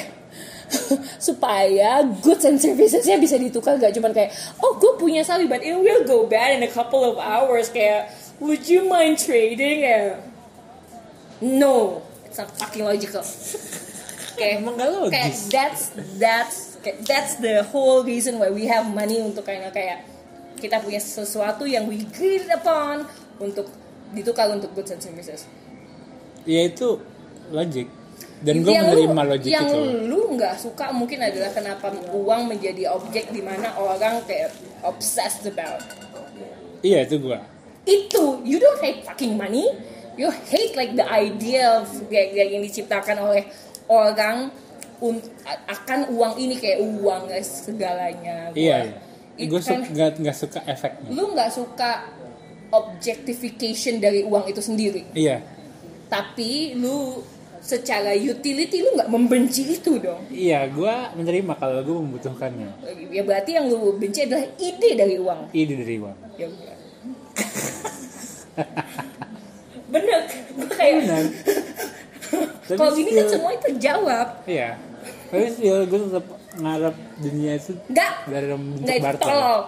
Supaya goods and services-nya bisa ditukar, gak cuma kayak oh gue punya sawi but it will go bad in a couple of hours, kayak would you mind trading ya? No, it's not fucking logical. Kayak emang gak logis. Kayak that's that's kayak, that's the whole reason why we have money, untuk kayak kayak kita punya sesuatu yang we agreed upon untuk ditukar untuk goods and services. Ya itu logik, dan gue menerima logik yang itu. Yang lu nggak suka mungkin adalah kenapa uang menjadi objek di mana orang kayak obsessed about. Iya itu gue. Itu you don't hate fucking money, you hate like the idea of yang diciptakan oleh orang un- akan uang ini, kayak uang guys segalanya. Gua, iya. iya. Gue su- nggak nggak suka efeknya. Lu nggak suka objectification dari uang itu sendiri. Iya. Tapi lu secara utility lu nggak membenci itu dong. Iya, gue menerima kalau gue membutuhkannya. Ya berarti yang lu benci adalah ide dari uang. Ide dari uang. Ya udah. Bener, gue kayak. Kalau gini kan semua itu terjawab. Iya. Tapi still gue tetap ngarep dunia itu. Nggak. Dari bentuk Nggak, barter. Tolol.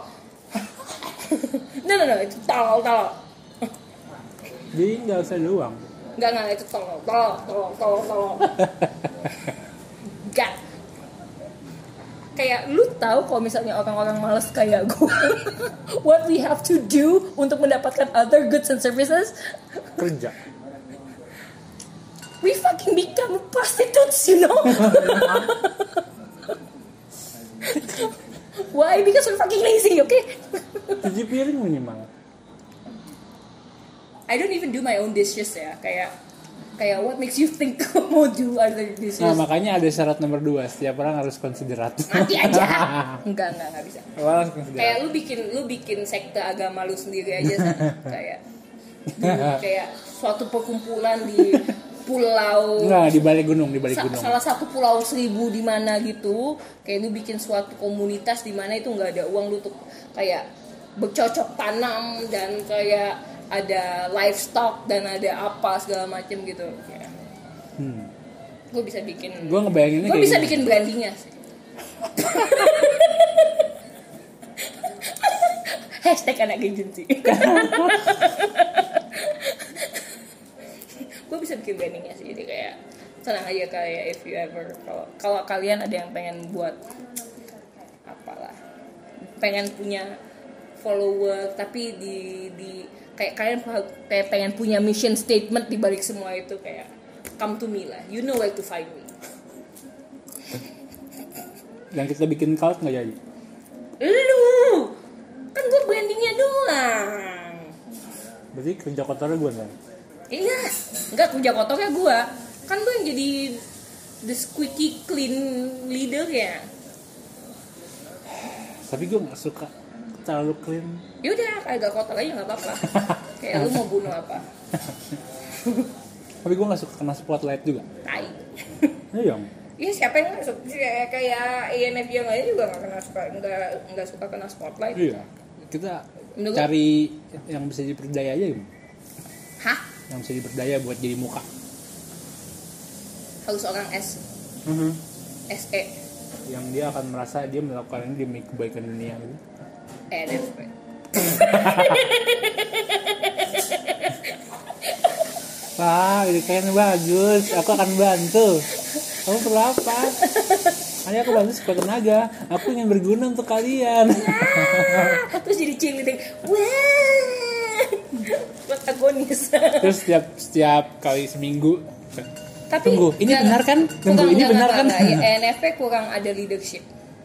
No no no, itu tolol tolol. Jadi nggak usah ada uang. Enggak, enggak, itu tolong, tolong, tolong, tolong, tolong. Enggak. Kayak lu tahu kalau misalnya orang-orang malas kayak gue, what we have to do untuk mendapatkan other goods and services? Kerja. We fucking become prostitutes, you know? Why? Because we're fucking lazy, okay? Cuci piring minimal. I don't even do my own dishes ya, kayak kayak what makes you think mau do other dishes? Nah makanya ada syarat nomor dua, setiap orang harus konsiderat. Mati aja. Enggak enggak enggak bisa. Harus konsiderat. Kayak lu bikin lu bikin sekte agama lu sendiri aja sana. kayak kayak suatu perkumpulan di pulau. Enggak, di balik gunung, di balik sa- gunung. Salah satu pulau seribu di mana gitu, kayak lu bikin suatu komunitas di mana itu enggak ada uang, lu tuh kayak bercocok tanam dan kayak ada livestock dan ada apa segala macam gitu. Ya. Hmm. Gue bisa bikin. Gue ngebayanginnya. Gue bisa gini. bikin brandingnya sih. Hashtag anak agency. Gue bisa bikin brandingnya sih, jadi kayak tenang aja, kayak if you ever kalau kalau kalian ada yang pengen buat apalah, pengen punya follower tapi di di kayak kalian kayak pengen punya mission statement di balik semua itu, kayak come to me lah, you know where to find me. Dan kita bikin cult nggak jadi? Lu kan gue brandingnya doang. Berarti kerja kotornya gue kan? Iya, enggak, kerja kotornya gue. Kan gue yang jadi the squeaky clean leader ya. Tapi gue nggak suka terlalu clean. Yaudah agak kotor aja nggak apa-apa. Kayak lu mau bunuh apa? Tapi gue nggak suka kena spotlight juga. Tai. Iya. Iya siapa yang nggak suka? Kayak I N F J yang lain juga nggak kena suka nggak nggak suka kena spotlight. Iya. Kita Menurut cari yang bisa diperdaya aja gimana? Hah? Yang bisa diperdaya buat jadi muka. Harus orang S. Mm-hmm. S E. Yang dia akan merasa dia melakukan ini demi kebaikan dunia gitu. E N F P. Wah, ini kayaknya bagus. Aku akan bantu. Kamu perlu apa? Hanya aku bantu sekuat tenaga. Aku ingin berguna untuk kalian. Wah, terus jadi cheerleading. Wah, protagonis. Terus setiap setiap kali seminggu. Tapi tunggu, ini gak, benar kan? Tunggu, ini gak, benar gak, kan? Gak, gak. E N F P kurang ada leadership.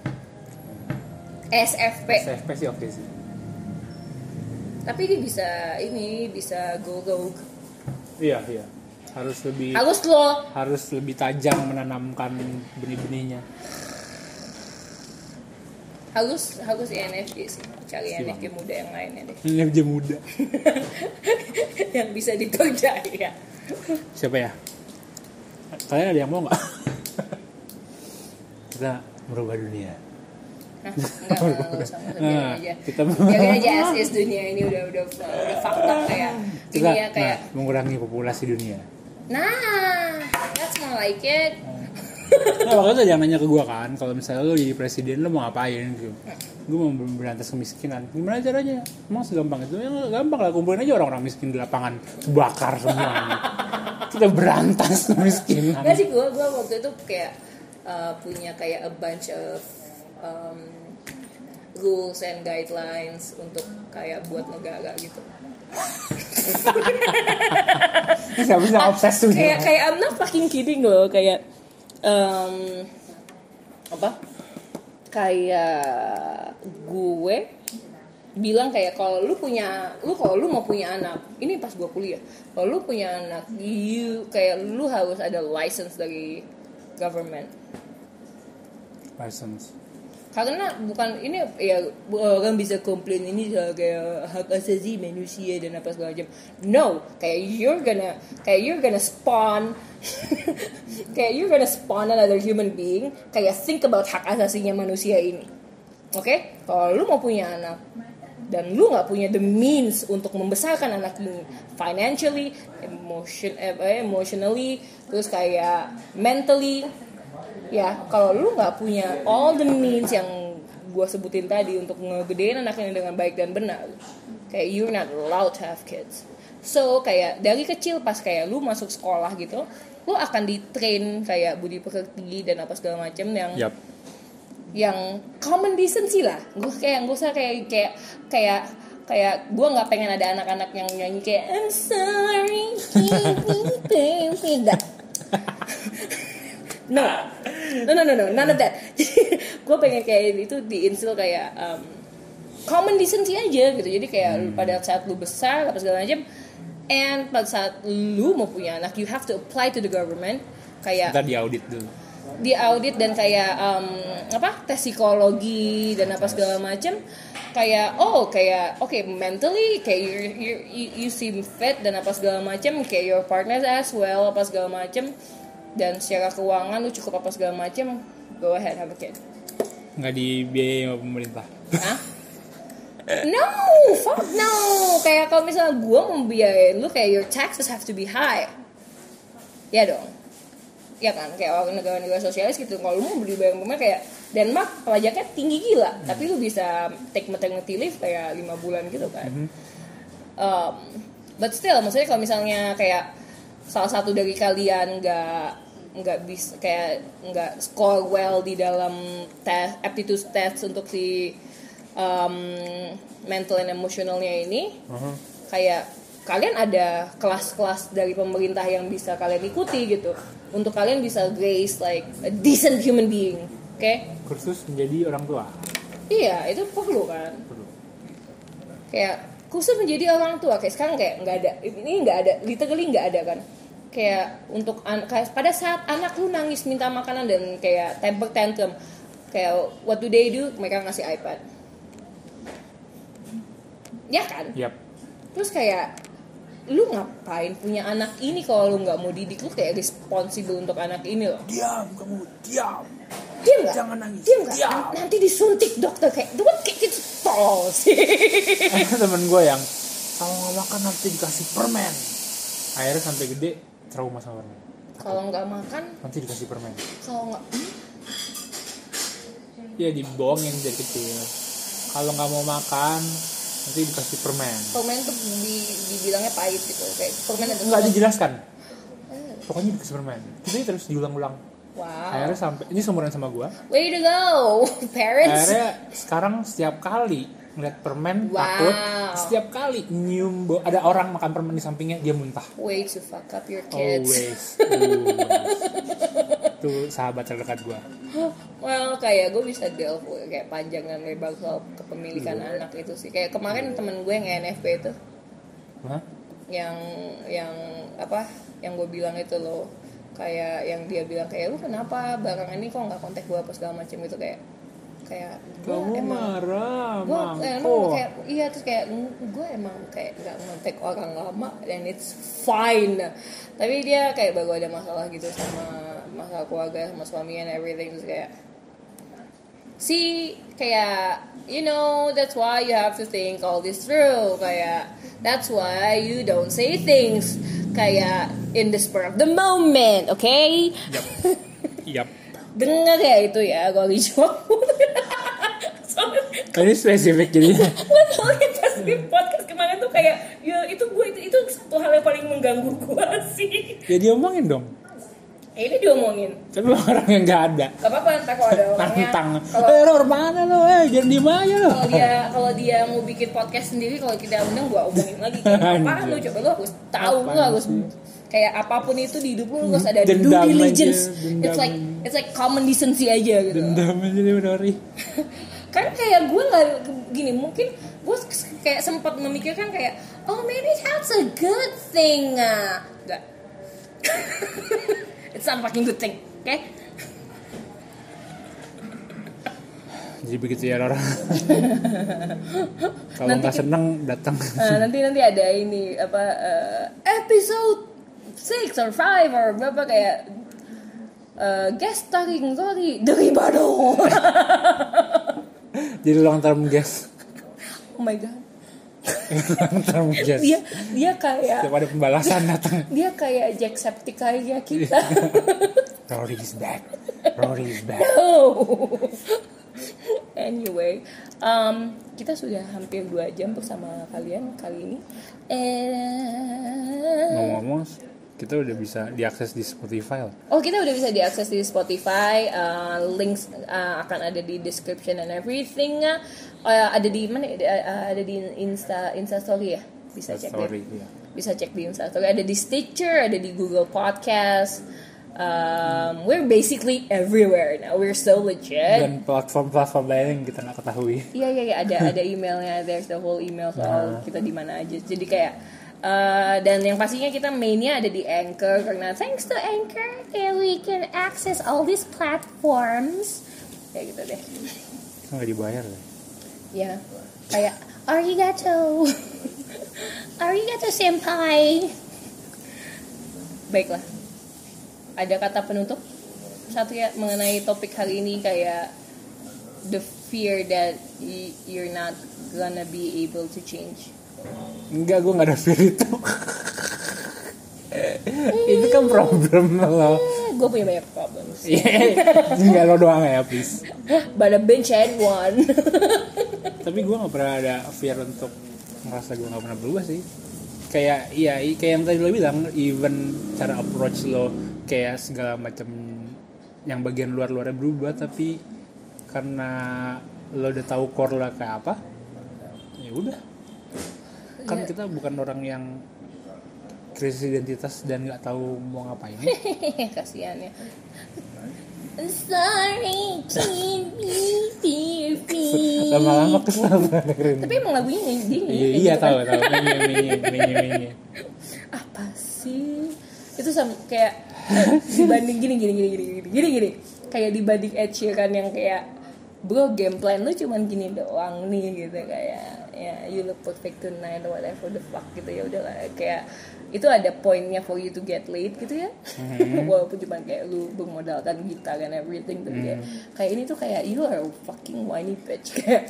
S F P. S F P sih oke sih. Tapi dia bisa ini bisa go rogue. Iya iya. Harus lebih. Harus lo. Harus lebih tajam menanamkan benih-benihnya. Harus harus I N F J sih. Cari I N F J muda yang lainnya deh. I N F J muda. Yang bisa dipercaya. Siapa ya? Kalian ada yang mau nggak? Kita merubah dunia. Hah? Enggak, enggak, enggak usah, Nah, aja. kita Biarin aja as is dunia ini udah udah udah fakta kayak kita, dunia kayak nah, mengurangi populasi dunia. Nah, that's more like it. Nah, waktu itu ada yang nanya ke gue kan, kalau misalnya lo jadi presiden lo mau ngapain gitu. Gue mau berantas kemiskinan. Gimana caranya? Emang segampang itu? Ya gampang lah, kumpulin aja orang-orang miskin di lapangan, bakar semua. Kita berantas kemiskinan. Nggak sih, gue gue waktu itu kayak uh, punya kayak a bunch of um, rules and guidelines untuk kayak buat negara gitu. Nggak bisa obses tuh. Kayak kayak I'm not fucking kidding loh, kayak um, apa? Kayak gue bilang kayak kalau lu punya lu kalau lu mau punya anak, ini pas gue kuliah, kalau lu punya anak, you kayak lu harus ada license dari government. License. Karena bukan ini ya orang bisa komplain ini kayak hak asasi manusia dan apa segala macam. No, kayak you're gonna kayak you're gonna spawn kayak you're gonna spawn another human being. Kayak think about hak asasinya manusia ini. Oke? Okay? Kalau lu mau punya anak dan lu nggak punya the means untuk membesarkan anak ini financially, emotion, eh, emotionally, terus kayak mentally. Ya, kalau lu nggak punya all the means yang gue sebutin tadi untuk ngegedein anak ini dengan baik dan benar, kayak you're not allowed to have kids. So kayak dari kecil pas kayak lu masuk sekolah gitu, lu akan di-train kayak budi pekerti dan apa segala macam yang yep. yang common decency lah. Gue kayak gue usah kayak kayak kayak kayak gue nggak pengen ada anak-anak yang nyanyi kayak I'm sorry, baby, enggak. No, no, no, no, no, none of that. Gue pengen kayak itu diinstill kayak um, common decency aja gitu. Jadi kayak hmm. pada saat lu besar apa segala macam, and pada saat lu mau punya anak, you have to apply to the government. Kayak kita diaudit dulu. Diaudit dan kayak um, apa tes psikologi dan apa segala macam. Kayak oh kayak oke okay, mentally kayak you, you you you seem fit dan apa segala macam. Kayak your partner as well apa segala macam. Dan secara keuangan lu cukup apa segala macam, go ahead have a kid. Nggak dibiayai sama pemerintah? Hah? No, fuck no. Kayak kalau misalnya gue mau biayain lu, kayak your taxes have to be high. Ya dong. Ya kan, kayak orang negara-negara sosialis gitu. Kalau lu mau beli barang pemerintah kayak Denmark pajaknya tinggi gila, hmm. tapi lu bisa take maternity leave kayak lima bulan gitu kan. Hmm. Um, but still, maksudnya kalau misalnya kayak salah satu dari kalian nggak nggak bisa kayak nggak score well di dalam tes aptitude test untuk si um, mental and emotionalnya ini, uh-huh. kayak kalian ada kelas-kelas dari pemerintah yang bisa kalian ikuti gitu untuk kalian bisa raise like a decent human being, oke? Okay? Kursus menjadi orang tua. Iya, itu perlu kan? Perlu. Kayak kursus menjadi orang tua kayak sekarang kayak nggak ada, ini nggak ada, literally nggak ada kan? Kayak untuk an- kayak pada saat anak lu nangis minta makanan dan kayak temper tantrum, kayak what do they do? Mereka ngasih iPad. ya kan? Yap. Terus kayak lu ngapain punya anak ini kalau lu nggak mau didik, lu kayak responsible untuk anak ini loh. Diam kamu, diam. Diam nggak? Jangan nangis. Diam nggak? Nanti disuntik dokter kayak, lu kan kayak gitu tol sih. Eh, temen gue yang kalau nggak makan nanti dikasih permen. Akhirnya sampai gede trauma sama permen. Kalau nggak makan nanti dikasih permen. Kalau nggak, hmm? Ya dibohongin dari kecil. Kalau nggak mau makan nanti dikasih permen. Permen tuh di, dibilangnya pahit gitu, kayak permen ada. Nggak dijelaskan. Hmm. Pokoknya dikasih permen. Itu terus diulang-ulang. Wow. Akhirnya sampai ini seumuran sama gue. Way to go, parents. Akhirnya sekarang setiap kali ngeliat permen wow. takut. Setiap kali nyium bo- ada orang makan permen di sampingnya dia muntah. Way to fuck up your kids. Always. Always. Itu sahabat terdekat gue. Well, kayak gue bisa delve kayak panjangan lebar soal kepemilikan hmm. anak itu sih. Kayak kemarin temen gue yang N F P itu. Hah? Yang yang apa? Yang gue bilang itu loh. Kayak yang dia bilang kayak lu kenapa barang ini kok nggak kontak gue apa segala macam itu, kayak kayak gue emang marah gue emang kayak iya terus kayak gue emang kayak nggak kontak orang lama dan it's fine, tapi dia kayak baru ada masalah gitu sama masalah keluarga sama suami and everything, terus kayak see kayak you know that's why you have to think all this through, kayak that's why you don't say things kayak in the spur of the moment, oke? Okay? Yap. Yap. Dengar ya itu ya, gue dijawab. Ini spesifik jadinya. Gue soalnya pas di podcast kemarin tuh kayak, ya itu gue itu, itu satu hal yang paling mengganggu gue sih. Ya diomongin dong. Eh, ini diomongin. Tapi orang yang nggak ada. Gak apa-apa, entah kalau ada orangnya. Tantang. Eh, Ror mana lo? Eh, jangan diem aja lo. Kalau dia kalau dia mau bikin podcast sendiri, kalau kita undang gue omongin lagi. Apa lu coba lu harus tahu, lu harus kayak apapun itu di hidup lu harus ada due diligence. It's like it's like common decency aja gitu. Dendam aja deh Nori. Kan kayak gue nggak gini, mungkin gue kayak sempat memikirkan kayak oh maybe that's a good thing, nggak? It's not fucking good thing, oke? Okay? Jadi begitu ya Rora. Kalau nggak seneng datang. Uh, nanti nanti ada ini apa uh, episode six or five or berapa kayak uh, guest starring Zori dari Badung. Jadi long term guest. Oh my god. Long term guest. Dia dia kayak. Setiap ada pembalasan datang. Dia kayak Jacksepticeye kita. Rory is back. Rory is back. No. Anyway, um, kita sudah hampir dua jam bersama kalian kali ini. And... Ngomong-ngomong, kita udah bisa diakses di Spotify lah. Oh, kita udah bisa diakses di Spotify. Uh, links uh, akan ada di description and everything. Uh, ada di mana? Uh, ada di Insta Insta Story ya. Bisa cek Story, deh. Iya. Bisa cek di Insta Story. Ada di Stitcher, ada di Google Podcast. Um, we're basically everywhere now. We're so legit. Dan platform-platform lain yang kita nggak ketahui. Iya iya iya ada ada emailnya. There's the whole email soal nah. kita di mana aja. Jadi kayak uh, dan yang pastinya kita mainnya ada di Anchor karena thanks to Anchor yeah, we can access all these platforms. Kayak gitu deh. Nggak dibayar deh. Ya kayak arigato, arigato senpai. Baiklah. Ada kata penutup satu ya mengenai topik hari ini kayak the fear that y- you're not gonna be able to change. Enggak, gue nggak ada fear itu. Itu kan problem lo. Gue punya banyak problem. Enggak lo doang ya please. But a bench and one. Tapi gue nggak pernah ada fear untuk merasa gue nggak pernah berubah sih. Kayak iya kayak yang tadi lo bilang, even cara approach lo kayak segala macam yang bagian luar-luarnya berubah, tapi karena lo udah tahu core lo kayak apa, ya udah. Kan ya. Kita bukan orang yang krisis identitas dan nggak tahu mau ngapain. Kasihan ya. Sorry, can't be free. Lama-lama kesel dengerin. Tapi emang lagunya dia. Iya, iya tahu tahu. Menye menye menye. Apa sih? Itu sama kayak eh, dibanding gini gini gini gini gini gini gini. Kayak dibanding Ed Sheeran yang kayak bro game plan lu cuman gini doang nih gitu kayak ya you look perfect tonight or whatever the fuck gitu ya udahlah kayak itu ada poinnya for you to get laid gitu ya mm-hmm. walaupun cuma kayak lu bermodalkan gitar and everything tuh mm. kayak kayak ini tuh kayak you are a fucking whiny bitch kayak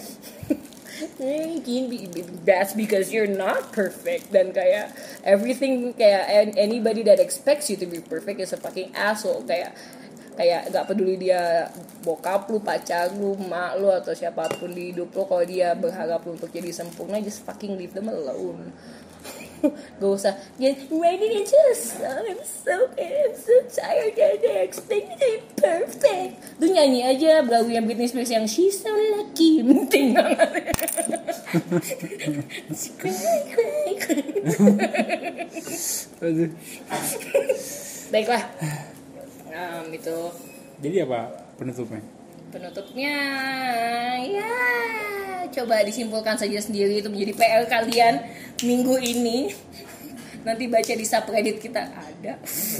that's because you're not perfect dan kayak everything kayak anybody that expects you to be perfect is a fucking asshole kayak kayak gak peduli dia bokap lu, pacar lu, mak lu atau siapapun di hidup lu kalau dia berharap lu untuk jadi sempurna just fucking leave them alone. Gak usah ya why did it just I'm so I'm so tired and I expect me to be perfect. Lu nyanyi aja lagunya Britney Spears yang She's So Lucky penting banget. Baiklah um, itu jadi apa penutupnya? Penutupnya ya coba disimpulkan saja sendiri itu menjadi P R kalian minggu ini. Nanti baca di subreddit kita ada.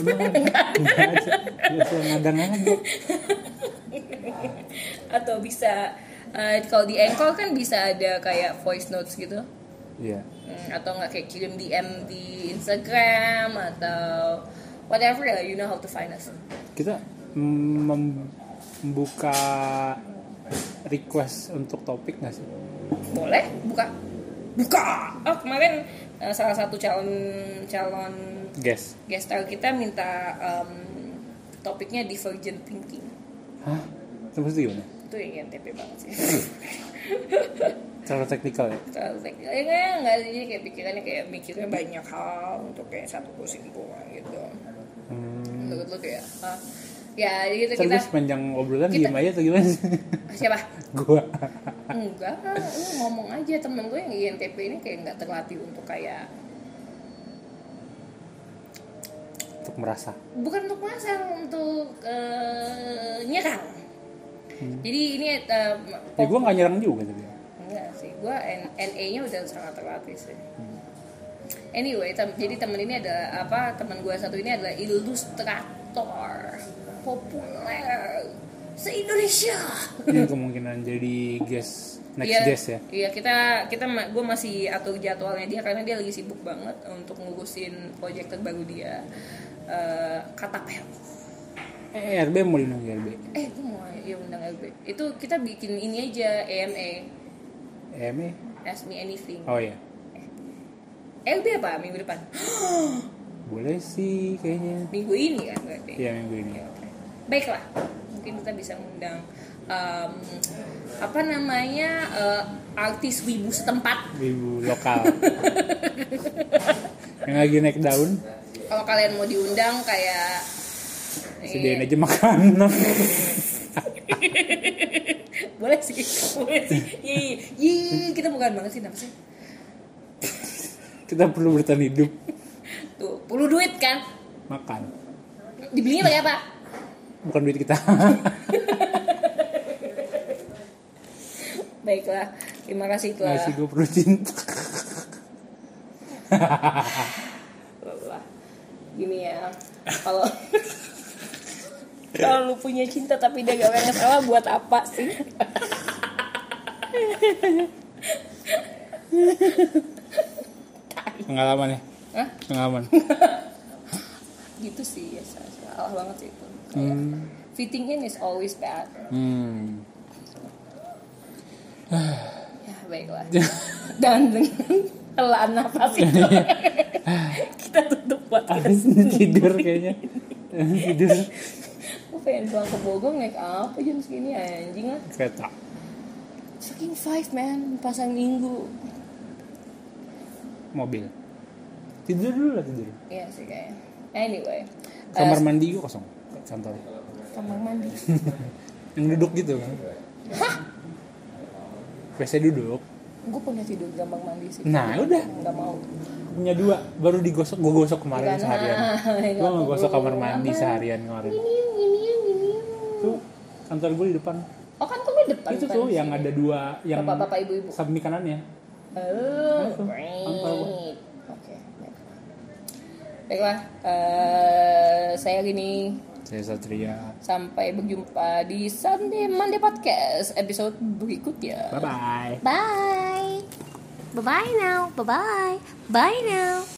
Atau bisa uh, kalau di Anchor kan bisa ada kayak voice notes gitu. Iya. Hmm, atau nggak kayak kirim D M di Instagram atau whatever lah, you know how to find us. Kita mem- membuka request untuk topik nggak sih? Boleh, buka, buka. Oh kemarin uh, salah satu calon calon guest guest star kita minta um, topiknya divergent thinking. Hah? Terus gimana? Itu yang N T P banget sih. Terlalu teknikal ya? Terlalu teknikal ya nggak nggak sih kayak pikirannya kayak mikirnya banyak hal untuk kayak satu kesimpulan gitu. Hmm. Menurut lo kayak ah, ya gitu kita. Terus sepanjang obrolan kita, diem aja atau gimana sih? Siapa? Gua. Enggak, lu ngomong aja. Temen gue yang I N T P ini kayak nggak terlatih untuk kayak untuk merasa. Bukan untuk merasa, untuk uh, nyerang. Hmm. Jadi ini uh, ya gue nggak nyerang juga tapi. Enggak sih, gue N A-nya udah sangat terlatih sih. Hmm. Anyway, tem- jadi temen ini adalah apa? Temen gue satu ini adalah ilustrator populer se-Indonesia. Ini kemungkinan jadi guest next iya, guest ya. Iya, kita kita gue masih atur jadwalnya dia karena dia lagi sibuk banget untuk ngurusin proyek terbaru dia. Uh, Katapel. Eh, R B mau diundang R B. Eh, gue mau ya undang R B. Itu kita bikin ini aja A M A. A M A? Ask Me Anything. Oh iya. R B apa minggu depan? Boleh sih kayaknya. Minggu ini kan berarti. Iya, minggu ini. Ya, okay. Baiklah. Mungkin kita bisa mengundang um, apa namanya uh, artis wibu setempat. Wibu lokal. Yang lagi naik daun. Kalau kalian mau diundang kayak sediain aja makanan. Boleh sih, boleh sih. Iya, iya, kita bukan banget sih, kenapa sih? Kita perlu bertahan hidup. Tuh, perlu duit kan? Makan. Dibelinya pakai apa? Bukan duit kita. Baiklah, terima kasih telah. Masih gue perlu cinta. Gini ya, kalau kalau lu punya cinta tapi dia gak banyak salah buat apa sih? Pengalaman ya? Hah? Pengalaman. Gitu sih ya, salah banget sih itu. Kayak hmm. fitting in is always bad. Hmm. Ya baiklah. Dan dengan helaan nafas itu kita tutup podcast. Tidur kayaknya. Tidur. Gue pengen pulang ke Bogor naik apa jam segini anjing lah. Kereta. Fucking five man, pasang minggu. Mobil. Tidur dulu lah tidur. Iya sih kayaknya. Anyway. Kamar uh, mandi gue kosong. Santai. Kamar mandi. Yang duduk gitu kan. Hah? P C duduk. Gue punya tidur di kamar mandi sih. Nah udah. Gak mau. Punya dua, baru digosok. Gue gosok kemarin Bukan, seharian. Gue ngegosok kamar mandi apa? Seharian kemarin. Ini, ini, ini. Tuh kantor gue di depan. Oh kantor gue di depan. Itu tuh yang ada dua, yang bapak-bapak ibu-ibu. samping kanannya. Oh, great. Oke. Baiklah, uh, saya Rini. Saya Satria. Sampai berjumpa di Sunday Monday Podcast episode berikutnya. Bye bye. Bye. Bye bye now. Bye bye. Bye now.